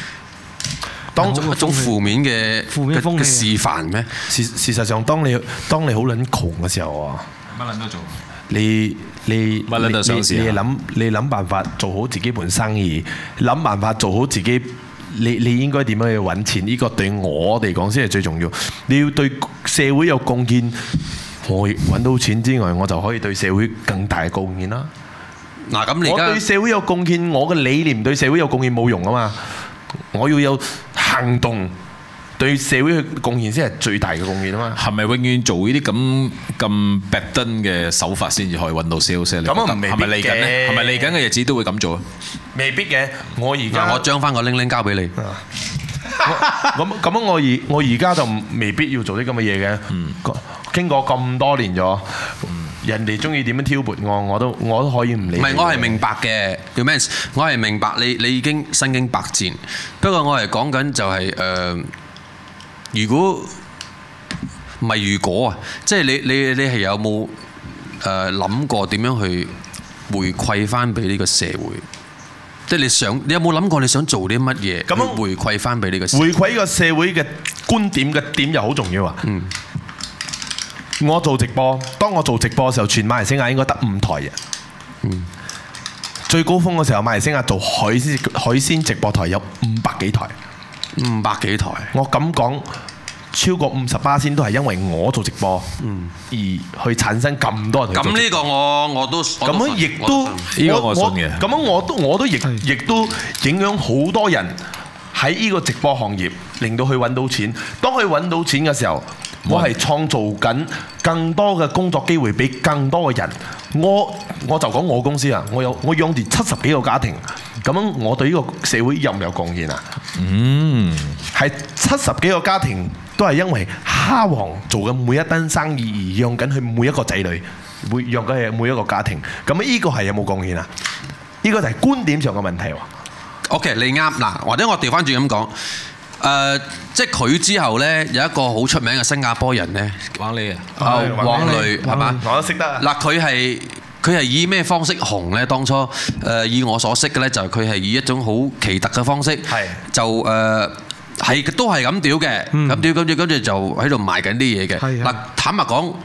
負面嘅風氣示範咩？事實上，當你好撚窮嘅時候啊，乜撚都做。你諗辦法做好自己盤生意，諗辦法做好自己。你應該點樣去揾錢？呢個對我哋講先係最重要。你要對社會有貢獻， 我揾到錢之外，我就可以對社會更大嘅貢獻啦。 嗱，咁你而家我對社會有貢獻，我嘅理念對社會有貢獻冇用啊嘛！我要有行動，對社會去貢獻先係最大嘅貢獻啊嘛！ 係咪永遠做呢啲咁 bad 嘅手法先至可以揾到 sales 咧？ 咁啊，未必嘅。 係咪嚟緊咧？係咪嚟緊嘅日子都會咁做啊？ 未必嘅。我將翻個鈴鈴交俾你。咁我而家就未必要做啲咁嘅嘢嘅。經過咁多年咗。人哋中意點樣挑撥我都可以唔理。唔係， 我係明白嘅，叫咩？我係明白你已經身經百戰。不過我係講緊就係如果唔係如果啊，即係你係有冇諗過點樣去回饋翻俾呢個社會？即係你有冇諗過你想做啲乜嘢？咁樣回饋翻俾呢個社會。 回饋呢個社會嘅觀點嘅點又好重要啊！我做直播，當我做直播嘅時候，全馬來西亞應該得5台嘅。最高峰嘅時候，馬來西亞做海鮮直播台有500幾台。 500幾台， 我咁講，超過50%都係因為我做直播，而去產生咁多人。 咁呢個我都咁樣亦都呢個我信嘅。咁樣我都亦都影響好多人喺呢個直播行業，令到佢揾到錢。當佢揾到錢嘅時候，我係創造緊更多嘅工作機會俾更多嘅人。我就講我公司啊，我養住70幾個家庭。咁樣我對呢個社會有唔有貢獻啊？係70幾個家庭都係因為蝦王做嘅每一單生意而養緊佢每一個仔女，養緊佢每一個家庭。咁呢個係有冇貢獻啊？呢個就係觀點上嘅問題喎。 OK， 你啱嗱，或者我調翻轉咁講。即係佢之後呢，有一個好出名嘅新加坡人呢， 王磊王磊係嘛？ 我都識得。 嗱，佢係以咩方式紅呢？當初以我所識嘅呢，就係佢係以一種好奇特嘅方式，就都係咁屌嘅，咁屌跟住就喺度賣緊啲嘢嘅。嗱，坦白講，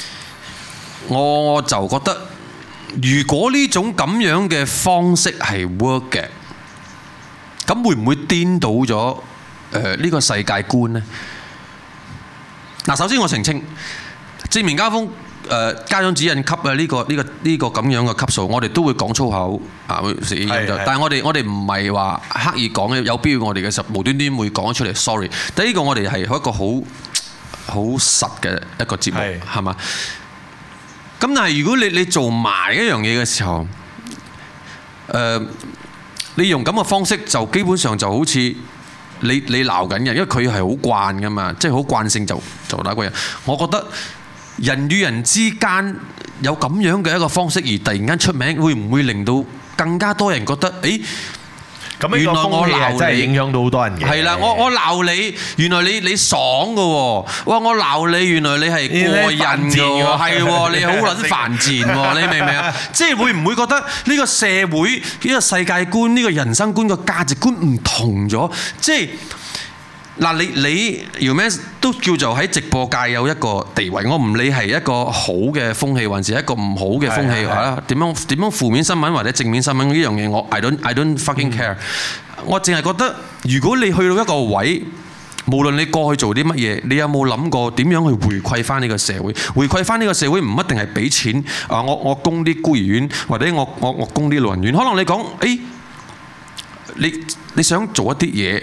我就覺得，如果呢種咁樣嘅方式係 work 嘅，咁會唔會顛倒咗？呢個世界觀呢？嗱，首先我澄清，正面交鋒家長指引級嘅呢個咁樣嘅級數，我哋都會講粗口啊，但係我哋唔係話刻意講嘅，有必要我哋嘅時候無端端會講出嚟 sorry。但係呢個我哋係一個好實嘅一個節目，係嘛？咁但係如果你做埋一樣嘢嘅時候，你用咁嘅方式就基本上就好似你鬧緊人，因為佢係好慣噶嘛，即係好慣性就打個人。我覺得人與人之間有咁樣嘅一個方式而突然間出名，會唔會令到更加多人覺得誒？原來我鬧你真係影響到好多人嘅。係啦，我鬧你，原來你爽㗎喎。哇！我鬧你，原來你係過癮㗎喎。係喎，你好撚犯賤喎。你明唔明啊？即係會唔會覺得呢個社會、呢個世界觀、呢個人生觀、個價值觀唔同咗？即係嗱，你Yoman都叫做喺直播界有一個地位。我唔理係一個好嘅風氣，還是一個唔好嘅風氣嚇。點樣負面新聞或者正面新聞呢樣嘢，我 I don't fucking care。我淨係覺得，如果你去到一個位，無論你過去做啲乜嘢，你有冇諗過點樣去回饋翻呢個社會？回饋翻呢個社會唔一定係俾錢啊！我供啲孤兒院，或者我供啲老人院。可能你講誒，你想做一啲嘢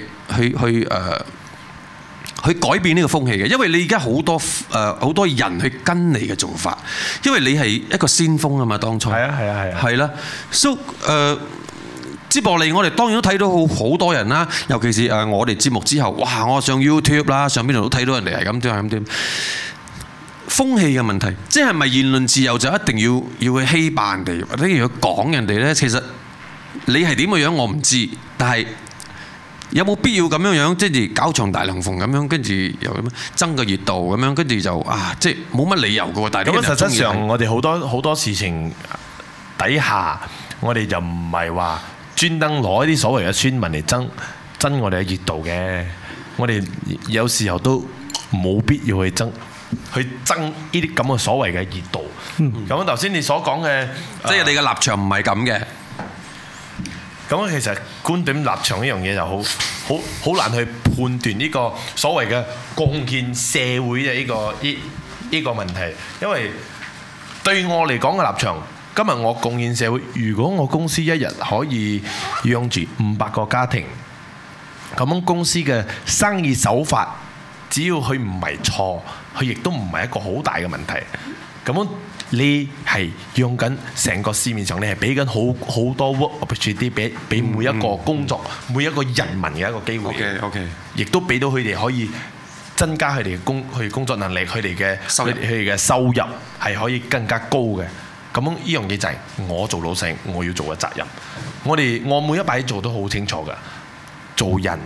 去改變呢個風氣嘅，因為你而家好多人去跟你嘅做法，因為你係一個先鋒啊嘛，當初係啦。So 接落嚟，我哋當然都睇到好多人啦，尤其是我哋節目之後，哇！我上 YouTube 啦，上邊度都睇到人哋係咁點係咁點。風氣嘅問題，即係咪言論自由就一定要去欺霸人哋，或者要去講人哋呢？其實你係點嘅樣我唔知，但係有冇必要咁樣即係搞場大龍鳳咁樣，跟住又咁樣爭個熱度咁樣，跟住就即係冇乜理由嘅喎。但係咁實質上，我哋好多事情底下，我哋就唔係話專登攞一啲所謂嘅村民嚟爭我哋嘅熱度嘅。我哋有時候都冇必要去爭呢啲咁嘅所謂嘅熱度。咁頭先你所講嘅，即係你嘅立場唔係咁嘅。咁其實觀點立場呢樣嘢就好難去判斷呢個所謂嘅貢獻社會嘅呢呢個問題，因為對我嚟講嘅立場，今日我貢獻社會。如果我公司一日可以養住500個家庭，咁樣公司嘅生意手法，只要佢唔係錯，佢亦都唔係一個好大嘅問題。咁樣你係用緊成個市面上，你係俾緊好多 work opportunity 俾每一個工作、每一個人民嘅一個機會。 OK， 亦都俾到佢哋可以增加佢哋嘅工作能力，佢哋嘅收入係可以更加高嘅。咁呢樣嘢就係我做老細我要做嘅責任。我每一擺做都好清楚㗎。做人，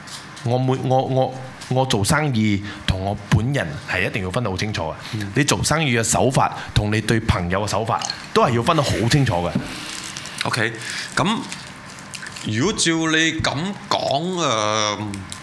我做生意同我本人係一定要分得好清楚嘅。你做生意嘅手法同你對朋友嘅手法都係要分得好清楚嘅。 OK， 咁如果照你咁講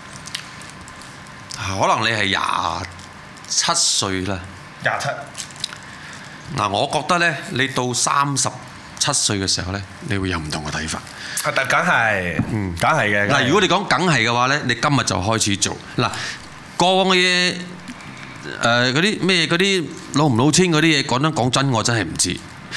可能你係27歲啦。 27。 嗱，我覺得咧，你到37歲嘅時候咧，你會有唔同嘅睇法。 但梗係，梗係嘅。 嗱，如果你講梗係嘅話咧，你今日就開始做。嗱，過往嘅嘢，嗰啲咩嗰啲老唔老千嗰啲嘢，講真，我真係唔知。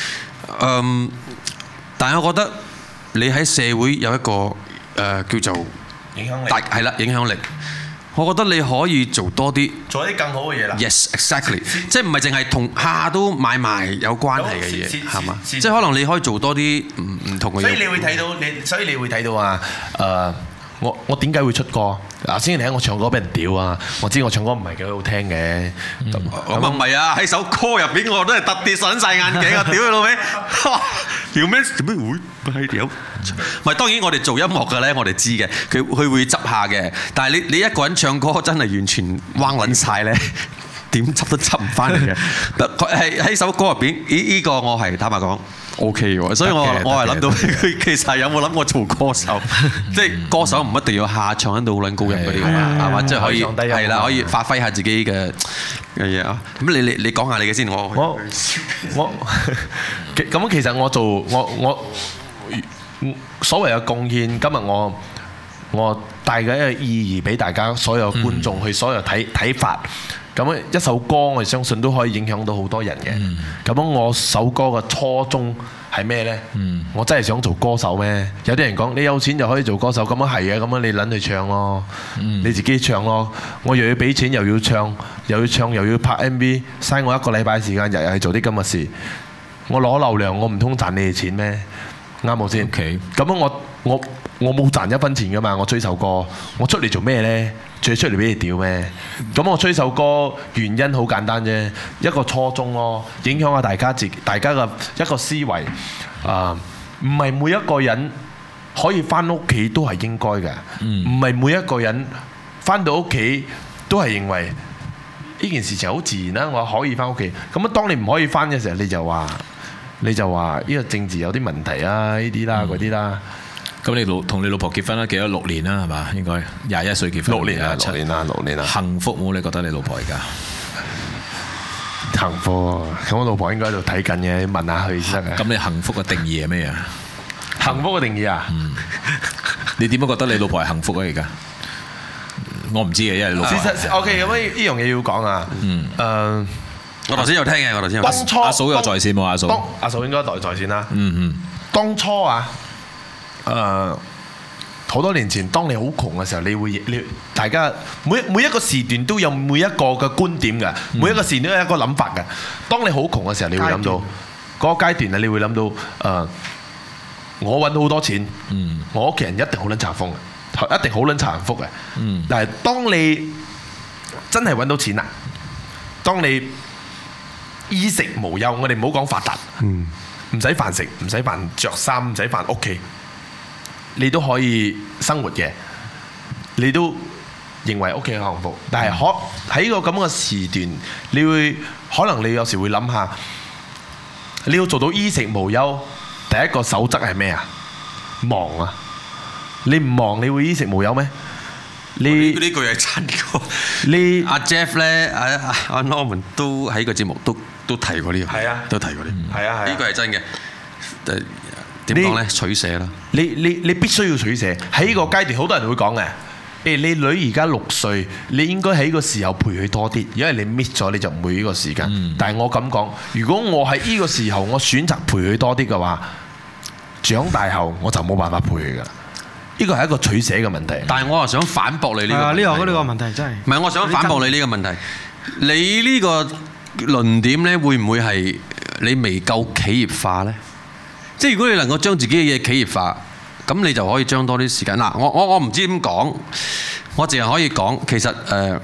但係我覺得你喺社會有一個叫做影響力， 係啦，影響力。我覺得你可以做多啲， 做一啲更好嘅嘢啦。 Yes, exactly，即係唔係淨係同下都買賣有關係嘅嘢，係嘛？即係可能你可以做多啲唔同嘅嘢。 所以你會睇到啊，我點解會出歌？嗱，先你睇我唱歌俾人屌啊！我知我唱歌唔係幾好聽嘅。 咁啊唔係啊！喺首歌入邊我都係特別上晒眼鏡啊！屌你老味！條咩會係屌？唔係，當然我哋做音樂嘅咧，我哋知嘅，佢會執下嘅。但係你一個人唱歌真係完全彎撚晒咧，點執都執唔翻嚟嘅。佢係喺首歌入邊，呢個我係坦白講 OK 喎。所以我係諗到佢其實有冇諗過做歌手？即係歌手唔一定要下唱喺度好撚高音嗰啲㗎嘛，係嘛？即係可以係啦，可以發揮下自己嘅嘢啊。咁你講下你嘅先，我咁其實我做我所謂嘅貢獻，今日我帶緊一個意義俾大家所有觀眾去所有睇法。咁一首歌我相信都可以影響到好多人嘅。咁我首歌嘅初衷係咩呢？我真係想做歌手咩？有啲人講你有錢就可以做歌手，咁樣係嘅，咁樣你撚去唱咯，你自己唱咯。我又要俾錢，又要唱，又要拍 MV， 嘥我1個禮拜時間，日日係做啲咁嘅事。我攞流量，我唔通賺你哋錢咩？啱冇先？咁樣我冇賺1分錢噶嘛。我吹首歌，我出嚟做咩呢？最出嚟俾你屌咩？咁我吹首歌原因好簡單啫，一個初衷咯，影響下大家嘅一個思維。唔係每一個人可以翻屋企都係應該嘅，唔係每一個人翻到屋企都係認為呢件事情好自然啦。我可以翻屋企，咁啊當你唔可以翻嘅時候，你就話呢個政治有啲問題啊，呢啲啦嗰啲啦。 咁你同你老婆結婚啦，幾多6年啦，係嘛？應該21歲結婚。 6年啦。 幸福冇？你覺得你老婆而家幸福？咁我老婆應該喺度睇緊嘅，問下佢先得嘅。 咁你幸福嘅定義係咩啊？ 幸福嘅定義啊？ 你點樣覺得你老婆係幸福啊？而家我唔知嘅，因為老婆。 OK， 咁呢樣嘢要講啊。 我頭先有聽嘅， 當初阿嫂有在線冇？ 阿嫂應該在線啦。當初啊。好多年前，當你好窮嘅時候，你大家每一個時段都有每一個嘅觀點嘅，每一個時段都有一個諗法嘅。當你好窮嘅時候，你會諗到嗰個階段啊，你會諗到我揾好多錢，我屋企人一定好撚慘風嘅，一定好撚慘福嘅。但係當你真係揾到錢啦，當你衣食無憂，我哋唔好講發達，唔使飯食，唔使飯着衫，唔使飯屋企。你都可以生活嘅，你都認為屋企幸福，但係喺個咁嘅時段，可能你有時會諗下，你要做到衣食無憂，第一個守則係咩啊？忙啊！你唔忙，你會衣食無憂咩？ 呢句係真嘅。阿 Jeff 咧，阿 Norman 都喺個節目都提過呢樣， 係啊， 都提過呢， 係啊， 呢句係真嘅。點講咧？取捨啦。 你必須要取捨。喺呢個階段，好多人會講嘅。 你女而家6歲，你應該喺個時候陪佢多啲，因為你 miss 咗你就唔會呢個時間。但係我咁講，如果我喺呢個時候我選擇陪佢多啲嘅話，長大後我就冇辦法陪佢噶。呢個係一個取捨嘅問題。 但係我又想反駁你呢個問題。 呢個問題真係。 唔係，我想反駁你呢個問題。你呢個論點咧，會唔會係你未夠企業化咧？即係如果你能夠將自己嘅嘢企業化，咁你就可以將多啲時間。嗱，我唔知點講，我淨係可以講，其實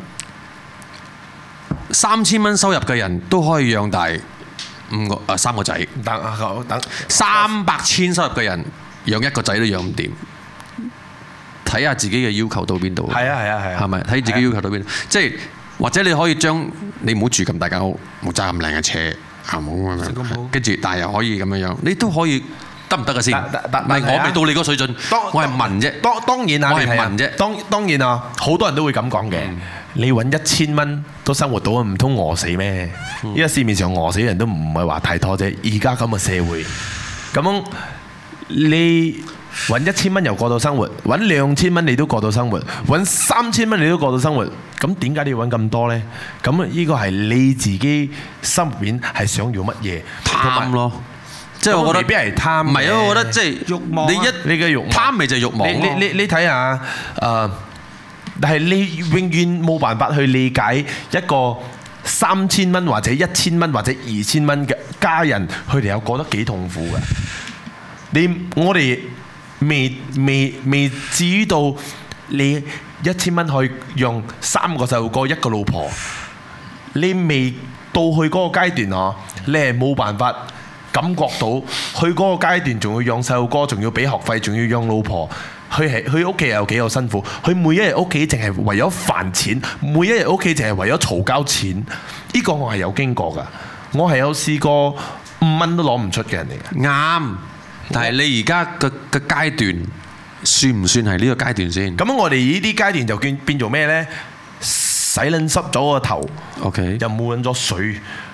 3000蚊收入嘅人都可以養大3個仔。等300千收入嘅人養一個仔都養唔掂。睇下自己嘅要求到邊度。係啊，係咪睇自己要求到邊度？即係或者你可以將你唔好住咁大間屋，冇揸咁靚嘅車，跟住但係又可以咁樣，你都可以得唔得嘅先？唔係我未到你嗰水準，我係問啫。當然啊，我係問啫。當然啊，好多人都會咁講嘅。你揾1000蚊都生活到，唔通餓死咩？依家市面上餓死人都唔係話太多啫。而家咁嘅社會，咁你揾1000蚊又過到生活，揾2000蚊你都過到生活，揾3000蚊你都過到生活，咁點解你要揾咁多呢？咁呢個係你自己心入邊係想要乜嘢？貪咯，即係我覺得未必係貪。唔係啊，我覺得即係慾望。你嘅慾望貪咪就係慾望。你睇下但係你永遠冇辦法去理解一個3000蚊或者1000蚊或者2000蚊嘅家人，佢哋有過得幾痛苦嘅。我哋未至於到你1000蚊可以用3個細路哥1個老婆，你未到去嗰個階段啊！你係冇辦法感覺到去嗰個階段，仲要養細路哥，仲要俾學費，仲要養老婆。佢屋企有幾有辛苦？佢每一日屋企淨係為咗飯錢，每一日屋企淨係為咗嘈交錢。呢個我係有經過㗎，我係有試過5蚊都攞唔出嘅人嚟嘅。啱。但係你而家嘅階段算唔算係呢個階段先？咁我哋呢啲階段就變做咩呢？洗撚濕咗個頭 ，OK，又冇撚咗水，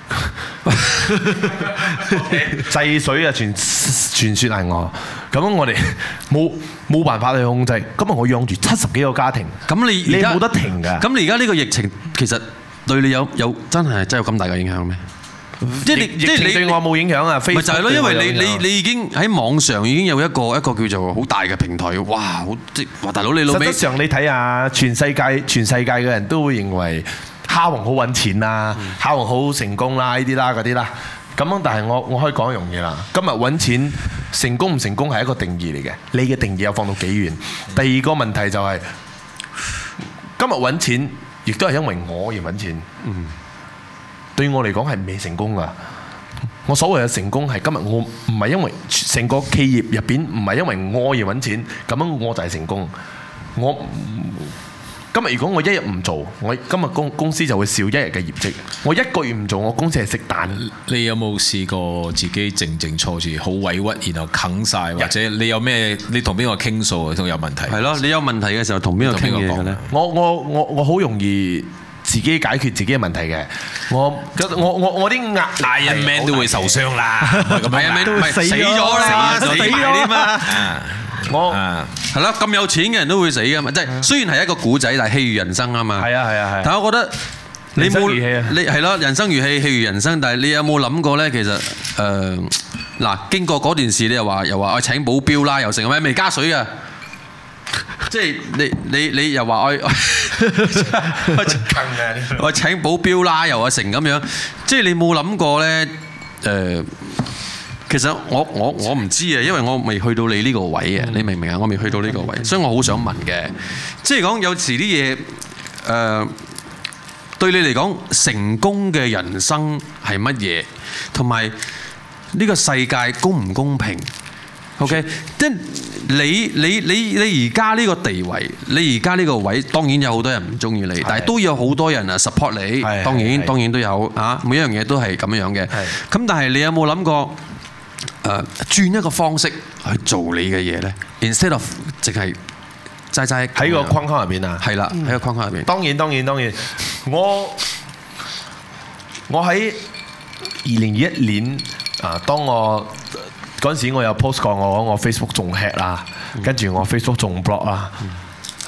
制水啊！傳說係我。咁我哋冇辦法去控制。今日我養住70幾個家庭，咁你冇得停㗎。咁你而家呢個疫情其實對你有真係有咁大嘅影響咩？即係你對我冇影響啊！咪就係咯，因為你已經喺網上已經有一個叫做好大嘅平台，哇！哇大佬你老味。實際上你睇下全世界嘅人都會認為蝦王好揾錢啦，蝦王好成功啦，呢啲啦嗰啲啦。咁但係我可以講一樣嘢啦。今日揾錢成功唔成功係一個定義嚟嘅，你嘅定義有放到幾遠？第二個問題就係今日揾錢，亦都係因為我而揾錢。對我嚟講係未成功㗎。我所謂嘅成功係今日我唔係因為成個企業入邊唔係因為我而揾錢，咁樣我就係成功。我今日如果我一日唔做，我今日公司就會少一日嘅業績。我1個月唔做，我公司係食蛋。你有冇試過自己靜坐住好委屈，然後啃晒？或者你有咩？你同邊個傾訴都有問題？係咯，你有問題嘅時候同邊個傾嘢嘅咧？我好容易自己解決自己嘅問題嘅，我啲Iron Man都會受傷啦，Iron Man 都會死咗啦，死咗嘛。我係咯，咁有錢嘅人都會死噶嘛，即係雖然係一個古仔，但係戲如人生啊嘛。係啊。但係我覺得你係咯，人生如戲，戲如人生。但係你有冇諗過咧？其實嗱，經過嗰段事，你又話我請保鏢啦，又成咩未加水嘅。即係你又話我請保鏢啦，又話成咁樣，即係你冇諗過咧？其實我唔知啊，因為我未去到你呢個位啊，你明唔明啊？我未去到呢個位，所以我好想問嘅，即係講有時啲嘢對你嚟講成功嘅人生係乜嘢，同埋呢個世界公唔公平？OK， 即係你而家呢個地位，你而家呢個位，當然有好多人唔中意你，但係都有好多人啊 support 你，當然都有啊，每一樣嘢都係咁樣嘅。咁但係你有冇諗過轉一個方式去做你嘅嘢咧 ？Instead of 淨係齋喺個框框入邊啊？係啦，喺個框框入邊。當然，我喺2021年當我嗰陣時，我有 post 過我 Facebook 仲 hack 啦，跟住我 Facebook 仲 block 啦，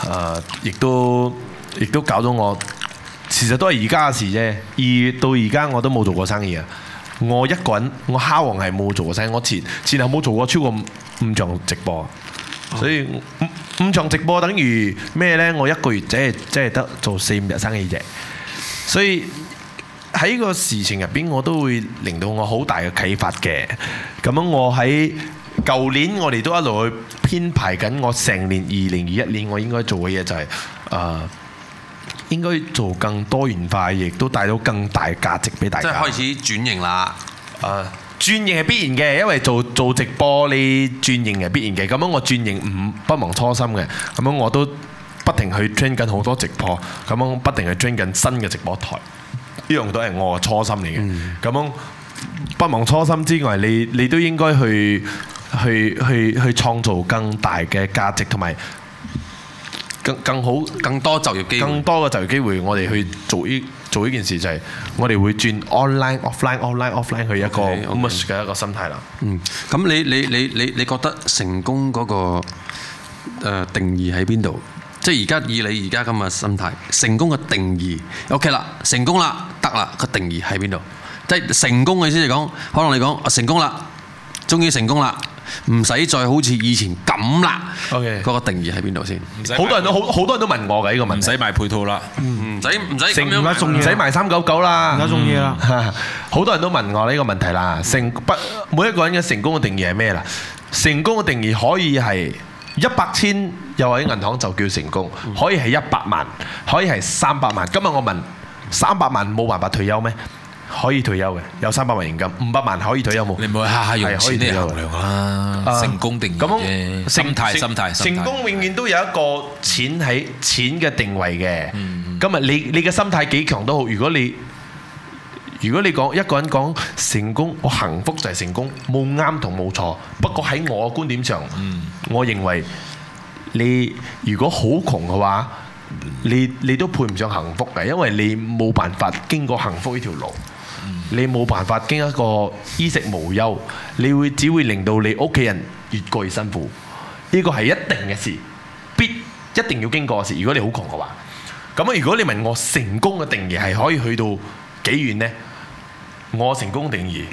亦都搞到我，其實都係而家嘅事啫。2月到而家我都冇做過生意啊！我一個人，我蝦王係冇做過生意，我前後冇做過超過5場直播，所以5場直播等於咩呢？我一個月即係得做4-5日生意啫，所以。喺個事情入邊，我都會令到我好大嘅啟發嘅。咁樣我喺舊年，我哋都一路去編排緊我成年2021年我應該做嘅嘢，就係應該做更多元化，亦都帶到更大價值俾大家。 即係開始轉型啦。 轉型係必然嘅，因為做直播你轉型係必然嘅。咁樣我轉型不忘初心嘅。咁樣我都不停去 train 緊好多直播，咁樣不停去 train 緊新嘅直播台。呢樣都係我嘅初心嚟嘅，咁樣不忘初心之外，你都應該去創造更大嘅價值，同埋更好、更多就業機會，更多嘅就業機會。我哋去做呢件事就係我哋會轉 online、offline 去一個 merge 嘅一個心態啦。 咁你覺得成功嗰個定義喺邊度？即係而家以你而家咁嘅心態，成功嘅定義 OK 啦，成功啦，得啦，個定義喺邊度？即係成功嘅意思嚟講，可能你講成功啦，終於成功啦，唔使再好似以前咁啦。OK，嗰個定義喺邊度先？ 好多人都問我嘅呢個問題。 唔使買配套啦， 唔使咁樣唔使賣399啦， 而家中意啦。 好多人都問我呢個問題啦。每一個人嘅成功嘅定義係咩啦？成功嘅定義可以係100千又喺銀行就叫成功，可以係100萬，可以係300萬。今日我問300萬冇辦法退休咩？可以退休嘅，有300萬現金，500萬可以退休冇？ 你唔好下下用錢嚟衡量啦，成功定義啫，心態。 成功永遠都有一個錢嘅定位嘅。今日你嘅心態幾強都好，如果你講一個人講成功，我幸福就係成功，冇啱同冇錯。不過喺我嘅觀點上，我認為你如果好窮嘅話，你都配唔上幸福嘅，因為你冇辦法經過幸福呢條路，你冇辦法經一個衣食無憂，你只會令到你屋企人越過越辛苦。呢個係一定嘅事，一定要經過嘅事。如果你好窮嘅話，咁如果你問我成功嘅定義係可以去到幾遠呢？我成功定義，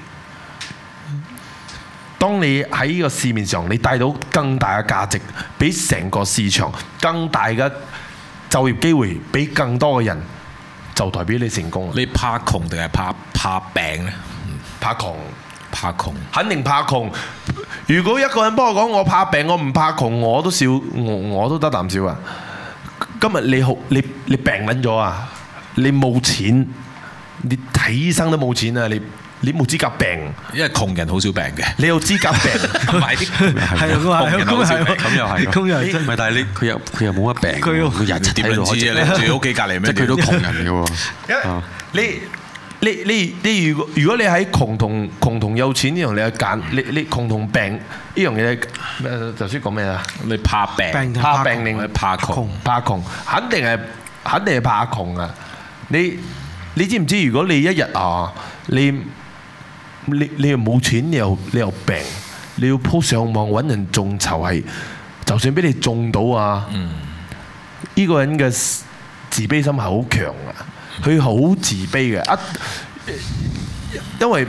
當你喺呢個市面上，你帶到更大嘅價值，俾成個市場更大嘅就業機會，俾更多嘅人，就代表你成功。 你怕窮定係怕病呢？ 怕窮，肯定怕窮。如果一個人幫我講我怕病，我唔怕窮，我都笑，我都得啖笑啊！今日你病緊咗啊！你冇錢。你睇醫生都冇錢啊！你冇資格病， 因為窮人好少病嘅。 你有資格病，買啲係啊， 咁又係，唔係但係佢又冇乜病，佢人點樣知啊？你住屋企隔離咩？ 即係佢都窮人嘅喎。 你如果你喺窮同有錢呢樣，你去揀你窮同病呢樣嘢，頭先講咩啊？ 你怕病定怕窮？怕窮，肯定係怕窮啊！你知唔知？如果你一日你又冇錢，你又病，你要鋪上網揾人眾籌，係就算俾你中到啊！呢個人嘅自卑心係好強啊，佢好自卑嘅。因為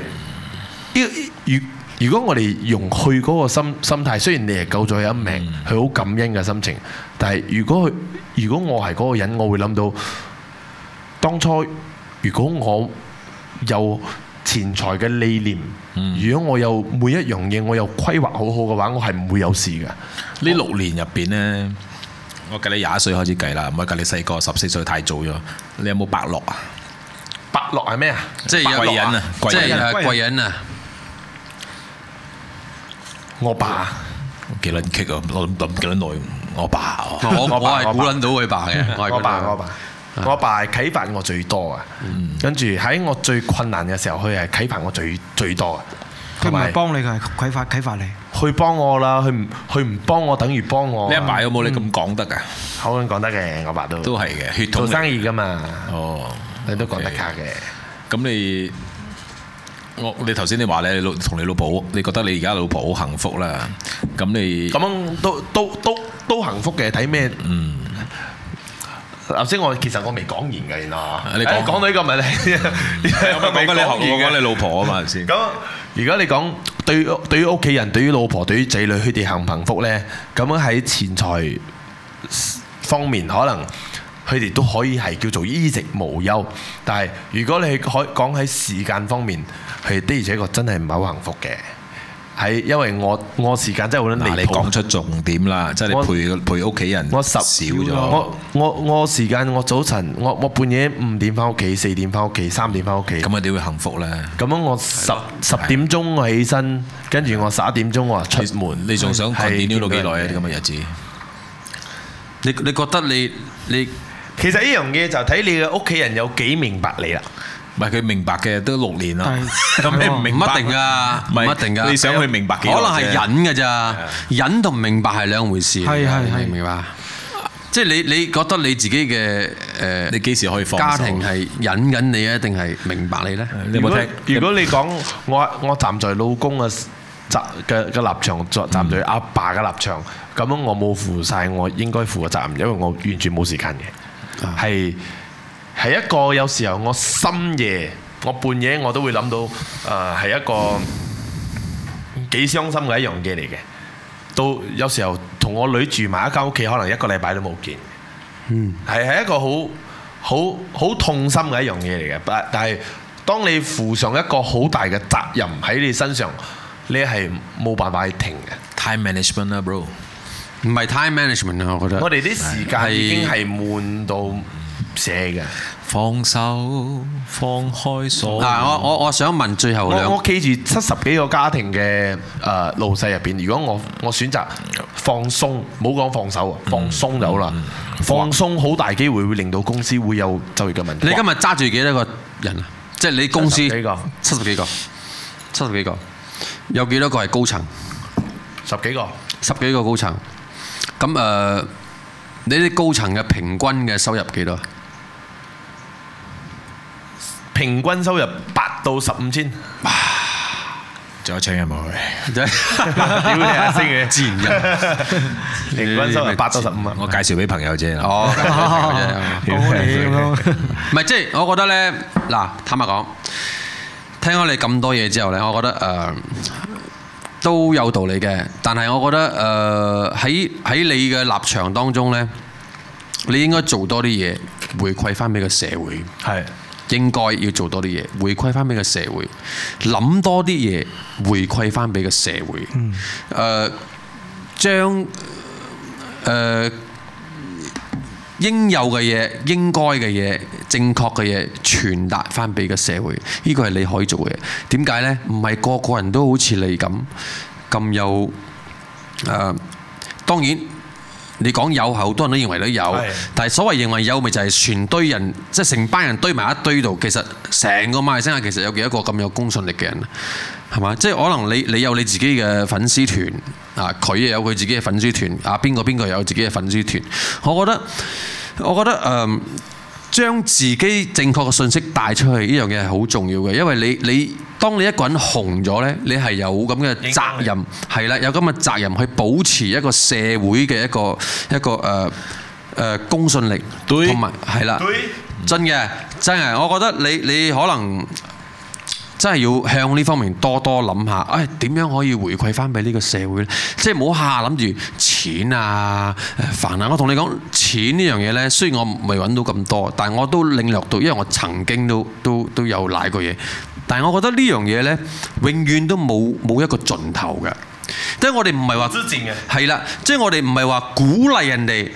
如果我哋用佢嗰個心態，雖然你係救咗佢一命，佢好感恩嘅心情，但係如果我係嗰個人，我會諗到當初。如果我有錢財嘅理念，如果我有每一樣嘢我有規劃好好嘅話，我係唔會有事嘅。 呢6年入邊呢，我計你21歲開始計啦，唔係計你細個14歲太早咗。你有冇伯樂啊？ 伯樂係咩啊？ 即係貴人啊！即係貴人啊！ 我爸幾撚棘啊！我諗幾撚耐。我爸， 我係估撚到佢爸嘅。 我爸係啟發我最多啊！跟住喺我最困難嘅時候，佢係啟發我最多啊！ 佢唔係幫你，佢係啟發你。 佢幫我啦，佢唔幫我等於幫我。 你阿爸有冇你咁講得㗎？ 好講得嘅，我爸都係嘅，血統做生意㗎嘛。 哦， 你都講得卡嘅。 咁你頭先你話你同你老婆，你覺得你而家老婆好幸福啦？咁樣都幸福嘅，睇咩？ 頭先其實我未講完嘅，原來你講到呢個咪你講緊你學我講你老婆啊嘛先。 咁如果你講對於屋企人、對於老婆、對於仔女，佢哋幸唔幸福咧？咁樣喺錢財方面，可能佢哋都可以係叫做衣食無憂。但係如果你講喺時間方面，佢的而且確真係唔係好幸福嘅。係因為我時間真係好離譜。 你講出重點啦，即係你陪屋企人少咗。 我時間我早晨我半夜5點翻屋企，4點翻屋企，3點翻屋企。 咁啊點會幸福咧？ 咁樣我10點鐘我起身，跟住我11點鐘我出門。 你仲想 continue 到幾耐啊？啲咁嘅日子？ 你覺得你其實呢樣嘢就睇你嘅屋企人有幾明白你啦。 唔係佢明白嘅都6年啦，咁你唔明白唔一定㗎，唔一定㗎。 你想去明白幾耐啫？ 可能係忍㗎咋，忍同明白係兩回事。係明白。即係你覺得你自己嘅你幾時可以放手？ 家庭係忍緊你啊，定係明白你咧？ 如果你講我站在老公嘅立場，站在阿爸嘅立場，咁樣我冇負晒我應該負嘅責任，因為我完全冇時間嘅，係一個有時候我深夜我半夜我都會諗到係一個幾傷心嘅一樣嘢嚟嘅。到有時候同我女住埋一間屋企，可能1個禮拜都冇見。係一個好痛心嘅一樣嘢嚟嘅。但係當你負上一個好大嘅責任喺你身上，你係冇辦法去停嘅。 Time management 啊 ，bro， 唔係 time management 啊，我覺得。 我哋啲時間已經係悶到寫嘅。 放手放開所。 我想問最後兩， 我企住70幾個家庭嘅老細入邊，如果我選擇放鬆，冇講放手啊，放鬆就好啦。放鬆好大機會會令到公司會有就業嘅問題。 你今日揸住幾多個人啊？即係你公司 70幾個， 有幾多個係高層 ？10幾個高層。咁你啲高層嘅平均嘅收入幾多？ 平均收入8到15千， 仲有請人冇去？ 屌你啊，星嘅自然人，平均收入8到15啊！ 我介紹俾朋友啫。 唔係即係我覺得咧，嗱，坦白講，聽咗你咁多嘢之後咧，我覺得都有道理嘅。但係我覺得喺你嘅立場當中咧，你應該做多啲嘢，回饋翻俾個社會。係。應該要做多啲嘢，回饋翻俾個社會，諗多啲嘢，回饋翻俾個社會。將應有嘅嘢、應該嘅嘢、正確嘅嘢傳達翻俾個社會，呢個係你可以做嘅嘢。點解呢？唔係個個人都好似你咁有當然。你講有，好多人都認為都有，但係所謂認為有，咪就係全堆人，即係成班人堆埋一堆度。其實成個馬來西亞其實有幾多個咁有公信力嘅人，係嘛？即係可能你有你自己嘅粉絲團啊，佢又有佢自己嘅粉絲團啊，邊個有自己嘅粉絲團。我覺得將自己正確嘅信息帶出去呢樣嘢係好重要嘅，因為你當你一個人紅咗呢，你係有咁嘅責任，係啦，有咁嘅責任去保持一個社會嘅一個公信力，同埋係啦，真嘅，我覺得你可能真係要向呢方面多諗下，點樣可以回饋翻俾呢個社會呢？即係唔好下諗住錢啊、煩啊！我同你講，錢呢樣嘢呢，雖然我未揾到咁多，但係我都領略到，因為我曾經都有賴過嘢。但係我覺得呢樣嘢呢，永遠都冇一個盡頭嘅。即係我哋唔係話係啦，即係我哋唔係話鼓勵人哋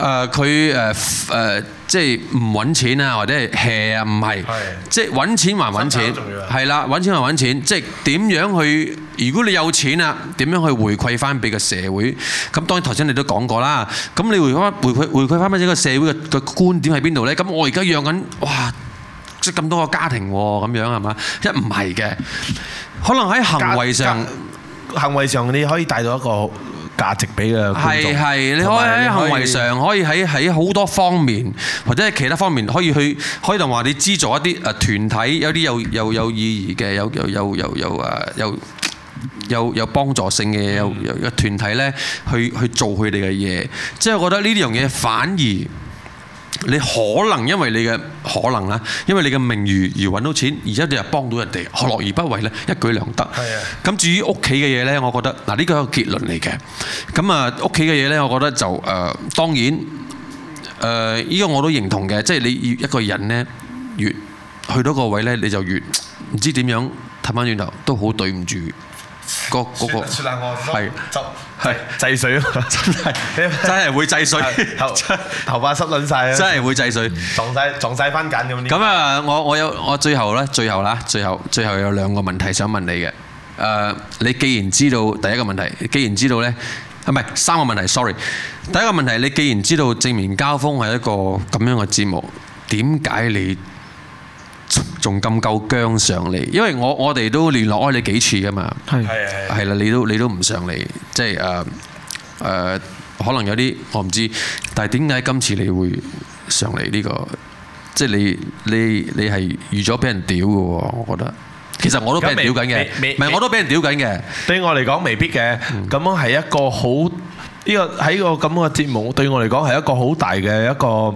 佢即係唔揾錢啊，或者係 hea 啊，唔係，即係揾錢還揾錢，係啦，揾錢還揾錢，即係點樣去？如果你有錢啊，點樣去回饋翻俾個社會？咁當然頭先你都講過啦，咁你回饋翻俾呢個社會嘅觀點喺邊度呢？咁我而家養緊哇！即係咁多個家庭喎，咁樣係嘛？唔係嘅，可能喺行為上你可以帶到一個價值俾個觀眾。係，你可以喺行為上，可以喺好多方面，或者係其他方面，可以同話你資助一啲團體，有啲有意義嘅，有幫助性嘅，有團體咧去做佢哋嘅嘢。即係我覺得呢樣嘢反而你可能因為你嘅可能啦，因為你嘅名譽而揾到錢，而且你又幫到人哋，何樂而不為呢？一舉兩得。係啊。咁至於屋企嘅嘢呢，我覺得嗱呢個係一個結論嚟嘅。咁啊屋企嘅嘢呢，我覺得就當然呢個我都認同嘅，即係你要一個人呢，越去到個位呢，你就越唔知點樣睇翻轉頭，都好對唔住。嗰個係制水啊！真係會制水， 頭髮濕撚晒啊！ 真係會制水， 撞晒番梘咁。 咁啊，我最後有兩個問題想問你嘅。你既然知道第一個問題，既然知道咧，唔係三個問題 ，sorry。第一個問題，你既然知道正面交鋒係一個咁樣嘅節目，點解你仲咁夠薑上嚟？因為我哋都聯絡開你幾次噶嘛，係啦，你都唔上嚟，即係可能有啲我唔知，但係點解今次你會上嚟呢個？即係你係預咗俾人屌嘅喎，我覺得。其實我都俾人屌緊嘅，唔係我都俾人屌緊嘅。對我嚟講未必嘅，咁樣係一個好呢個喺個咁嘅節目對我嚟講係一個好大嘅一個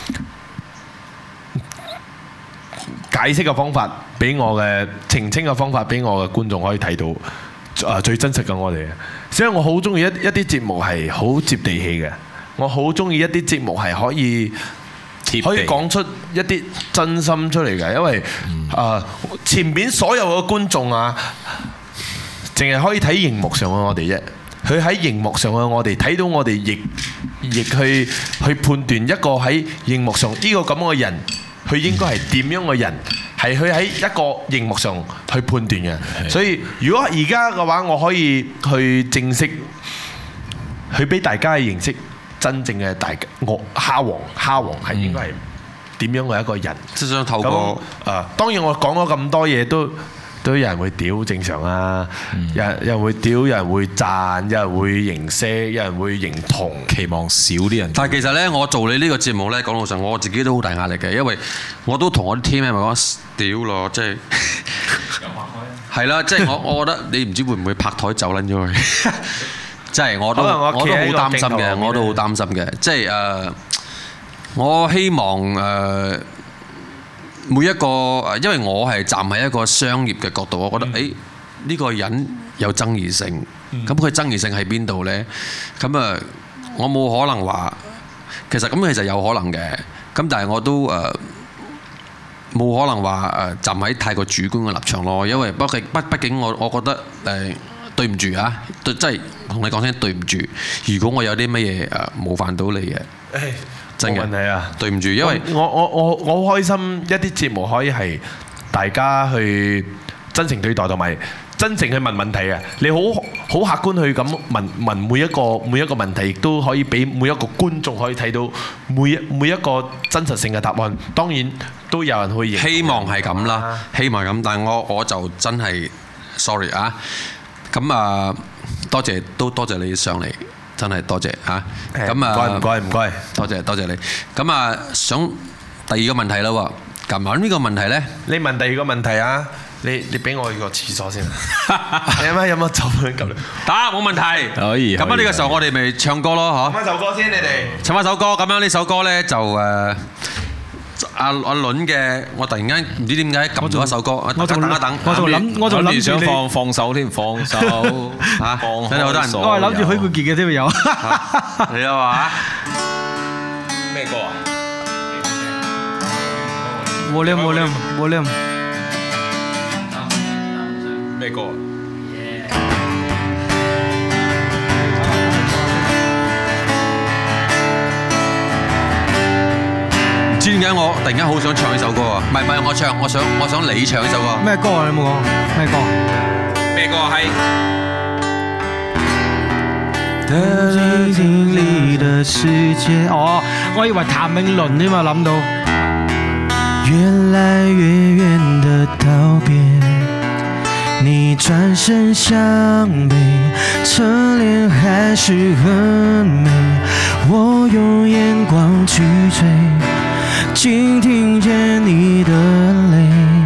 解釋嘅方法，俾我嘅澄清嘅方法，俾我嘅觀眾可以睇到最真實嘅我哋。所以我好中意一啲節目係好接地氣嘅，我好中意一啲節目係可以講出一啲真心出嚟嘅，因為前面所有嘅觀眾啊，淨係可以睇熒幕上嘅我哋啫。佢喺熒幕上嘅我哋睇到我哋亦去判斷一個喺熒幕上呢個咁嘅人。佢應該係點樣嘅人？係佢喺一個熒幕上去判斷嘅。所以如果而家嘅話，我可以去正式去俾大家認識真正嘅蝦王係應該係點樣嘅一個人。即係想透過當然我講咗咁多嘢都有人會屌，正常啊！有人會屌，有人會讚，有人會認識，有人會認同。期望少啲人。但係其實呢，我做你呢個節目呢，講老實，我自己都好大壓力嘅，因為我都同我啲 team 咪講屌咯，即係係啦，即係我覺得你唔知會唔會拍台走撚咗佢，即係我都好擔心嘅，我都好擔心嘅，即係我希望每一個，因為我係站喺一個商業嘅角度，我覺得呢個人有爭議性，咁佢爭議性喺邊度呢？咁我冇可能話，其實有可能嘅，咁但係我都冇可能話站喺太過主觀嘅立場咯，因為畢竟我覺得對唔住啊，真係同你講聲對唔住，如果我有啲乜嘢冒犯到你嘅。冇問題啊！對唔住，因為我好開心一啲節目可以係大家去真誠對待，同埋真誠去問問題啊！你好客觀去咁問每一個問題，亦都可以俾每一個觀眾可以睇到每一個真實性嘅答案。當然都有人去希望係咁啦，希望咁，但係我就真係 sorry 啊！咁多謝你上嚟。真係多謝嚇，咁啊唔該，多謝你。咁想第二個問題啦喎，咁呢個問題咧，你問第二個問題啊？你俾我去個廁所先。你有冇走咁嚟？打冇問題。可以。咁呢個時候我哋咪唱歌咯，嗬。唱翻首歌先，你哋。唱翻首歌，咁樣呢首歌咧就阿倫嘅，我突然間唔知點解撳咗一首歌，等一等。我仲諗住想放手添，放手嚇，真係好多人。我係諗住許冠傑嘅添有。你啊嘛？咩歌啊？Volume。咩歌？知點解我突然間好想唱呢首歌啊？唔係我唱，我想你唱呢首歌。咩歌啊？你冇講咩歌？咩歌啊？係。哦，我以為譚詠麟添嘛，諗到。越來越遠的道別，你轉身向北，側臉還是很美，我用眼光去追。竟聽見你的淚，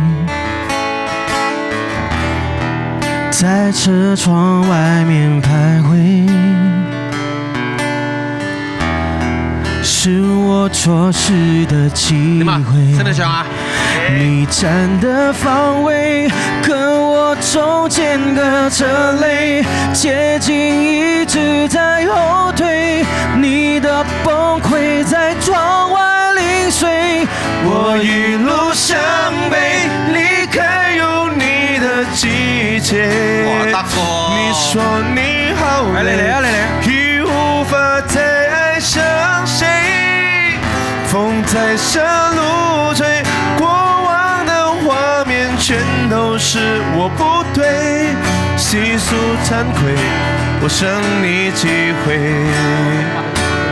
在車窗外面徘徊， 是我錯失的機會。 識得唱啊？ 你站的方位跟我中間隔着淚，接近一直在後退，你的崩潰在窗外零碎，我一路向北，離開有你的季節。 哇，得喎！ 你說你好累，已無法再愛上誰，風在山路吹，過往的畫面全都是我不對，細數慚愧，我剩你幾回。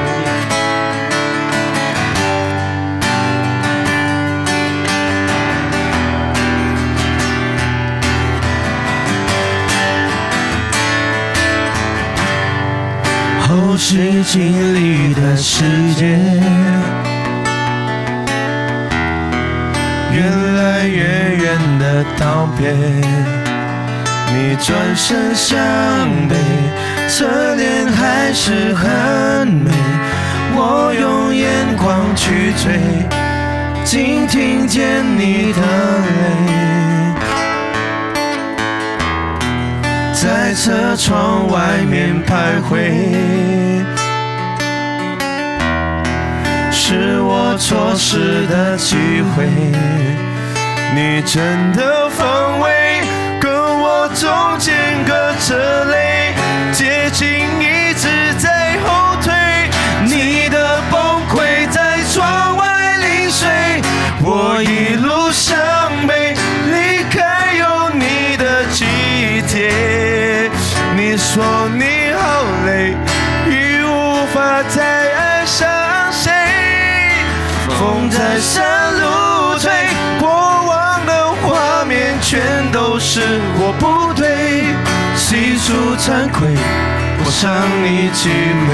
後視鏡裡的世界，越來越遠的道別，你轉身向北，側臉還是很美，我用眼光去追，竟聽見你的淚，在車窗外面徘徊，是我錯失的機會。你真的方位跟我中間隔着淚，接近一直在後退，你的崩潰在窗外零碎，我一路向北，離開有你的季節。你說你好累，已無法再愛上誰，風在山路吹，過往的畫面全都是我不對，細數慚愧，我傷你幾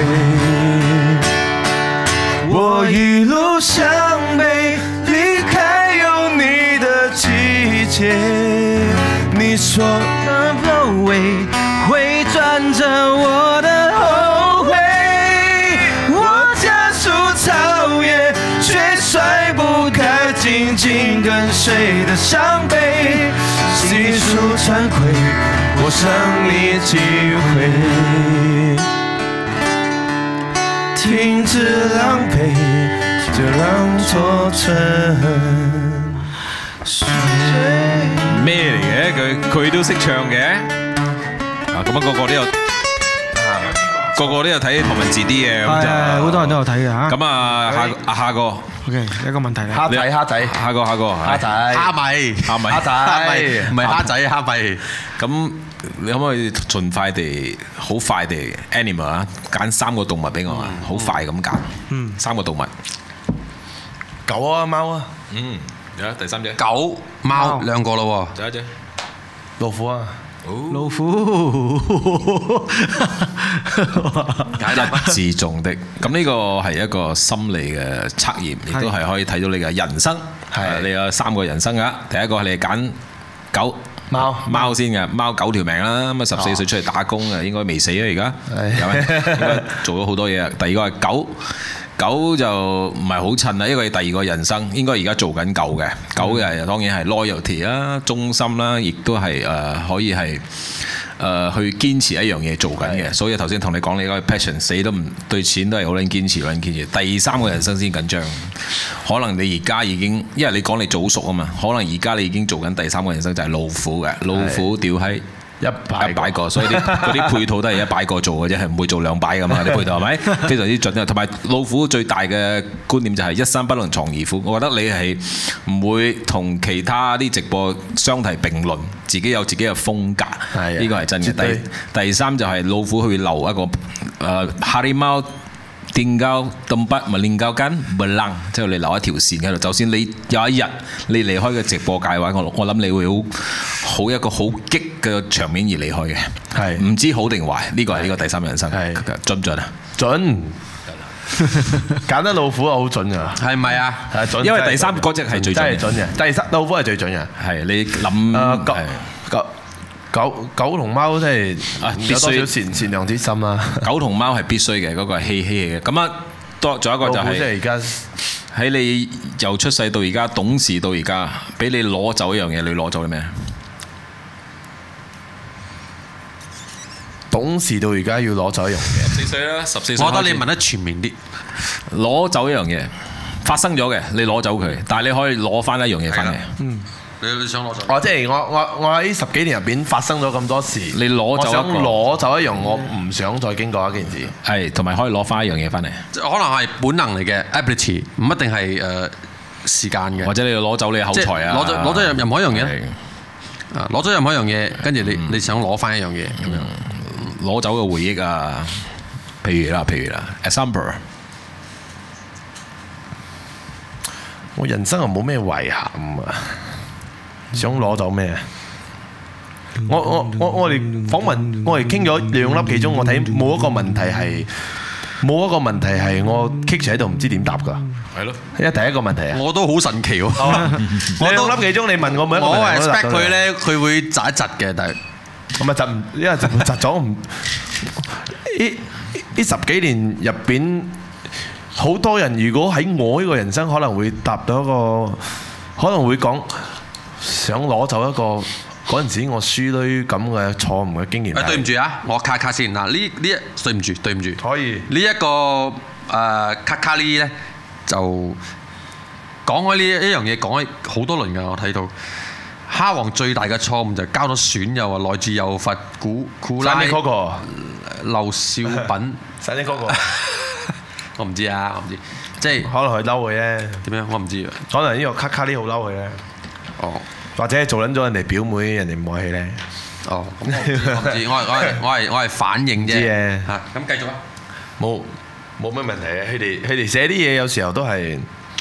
回，我一路向北，離開有你的季節。你說的包圍會轉着我的後悔，我加速超越，卻甩不開緊緊跟隨的傷悲，細數慚愧，我傷你幾回，停止狼狽，就讓錯春水。 咩嚟嘅？佢都識唱嘅。啊，咁啊個個都有睇唐文字啲嘅，咁就好多人都有睇嘅嚇。 咁啊，下個 OK， 一個問題啦。 蝦仔， 下個， 蝦仔， 蝦米，唔係蝦仔，蝦米。咁你可唔可以盡快地、好快地 animal 啊？揀3個動物俾我啊！好快咁揀。3個動物。 狗啊，貓啊。 有第3隻。 狗、貓2個咯喎。 仲有一隻。 老虎啊。 老虎， 解答不自重的。咁呢個係一個心理嘅測驗，亦都係可以睇到你嘅人生。係你有3個人生㗎。第一個係你揀狗、貓先嘅，貓9條命啦。咁啊14歲出嚟打工啊，應該未死啊而家。有咩？應該做咗好多嘢。第二個係狗。狗就唔係好襯啦，因為第2個人生應該而家做緊狗嘅，狗嘅當然係 loyalty 啦、忠心啦，亦都係可以係去堅持一樣嘢做緊嘅。所以頭先同你講你嗰個 passion 死都唔對錢都係好撚堅持，好撚堅持。第3個人生先緊張，可能你而家已經，因為你講你早熟啊嘛，可能而家你已經做緊第3個人生就係老虎嘅，老虎屌閪。100個，所以嗰啲配套都係100個做嘅啫，係唔會做200噶嘛啲配套係咪？非常之準啊！同埋老虎最大嘅觀念就係一山不能藏二虎，我覺得你係唔會同其他啲直播相提並論，自己有自己嘅風格，呢個係真嘅。第3就係老虎去留一個harimau tinggal tempat meninggalkan belang，即係你留一條線喺度。就算你有一日你離開嘅直播界嘅話，我諗你會好一個好激嘅場面而離開嘅。係唔知好定壞？呢個係呢個第3人生，準唔準啊？準。揀得老虎好準㗎，係咪啊？係準，因為第3嗰隻係最準嘅。第3老虎係最準嘅。係你諗狗同貓真係有多少善良之心啦。狗同貓係必須嘅，嗰個係嬉戲嘅。咁啊， 仲有一個就係即係而家喺你由出世到而家懂事到而家，俾你攞走一樣嘢，你攞走啲咩？ 懂事到而家要攞走一樣嘢。 14歲啦，14歲。 我覺得你問得全面啲， 攞走一樣嘢發生咗嘅，你攞走佢，但係你可以攞翻一樣嘢翻嚟。 你想攞走？ 即係我喺10幾年入邊發生咗咁多事， 你攞走一個， 我想攞走一樣我唔想再經過一件事。 係，同埋可以攞翻一樣嘢翻嚟。 可能係本能嚟嘅 ability， 唔一定係時間嘅。 或者你攞走你嘅口才啊， 攞咗任何一樣嘢。攞咗任何一樣嘢，跟住你想攞翻一樣嘢咁樣， 攞走個回憶啊，譬如啦，example， 我人生又冇咩遺憾啊，想攞走咩？我哋訪問，我哋傾咗2粒幾鐘，我睇冇一個問題係我棘住喺度唔知點答㗎。 係咯， 因為第一個問題啊， 我都好神奇喎。 我2粒幾鐘你問我每一個問題， 我 expect 佢咧，佢會窒一窒嘅，但係咁啊窒唔，因為窒咗唔呢10幾年入邊，好多人如果喺我呢個人生可能會答到一個，可能會講想攞走一個嗰陣時我輸女咁嘅錯誤嘅經驗。 對唔住啊，我卡先嗱，對唔住， 可以呢一個卡呢咧就講開呢一樣嘢講咗好多輪㗎，我睇到蝦王最大嘅錯誤就交咗損友啊，來自幼發古拉劉少品， 使呢嗰個我唔知啊，我唔知，即係可能佢嬲佢咧，點樣我唔知啊， 可能呢個卡呢好嬲佢咧， 哦，或者做撚咗人哋表妹，人哋唔愛佢咧， 哦，咁我唔知，我係反應啫，嚇，咁繼續啊， 冇咩問題嘅，佢哋寫啲嘢有時候都係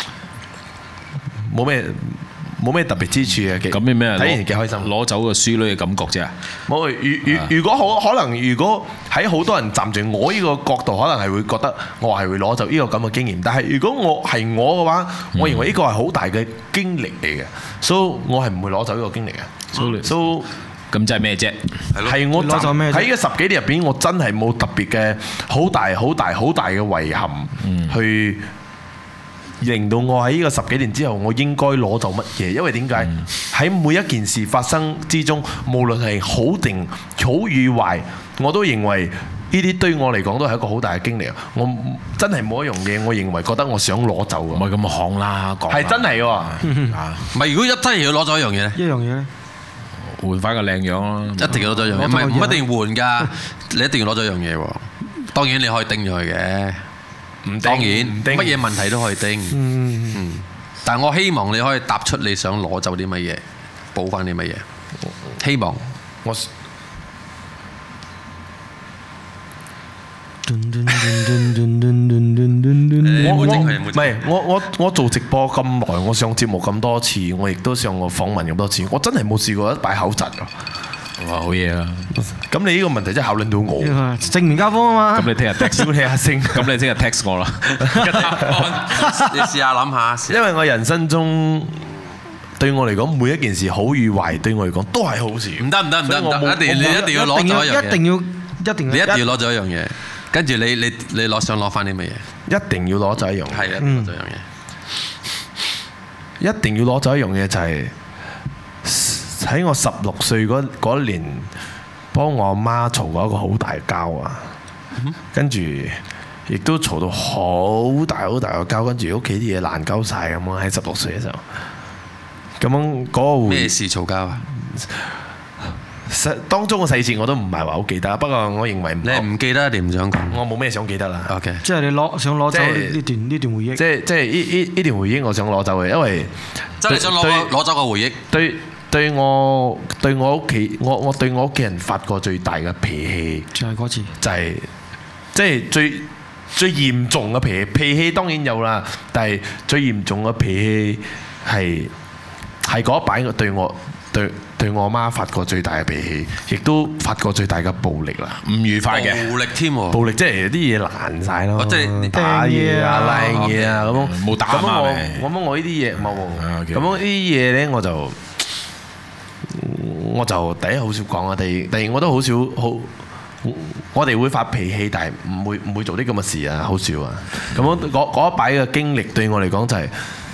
冇咩特別之處嘅。 咁咩？ 睇完幾開心， 攞走個書女嘅感覺啫。 冇，如果可能，如果喺好多人站住我呢個角度，可能係會覺得我係會攞走呢個咁嘅經驗。但係如果我係我嘅話，我認為呢個係好大嘅經歷嚟嘅，所以我係唔會攞走呢個經歷嘅。所以咁即係咩啫？ 係我攞走咩？喺呢10幾年入邊，我真係冇特別嘅好大嘅遺憾，去令到我喺呢個10幾年之後，我應該攞走乜嘢？因為點解喺每一件事發生之中，無論係好定好與壞，我都認為呢啲對我嚟講都係一個好大嘅經歷啊！我真係冇一樣嘢，我認為覺得我想攞走嘅。 唔係咁行啦，講係真係喎。 唔係，如果真係要攞走一樣嘢咧？ 一樣嘢咧？ 換翻個靚樣咯， 一定要攞咗一樣嘢，唔係唔一定換㗎，你一定要攞咗一樣嘢喎。當然你可以叮咗佢嘅，當然乜嘢問題都可以叮。但係我希望你可以答出你想攞走啲乜嘢，補翻啲乜嘢。希望我我做直播咁耐，我上節目咁多次，我亦都上過訪問咁多次，我真係冇試過一擺口窒啊！ 哇，好嘢啊！ 咁你呢個問題真係考慮到我正面交鋒啊嘛！ 咁你聽日 text 你阿星，咁你聽日 text 我啦。 你試下諗下， 因為我人生中對我嚟講，每一件事好與壞，對我嚟講都係好事。 唔得，一定要攞咗一樣嘢， 一定要你一定要攞咗一樣嘢。跟住你想攞翻啲乜嘢？ 一定要攞走一樣， 係一定要攞走一樣嘢。 一定要攞走一樣嘢就係喺我16歲嗰年，幫我阿媽嘈過一個好大交啊！跟住亦都嘈到好大嘅交，跟住屋企啲嘢爛鳩晒咁啊！喺16歲嘅時候，咁樣嗰個咩事嘈交啊？ 當中嘅細節我都唔係話好記得，不過我認為你唔記得定唔想講？我冇咩想記得啦。 OK， 即係你想攞走呢段回憶。 即係呢段回憶，我想攞走嘅，因為真係想攞走個回憶。 對我屋企，我對我屋企人發過最大嘅脾氣， 就係嗰次， 就係即係最嚴重嘅脾氣。脾氣當然有啦，但係最嚴重嘅脾氣係嗰一擺對我媽發過最大嘅脾氣，亦都發過最大嘅暴力啦， 唔愉快嘅暴力添喎。 暴力即係啲嘢爛晒咯， 即係打嘢啊、拉嘢啊咁樣。 冇打啊嘛。 咁我呢啲嘢冇。咁樣呢啲嘢咧，我就第一好少講啊，第二我都好我哋會發脾氣，但係唔會做啲咁嘅事啊，好少啊。咁樣嗰一擺嘅經歷對我嚟講就係、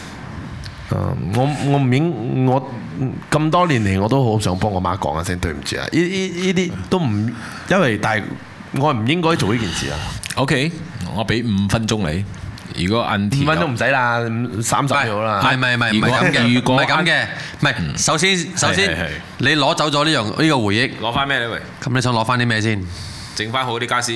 我咁多年嚟我都好想幫我媽講一聲對唔住啊！呢啲都唔因為，但係我唔應該做呢件事啊。 OK， 我俾5分鐘你。如果5 分鐘唔使啦，30秒啦。 唔係咁嘅， 如果唔係咁嘅，唔係首先你攞走咗呢個回憶， 攞翻咩咧？喂， 咁你想攞翻啲咩先？ 整翻好啲家私，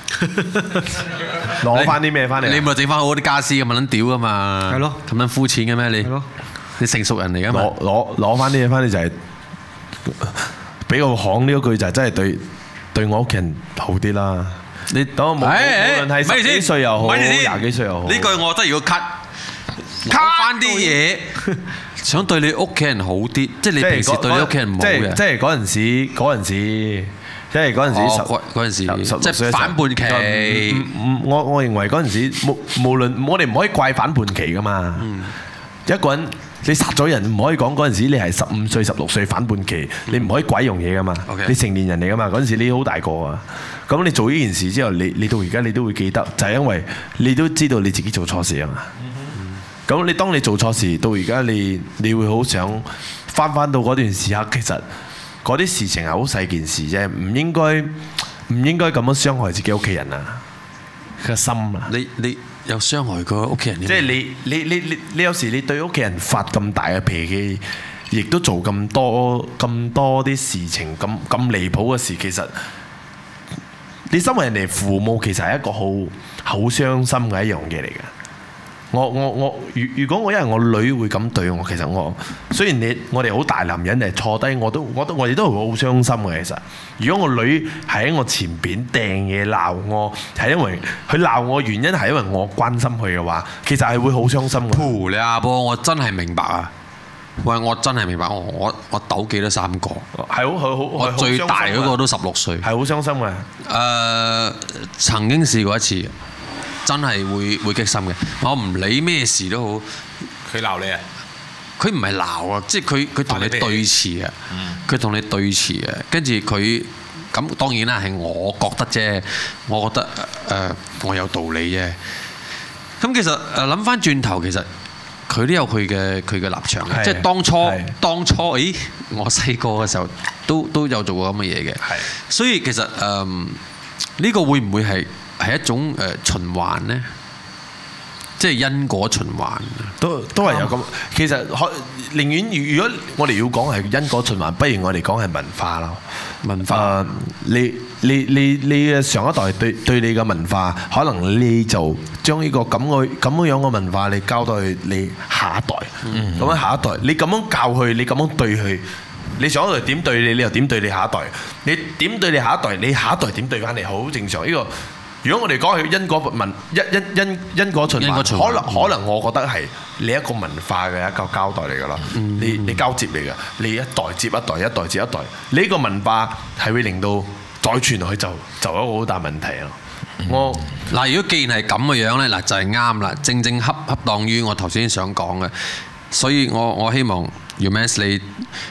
攞翻啲咩翻嚟？ 你咪整翻好啲家私咁撚屌噶嘛？ 係咯， 咁撚膚淺嘅咩你？ 係咯， 你成熟人嚟噶嘛？ 攞翻啲嘢翻嚟就係俾個行呢一句就係真係對我屋企人好啲啦。你等我無論係10幾歲又好，20幾歲又好， 呢句我覺得如果 cut 翻啲嘢，想對你屋企人好啲，即係你平時對你屋企人唔好嘅。 即係嗰陣時，即係嗰陣時， 即係反叛期。 我認為嗰陣時，無論我哋唔可以怪反叛期噶嘛。一個人你殺咗人，唔可以講嗰陣時你係15歲、16歲反叛期，你唔可以鬼用嘢噶嘛。你成年人嚟噶嘛，嗰陣時你好大個啊。咁你做呢件事之後，你到而家你都會記得，就係因為你都知道你自己做錯事啊嘛。咁你當你做錯事到而家，你會好想翻到嗰段時刻，其實嗰啲事情係好細件事啫，唔應該咁樣傷害自己屋企人啊嘅心啊。 你有傷害過屋企人？ 即係你有時你對屋企人發咁大嘅脾氣，亦都做咁多啲事情咁離譜嘅事，其實你身為人哋父母，其實係一個好傷心嘅一樣嘢嚟嘅。如果我因為我女會咁對我，其實我雖然我哋好大男人嚟坐低，我哋都會好傷心嘅。其實，如果我女係喺我前邊掟嘢鬧我，係因為佢鬧我原因係因為我關心佢嘅話，其實係會好傷心嘅。 你阿波，我真係明白啊！喂，我真係明白，我鬥記得3個， 係好， 我最大嗰個都16歲， 係好傷心嘅。 曾經試過一次。真係會激心嘅，我唔理咩事都好。 佢鬧你啊？ 佢唔係鬧啊，即係佢同你對峙啊。佢同你對峙啊，跟住佢咁當然啦，係我覺得啫。我覺得我有道理啫。咁其實諗翻轉頭，其實佢都有佢嘅立場嘅，即係當初，我細個嘅時候都有做過咁嘅嘢嘅。所以其實呢個會唔會係一種循環呢？即係因果循環， 都係有咁。其實寧願如果我哋要講係因果循環，不如我哋講係文化咯。文化，你嘅上一代對你嘅文化，可能你就將呢個咁樣嘅文化，你交到去你下一代。咁樣下一代，你咁樣教佢，你咁樣對佢，你上一代點對你，你又點對你下一代？你點對你下一代，你下一代點對翻你，好正常呢個。如果我哋講係因果因果循環，可能我覺得係你一個文化嘅一個交代嚟㗎啦。你交接嚟㗎，你一代接一代，一代接一代，你呢個文化係會令到再傳落去就一個好大問題咯。 嗱，如果既然係咁嘅樣咧，嗱就係啱啦，正恰當於我頭先想講嘅，所以我希望 Youmans 你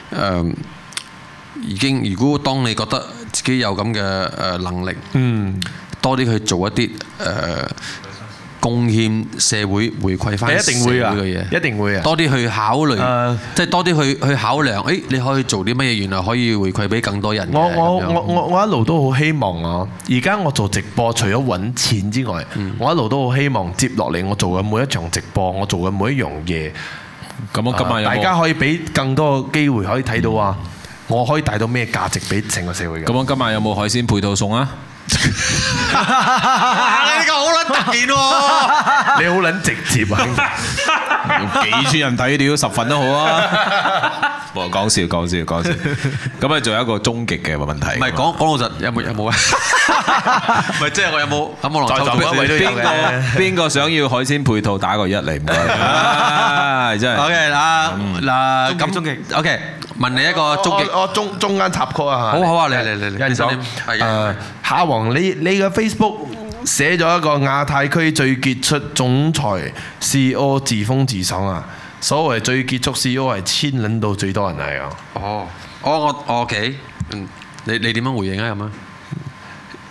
已經，如果當你覺得自己有咁嘅能力，多啲去做一啲貢獻社會回饋翻社會嘅嘢， 一定會啊！ 多啲去考慮，即係多啲去考量，你可以做啲乜嘢？原來可以回饋俾更多人嘅。 我一路都好希望啊！而家我做直播，除咗揾錢之外，我一路都好希望接落嚟我做嘅每一場直播，我做嘅每一樣嘢，咁今日大家可以俾更多機會可以睇到啊！我可以帶到咩價值俾成個社會嘅？ 咁今晚有冇海鮮配套送啊？ 你呢個好撚突然喎！ 你好撚直接啊！ 幾千人睇屌10份都好啊！冇講笑。咁啊，仲有一個終極嘅問題。 唔係講老實，有冇啊？唔係即係我有冇邊個想要海鮮配套打個1嚟唔該。真係。OK 嗱咁終極 OK。問你一個終極， 我中間插曲啊！ 好啊，你夏王，你嘅 Facebook 寫咗一個亞太區最傑出總裁 CEO 自封自爽啊！所謂最傑出 CEO 係牽撚到最多人嚟啊！ 我 OK，你點樣回應啊咁啊？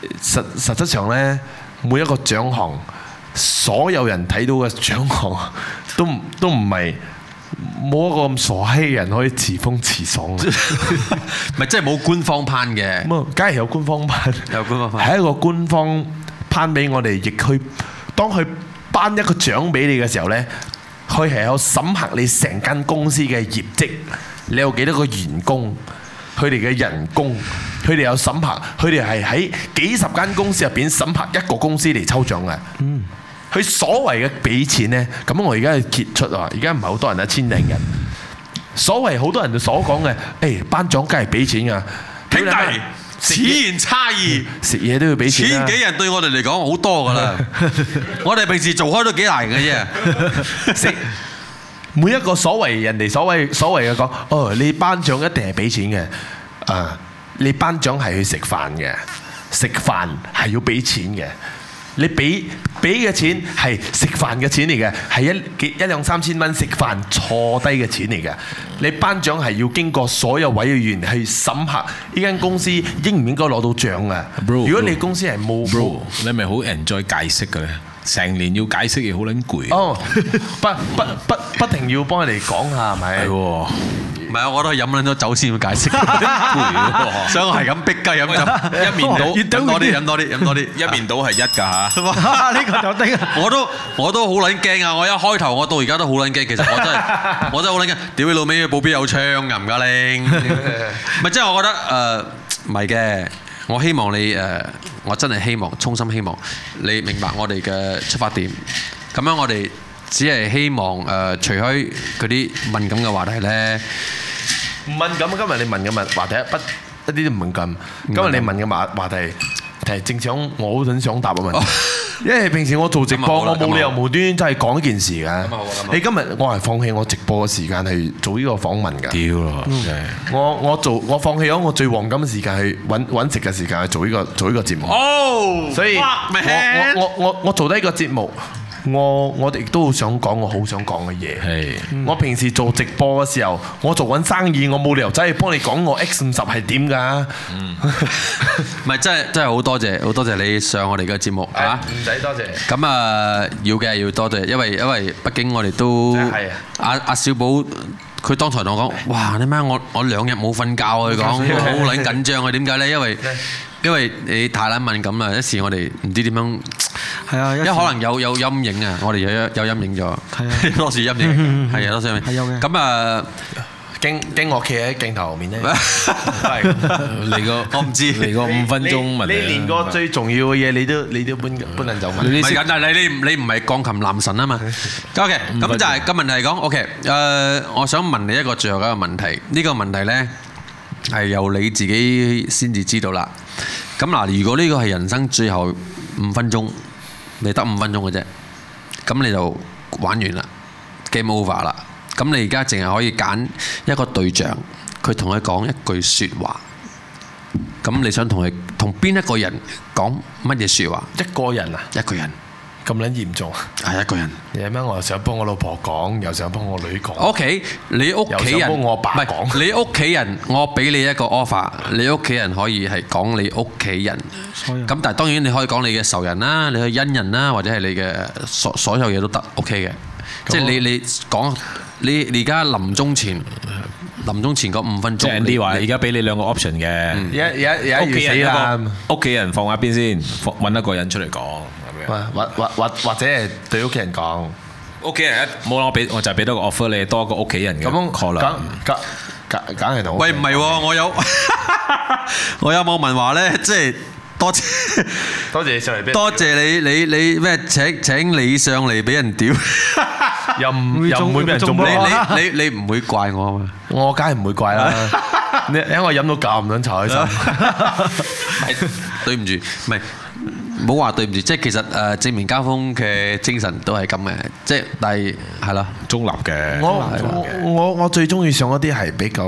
實質上咧，每一個獎項，所有人睇到嘅獎項都唔係冇一個咁傻閪人可以詞風詞爽， 咪即係冇官方頒嘅。 咁啊，梗係有官方頒， 有官方頒， 係一個官方頒俾我哋，亦去當佢頒一個獎俾你嘅時候咧，佢係有審核你成間公司嘅業績，你有幾多個員工，佢哋嘅人工，佢哋有審核，佢哋係喺幾十間公司入邊審核一個公司嚟抽獎嘅。佢所謂嘅俾錢呢，咁我而家揭出啊，而家唔係好多人，1000零人。所謂好多人所講嘅，頒獎梗係俾錢㗎。 兄弟，此言差異。 食嘢都要俾錢啦。 千幾人對我哋嚟講好多㗎啦。我哋平時做開都幾難嘅啫。 每一個所謂人哋所謂嘅講，你頒獎一定係俾錢嘅。你頒獎係去食飯嘅，食飯係要俾錢嘅。你俾嘅錢係食飯嘅錢嚟嘅，係一兩三千蚊食飯坐低嘅錢嚟嘅。你頒獎係要經過所有委員去審核呢間公司應唔應該攞到獎嘅。如果你公司係冇， 你咪好 enjoy 解釋嘅咧？成年要解釋嘢好撚攰。 哦，不停要幫佢哋講下係咪？係喎。 唔係啊！我都係飲撚咗酒先要解釋，所以我係咁逼雞飲酒，一面倒飲多啲，飲多啲，飲多啲， 一面倒係1㗎嚇。 呢個就得啊！ 我都好撚驚啊！我一開頭我到而家都好撚驚。其實我真係好撚驚。屌你老味，保鏢有槍㗎唔㗎拎？唔係即係我覺得唔係嘅。我希望你我真係希望，衷心希望你明白我哋嘅出發點。咁樣我哋只係希望除開嗰啲敏感嘅話題咧。 唔敏感，今日你問嘅話題一啲都唔敏感。今日你問嘅話題係正想我好想答嘅問題，因為平時我做直播，我冇理由無端端真係講一件事嘅。你今日我係放棄我直播嘅時間去做呢個訪問㗎。 屌咯！ 我放棄咗我最黃金嘅時間去揾食嘅時間去做呢個節目。哦，所以我做低個節目。我亦都好想講我好想講嘅嘢。我平時做直播嘅時候，我做緊生意，我冇理由真係幫你講我 X50係點㗎。 唔係真係好多謝你上我哋嘅節目嚇。 唔使多謝。 咁要多謝，因為畢竟我哋都阿小寶佢當台同我講，哇你媽我2日冇瞓覺啊！佢講好撚緊張啊！點解咧？因為你太撚敏感啦，一時我哋唔知點樣。係啊，因為可能有陰影啊，我哋有陰影咗。係啊，多時陰影，係啊，多時陰影。係有嘅。咁驚我企喺鏡頭面咧。係嚟個，我唔知嚟個5分鐘問題。 你連個最重要嘅嘢你都搬人走問。 唔係緊，但係你唔係鋼琴男神啊嘛。OK，咁就係個問題嚟講。OK，我想問你一個最後一個問題。呢個問題咧係由你自己先至知道啦。咁嗱，如果呢個係人生最後5分鐘，你得5分鐘嘅啫，咁你就玩完啦 ，game over 啦。咁你而家淨係可以揀一個對象，佢同佢講一句説話。咁你想同邊一個人講乜嘢説話？ 一個人啊？ 一個人。 咁撚嚴重？ 係一個人。 有咩？我又想幫我老婆講，又想幫我女講。 OK， 你屋企人，又想幫我爸講。唔係你屋企人，我俾你一個 offer， 你屋企人可以係講你屋企人。咁但係當然你可以講你嘅仇人啦，你嘅恩人啦，或者係你嘅所有嘢都得 OK 嘅。即係你講你而家臨終前嗰5分鐘。即係啲話，而家俾你2個 option 嘅。屋企人啦，屋企人放一邊先，揾一個人出嚟講。 或者係對屋企人講， 屋企人冇啦，我就俾多個 offer 你，多個屋企人嘅。咁可能梗係同。 喂，唔係喎，我有網民話咧，即係多謝你上嚟， 多謝你咩請你上嚟俾人屌， 又唔會俾人中。 你唔會怪我啊嘛？ 我梗係唔會怪啦。你因為飲到咁撚茶開心。 對唔住，唔係。唔好話對唔住，即係其實正面交鋒嘅精神都係咁嘅，即係但係係咯，中立嘅。 我最中意上一啲係比較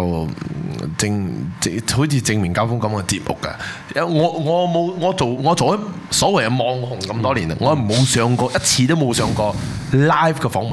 好似正面交鋒咁嘅節目㗎。我做咗所謂嘅網紅咁多年啦，我冇上過一次都冇上過 live 嘅訪問啊！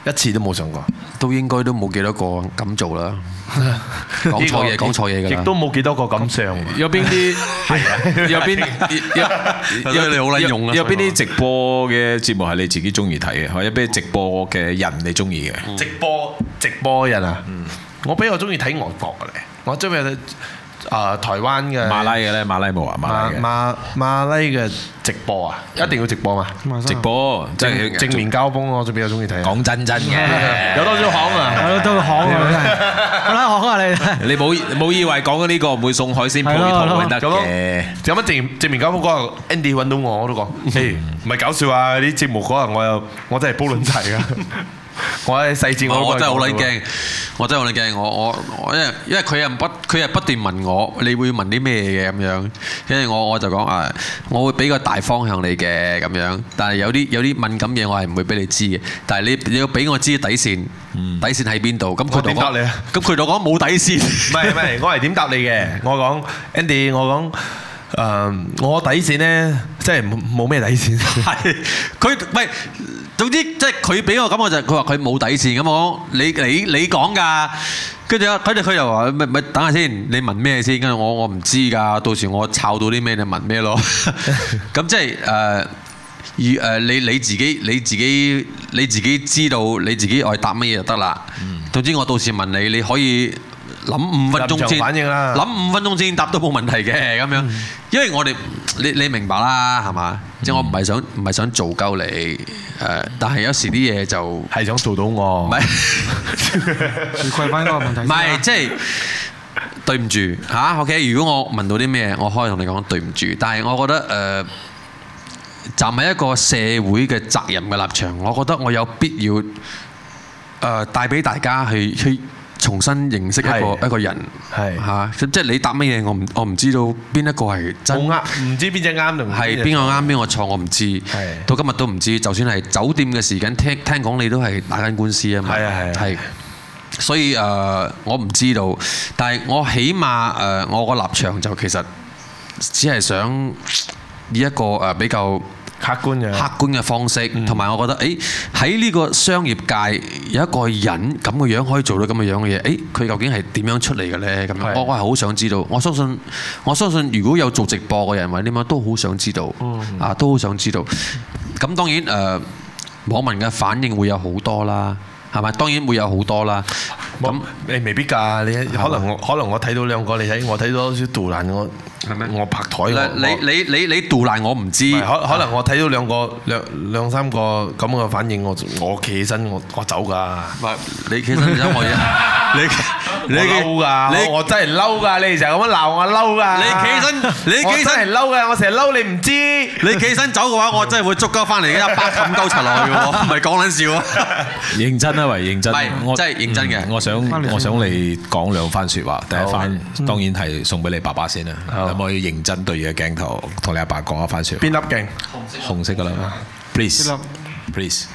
一次都冇上過， 都應該都冇幾多個咁做啦。講錯嘢㗎啦。 亦都冇幾多個咁上。 有邊啲係啊？有邊你好撚用啊！ 有邊啲直播嘅節目係你自己中意睇嘅？或者邊啲直播嘅人你中意嘅？ 直播嘅人啊，我比較中意睇外國嘅咧，我中意睇台灣嘅馬拉嘅咧，馬拉冇啊， 馬拉嘅直播啊，一定要直播嘛， 直播即係正面交鋒，我就比較中意睇。 講真嘅， 有多少行啊？ 有多行啊！真係，好啦，行啊你。 你冇以為講緊呢個唔會送海鮮配套得嘅？ 有乜正面交鋒嗰日 Andy 揾到我都講，唔係搞笑啊！啲節目嗰日我真係煲撚齊啊！我喺細節我真係好撚驚，我真係好撚驚，我因為佢係不斷問我，你會問啲咩嘅咁樣，跟住我就講我會俾個大方向你嘅咁樣，但係有啲敏感嘢我係唔會俾你知嘅，但係你要俾我知底線，底線喺邊度？咁佢點答你啊？咁佢就講冇底線。 唔係，我係點答你嘅？我講 Andy，我講我底線咧，即係冇咩底線。 係佢唔係。總之即係佢俾我感覺就係佢話佢冇底線咁我你講㗎，跟住佢又話咪等下先，你問咩先？跟住我唔知㗎，到時我抄到啲咩你問咩咯。咁即係你自己知道你自己愛答乜嘢就得啦。總之我到時問你，你可以諗5分鐘先，諗5分鐘先答都冇問題嘅咁樣，因為我哋你明白啦係嘛？即係我唔係想做鳩你但係有時啲嘢就係想做到我，唔係回饋翻嗰個問題。 唔係即係對唔住嚇 OK。如果我問到啲咩，我可以同你講對唔住。但係我覺得站喺一個社會嘅責任嘅立場，我覺得我有必要帶俾大家去重新認識一個人嚇，即係你答乜嘢，我唔知道邊一個係真， 唔知邊隻啱定係邊個啱邊個錯，我唔知，到今日都唔知。就算係酒店嘅時間，聽講你都係打緊官司啊嘛，係，所以我唔知道，但係我起碼我個立場就其實只係想以一個比較客觀嘅方式，同埋我覺得，喺呢個商業界有一個人咁嘅樣可以做到咁嘅樣嘅嘢，佢究竟係點樣出嚟嘅咧？咁樣我係好想知道。我相信如果有做直播嘅人或者點樣都好想知道，都好想知道。咁當然網民嘅反應會有好多啦，係咪？當然會有好多啦。咁你未必㗎，你可能我睇到兩個，你睇我睇到少杜蘭，我拍台。 你杜蘭我唔知， 可能我睇到兩三個咁嘅反應，我企起身我走㗎。 你企起身走我你嬲㗎，我真係嬲㗎，你成日咁樣鬧我嬲㗎。你企起身係嬲㗎，我成日嬲你唔知。 你企起身走嘅話，我真係會捉鳩翻嚟嘅，一巴冚鳩柒落去嘅喎，唔係講撚笑啊！ 認真啊，喂，認真。 我真係認真嘅。 我想你講兩番説話。第一番當然係送俾你爸爸先啦。可唔可以認真對住個鏡頭同你阿爸講一番説話？ 邊粒鏡？ 紅色㗎啦。Please。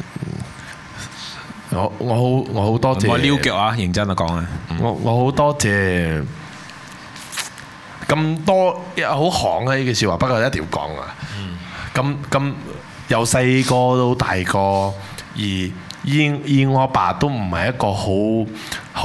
我好多謝。 我撩腳啊！認真啊講啊。 我好多謝咁多好行嘅呢句説話，不過一定要講啊。咁由細個到大個，而我阿爸都唔係一個好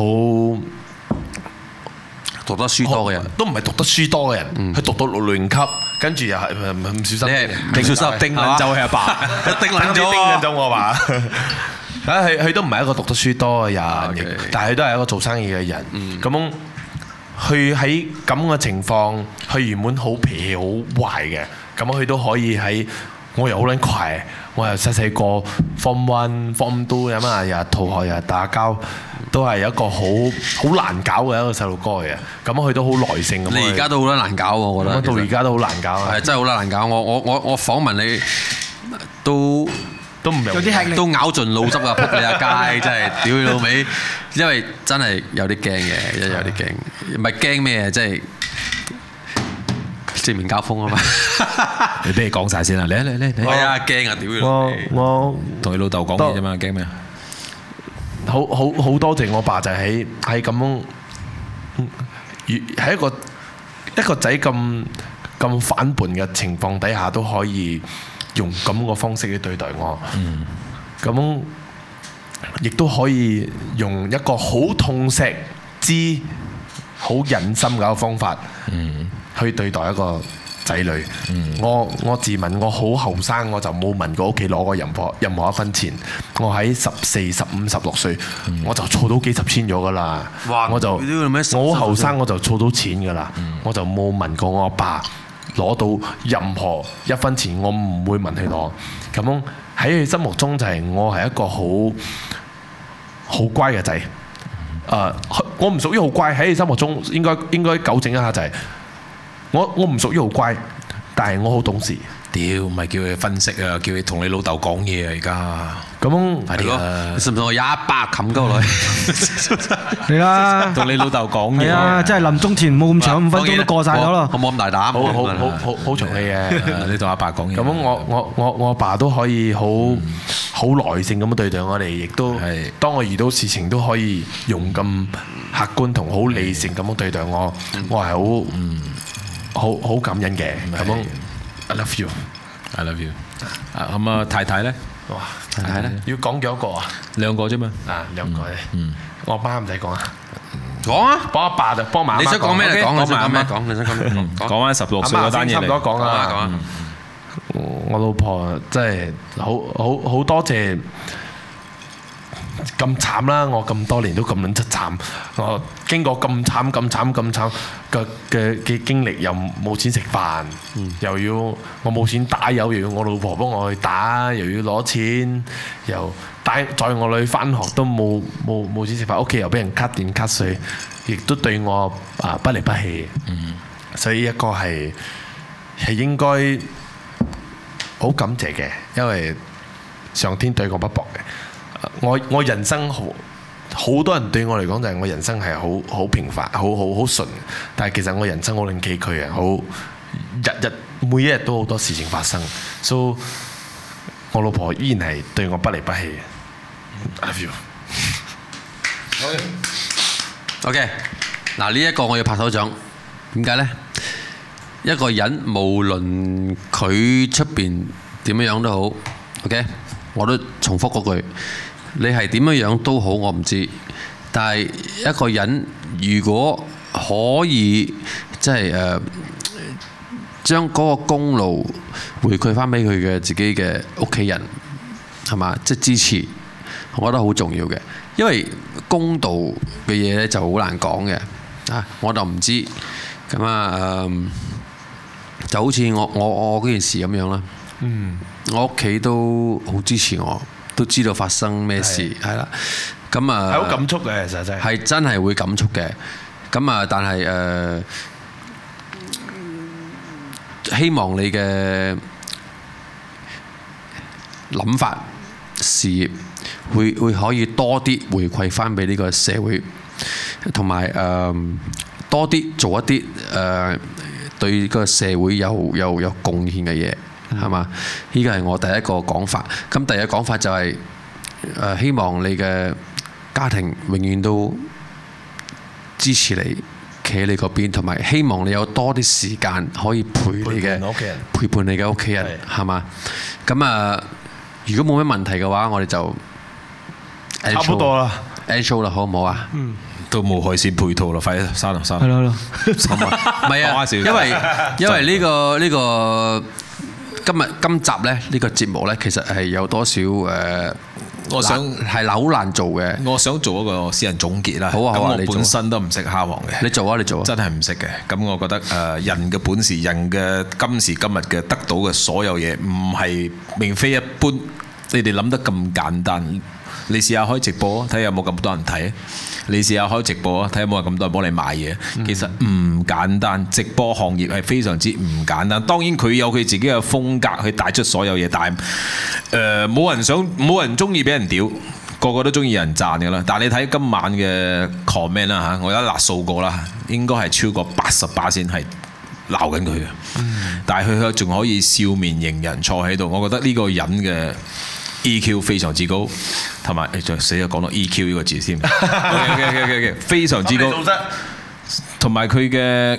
讀得書多嘅人， 都唔係讀得書多嘅人，佢讀到6年級，跟住又係唔小心， 定小心定撚就係阿爸， 定撚咗我阿爸。佢都唔係一個讀得書多嘅人，但係佢都係一個做生意嘅人。咁佢喺咁嘅情況，佢原本好脾氣好壞嘅，咁佢都可以喺我又好撚快，我又細個 Form 1、Form 2咁啊，日日逃學，日日打交，都係一個好難搞嘅一個細路哥嘅。咁佢都好耐性咁。 你而家都好難搞喎，我覺得。 到而家都好難搞啊！ 係真係好難搞。我訪問你都唔有啲吃力，都咬盡腦汁啊！撲你阿街，真係屌你老味，因為真係有啲驚嘅，有啲驚。唔係驚咩？即係正面交鋒啊嘛！ 你俾你講晒先啦，嚟！ 係啊，驚啊！屌你！ 我同你老豆講嘢啫嘛，驚咩啊？ 好多謝我爸就喺咁樣，喺一個仔咁反叛嘅情況底下都可以用咁個方式去對待我。咁亦都可以用一個好痛錫之好忍心嘅方法，去對待一個仔女。我自問我好後生，我就冇問過屋企攞過任何一分錢。我喺14、15、16歲，我就儲到幾十千咗㗎啦。我好後生我就儲到錢㗎啦，我就冇問過我阿爸攞到任何一分錢，我唔會問佢攞。咁樣喺佢心目中就係我係一個好乖嘅仔。我唔屬於好乖，喺你心目中應該糾正一下就係我唔屬於好乖，但係我好懂事。 屌，唔係叫佢分析啊，叫佢同你老豆講嘢啊！而家咁係咯，你信唔信我100冚鳩落去？ 嚟啦， 同你老豆講嘢。 係啊，即係臨終前冇咁長5分鐘都過晒咗咯。 我冇咁大膽， 好長氣嘅。 你同阿爸講嘢。 咁我阿爸都可以好耐性咁樣對待我哋，亦都當我遇到事情都可以用咁客觀同好理性咁樣對待我，我係好感恩嘅。咁樣 I love you，I love you。咁啊，太太咧？ 哇，太太咧？要講幾多個啊？2個啫嘛。2個啫。我阿媽唔使講啊。 講啊！ 幫阿爸就幫媽媽講。 你想講咩？講你想講咩？講你想講咩？ 講翻16歲嗰單嘢嚟。 差唔多講啦。 講啊！ 我老婆真係好多謝。咁慘啦！我咁多年都咁撚出慘，我經過咁慘嘅經歷，又冇錢食飯，又要我冇錢打油，又要我老婆幫我去打，又要攞錢，又載我女返學都冇錢食飯，屋企又俾人 cut 電 cut 水，亦都對我不離不棄。所以一個係應該好感謝嘅，因為上天對我不薄嘅。我人生好多人對我嚟講就係我人生係好平凡，好順，但係其實我人生好撚崎嶇啊，每一日都好多事情發生，所以我老婆依然係對我不離不棄。I love you。 OK， 嗱呢一個我要拍手掌，點解呢？一個人無論佢出邊點樣都好 ，OK， 我都重複嗰句。你係點樣都好，我唔知。但係一個人如果可以即係將嗰個功勞回饋翻俾佢嘅自己嘅屋企人，係嘛？即係支持，我覺得好重要嘅。因為公道嘅嘢咧就好難講嘅。我就唔知。咁就好似我嗰件事咁樣啦。我屋企都好支持我。都知道發生咩事，係啦，咁係好感觸嘅，其實真係係真係會感觸嘅，咁但係希望你嘅諗法、事業會可以多啲回饋翻俾呢個社會，同埋多啲做一啲對個社會有貢獻嘅嘢。係嘛？呢個係我第一個講法。咁第二個講法就係希望你嘅家庭永遠都支持你，企喺你嗰邊，同埋希望你有多啲時間可以陪伴你嘅屋企人，係嘛？咁如果冇咩問題嘅話，我哋就差唔多啦 ，end show 啦，好唔好啊？ 都冇海鮮配套啦，快啲刪啦。 係咯， 唔係啊，因為呢個。今集咧呢個節目咧，其實係有多少我想係好難做嘅。 我想做一個私人總結啦。 好啊， 我本身都唔識蝦王嘅。 你做啊！ 真係唔識嘅。咁我覺得人嘅本事，人嘅今時今日嘅得到嘅所有嘢，唔係並非一般。你哋諗得咁簡單。你試下開直播啊，睇下有冇咁多人睇。你試下開直播啊，睇下有冇人咁多人幫你買嘢。其實唔簡單，直播行業係非常之唔簡單。當然佢有佢自己嘅風格去帶出所有嘢，但係冇人中意俾人屌，個個都中意有人讚㗎啦。但係你睇今晚嘅 comment 啦嚇，我一嗱數過啦，應該係超過80%先係鬧緊佢嘅。但係佢仲可以笑面迎人坐喺度，我覺得呢個人嘅EQ 非常之高，同埋再死咗講到 EQ 呢個字先，OK， 非常之高， 同埋佢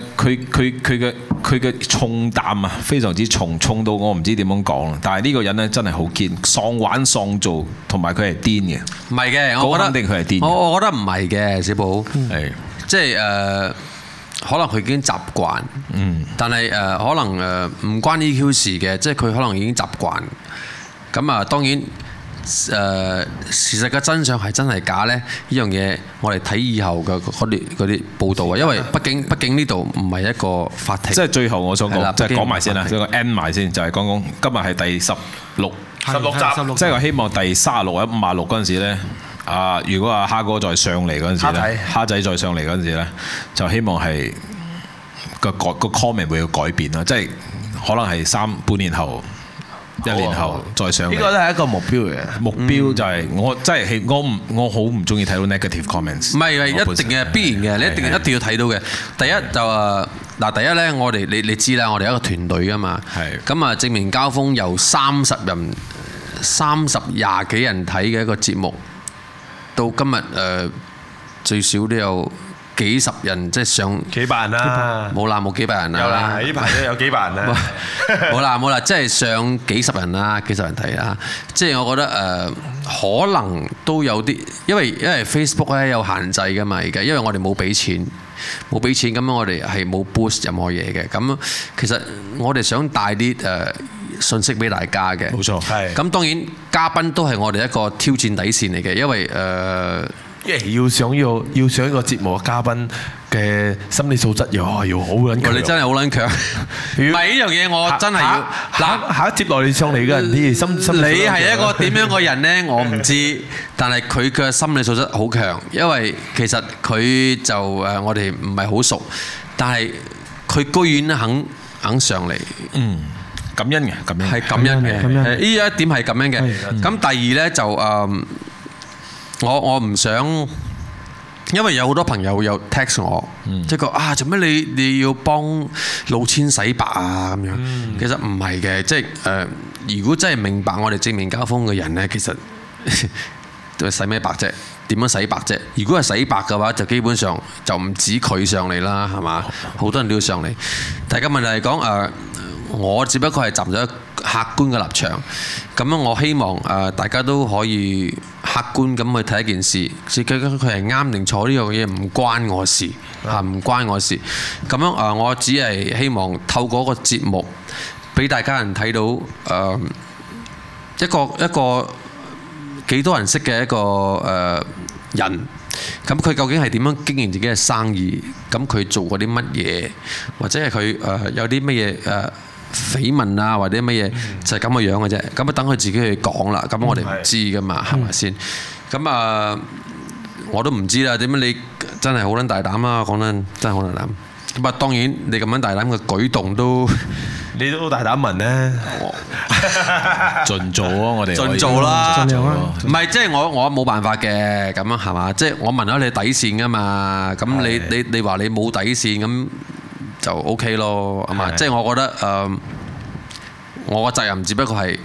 嘅重擔啊，非常之重到我唔知點樣講啦。但係呢個人咧真係好堅，喪玩喪做，同埋佢係癲嘅。 唔係嘅，我覺得肯定佢係癲。 我覺得唔係嘅，小寶係即係可能佢已經習慣，但係可能唔關 EQ 事嘅，即係佢可能已經習慣。咁啊，當然。事實嘅真相係真係假呢？呢樣嘢我哋睇以後嘅嗰啲報道啊，因為畢竟呢度唔係一個法庭。即係最後我想講，即係講埋先啦，將個 end 埋先，就係講今日係第16集，即係我希望第36或者56嗰陣時咧，如果蝦哥再上嚟嗰陣時咧，蝦仔再上嚟嗰陣時咧，就希望係個 comment 會有改變啦，即係可能係半年後。1年後再上嚟， 呢個都係一個目標嘅。 目標就係我真係我好唔中意睇到 negative comments。 唔係一定嘅必然嘅，你一定要睇到嘅。第一就第一咧，我哋你知啦，我哋一個團隊㗎嘛。係。咁啊，正面交鋒由30人、20幾人睇嘅一個節目，到今日最少都有幾十人，即係上幾百人啦， 冇幾百人啦。 有啦，呢排都有幾百人啦。 冇啦，即係上幾十人啦，幾十人睇啦。即係我覺得可能都有啲，因為 Facebook 咧有限制㗎嘛，而家因為我哋冇俾錢，咁樣我哋係冇 boost 任何嘢嘅。咁其實我哋想帶啲信息俾大家嘅。 冇錯，係。 咁當然嘉賓都係我哋一個挑戰底線嚟嘅，因為要上一個節目嘅嘉賓嘅心理素質要好撚強。 你真係好撚強。唔係呢樣嘢，我真係要下一接落嚟上嚟嘅人啲心理。 你係一個點樣嘅人呢？我唔知，但係佢嘅心理素質好強，因為其實佢就我哋唔係好熟，但係佢居然肯上嚟。 感恩嘅， 係感恩嘅。呢一點係感恩嘅。咁第二呢，就我唔想，因為有好多朋友有 text 我，即係講做咩你要幫老千洗白啊咁樣。其實唔係嘅，即係如果真係明白我哋正面交鋒嘅人呢，其實洗咩白啫？點樣洗白啫？如果係洗白嘅話，就基本上就唔止佢上嚟啦，係嘛？好多人都要上嚟。但係個問題係講我只不過係站咗客觀嘅立場，咁樣我希望大家都可以客觀咁去睇一件事，究竟佢係啱定錯，呢樣嘢唔關我事，唔關我事。咁樣我只係希望透過個節目，俾大家人睇到一個幾多人識嘅一個人，咁佢究竟係點樣經營自己嘅生意？咁佢做過啲乜嘢，或者係佢有啲乜嘢緋聞啊，或者乜嘢就係咁嘅樣嘅啫。咁等佢自己去講啦。咁我哋唔知噶嘛，係咪先？咁我都唔知啦。點解你真係好撚大膽啊？講真，真係好大膽。咁當然你咁樣大膽嘅舉動都， 你都好大膽問咧。 盡做啊！我哋盡做啦，唔係即係我冇辦法嘅咁樣係嘛？即係我問咗你底線噶嘛？咁你話你冇底線咁。就 OK 咯，係嘛？即係我覺得我個責任只不過係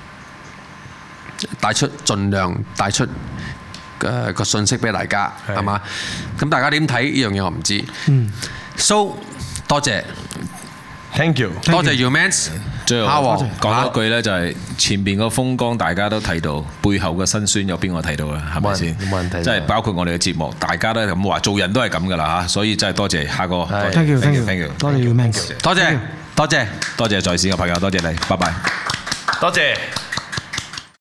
盡量帶出個信息俾大家，係嘛？咁大家點睇呢樣嘢我唔知。So 多謝 ，Thank you， 多謝 Humans。 最後講一句咧，就係前邊個風光大家都睇到，背後嘅辛酸有邊個睇到咧？係咪先？ 冇問題。 即係包括我哋嘅節目，大家都係咁話，做人都係咁噶啦嚇，所以真係多謝蝦哥。 Thank you，多謝 Humans， 多謝在線嘅朋友，多謝你，拜拜。 多謝。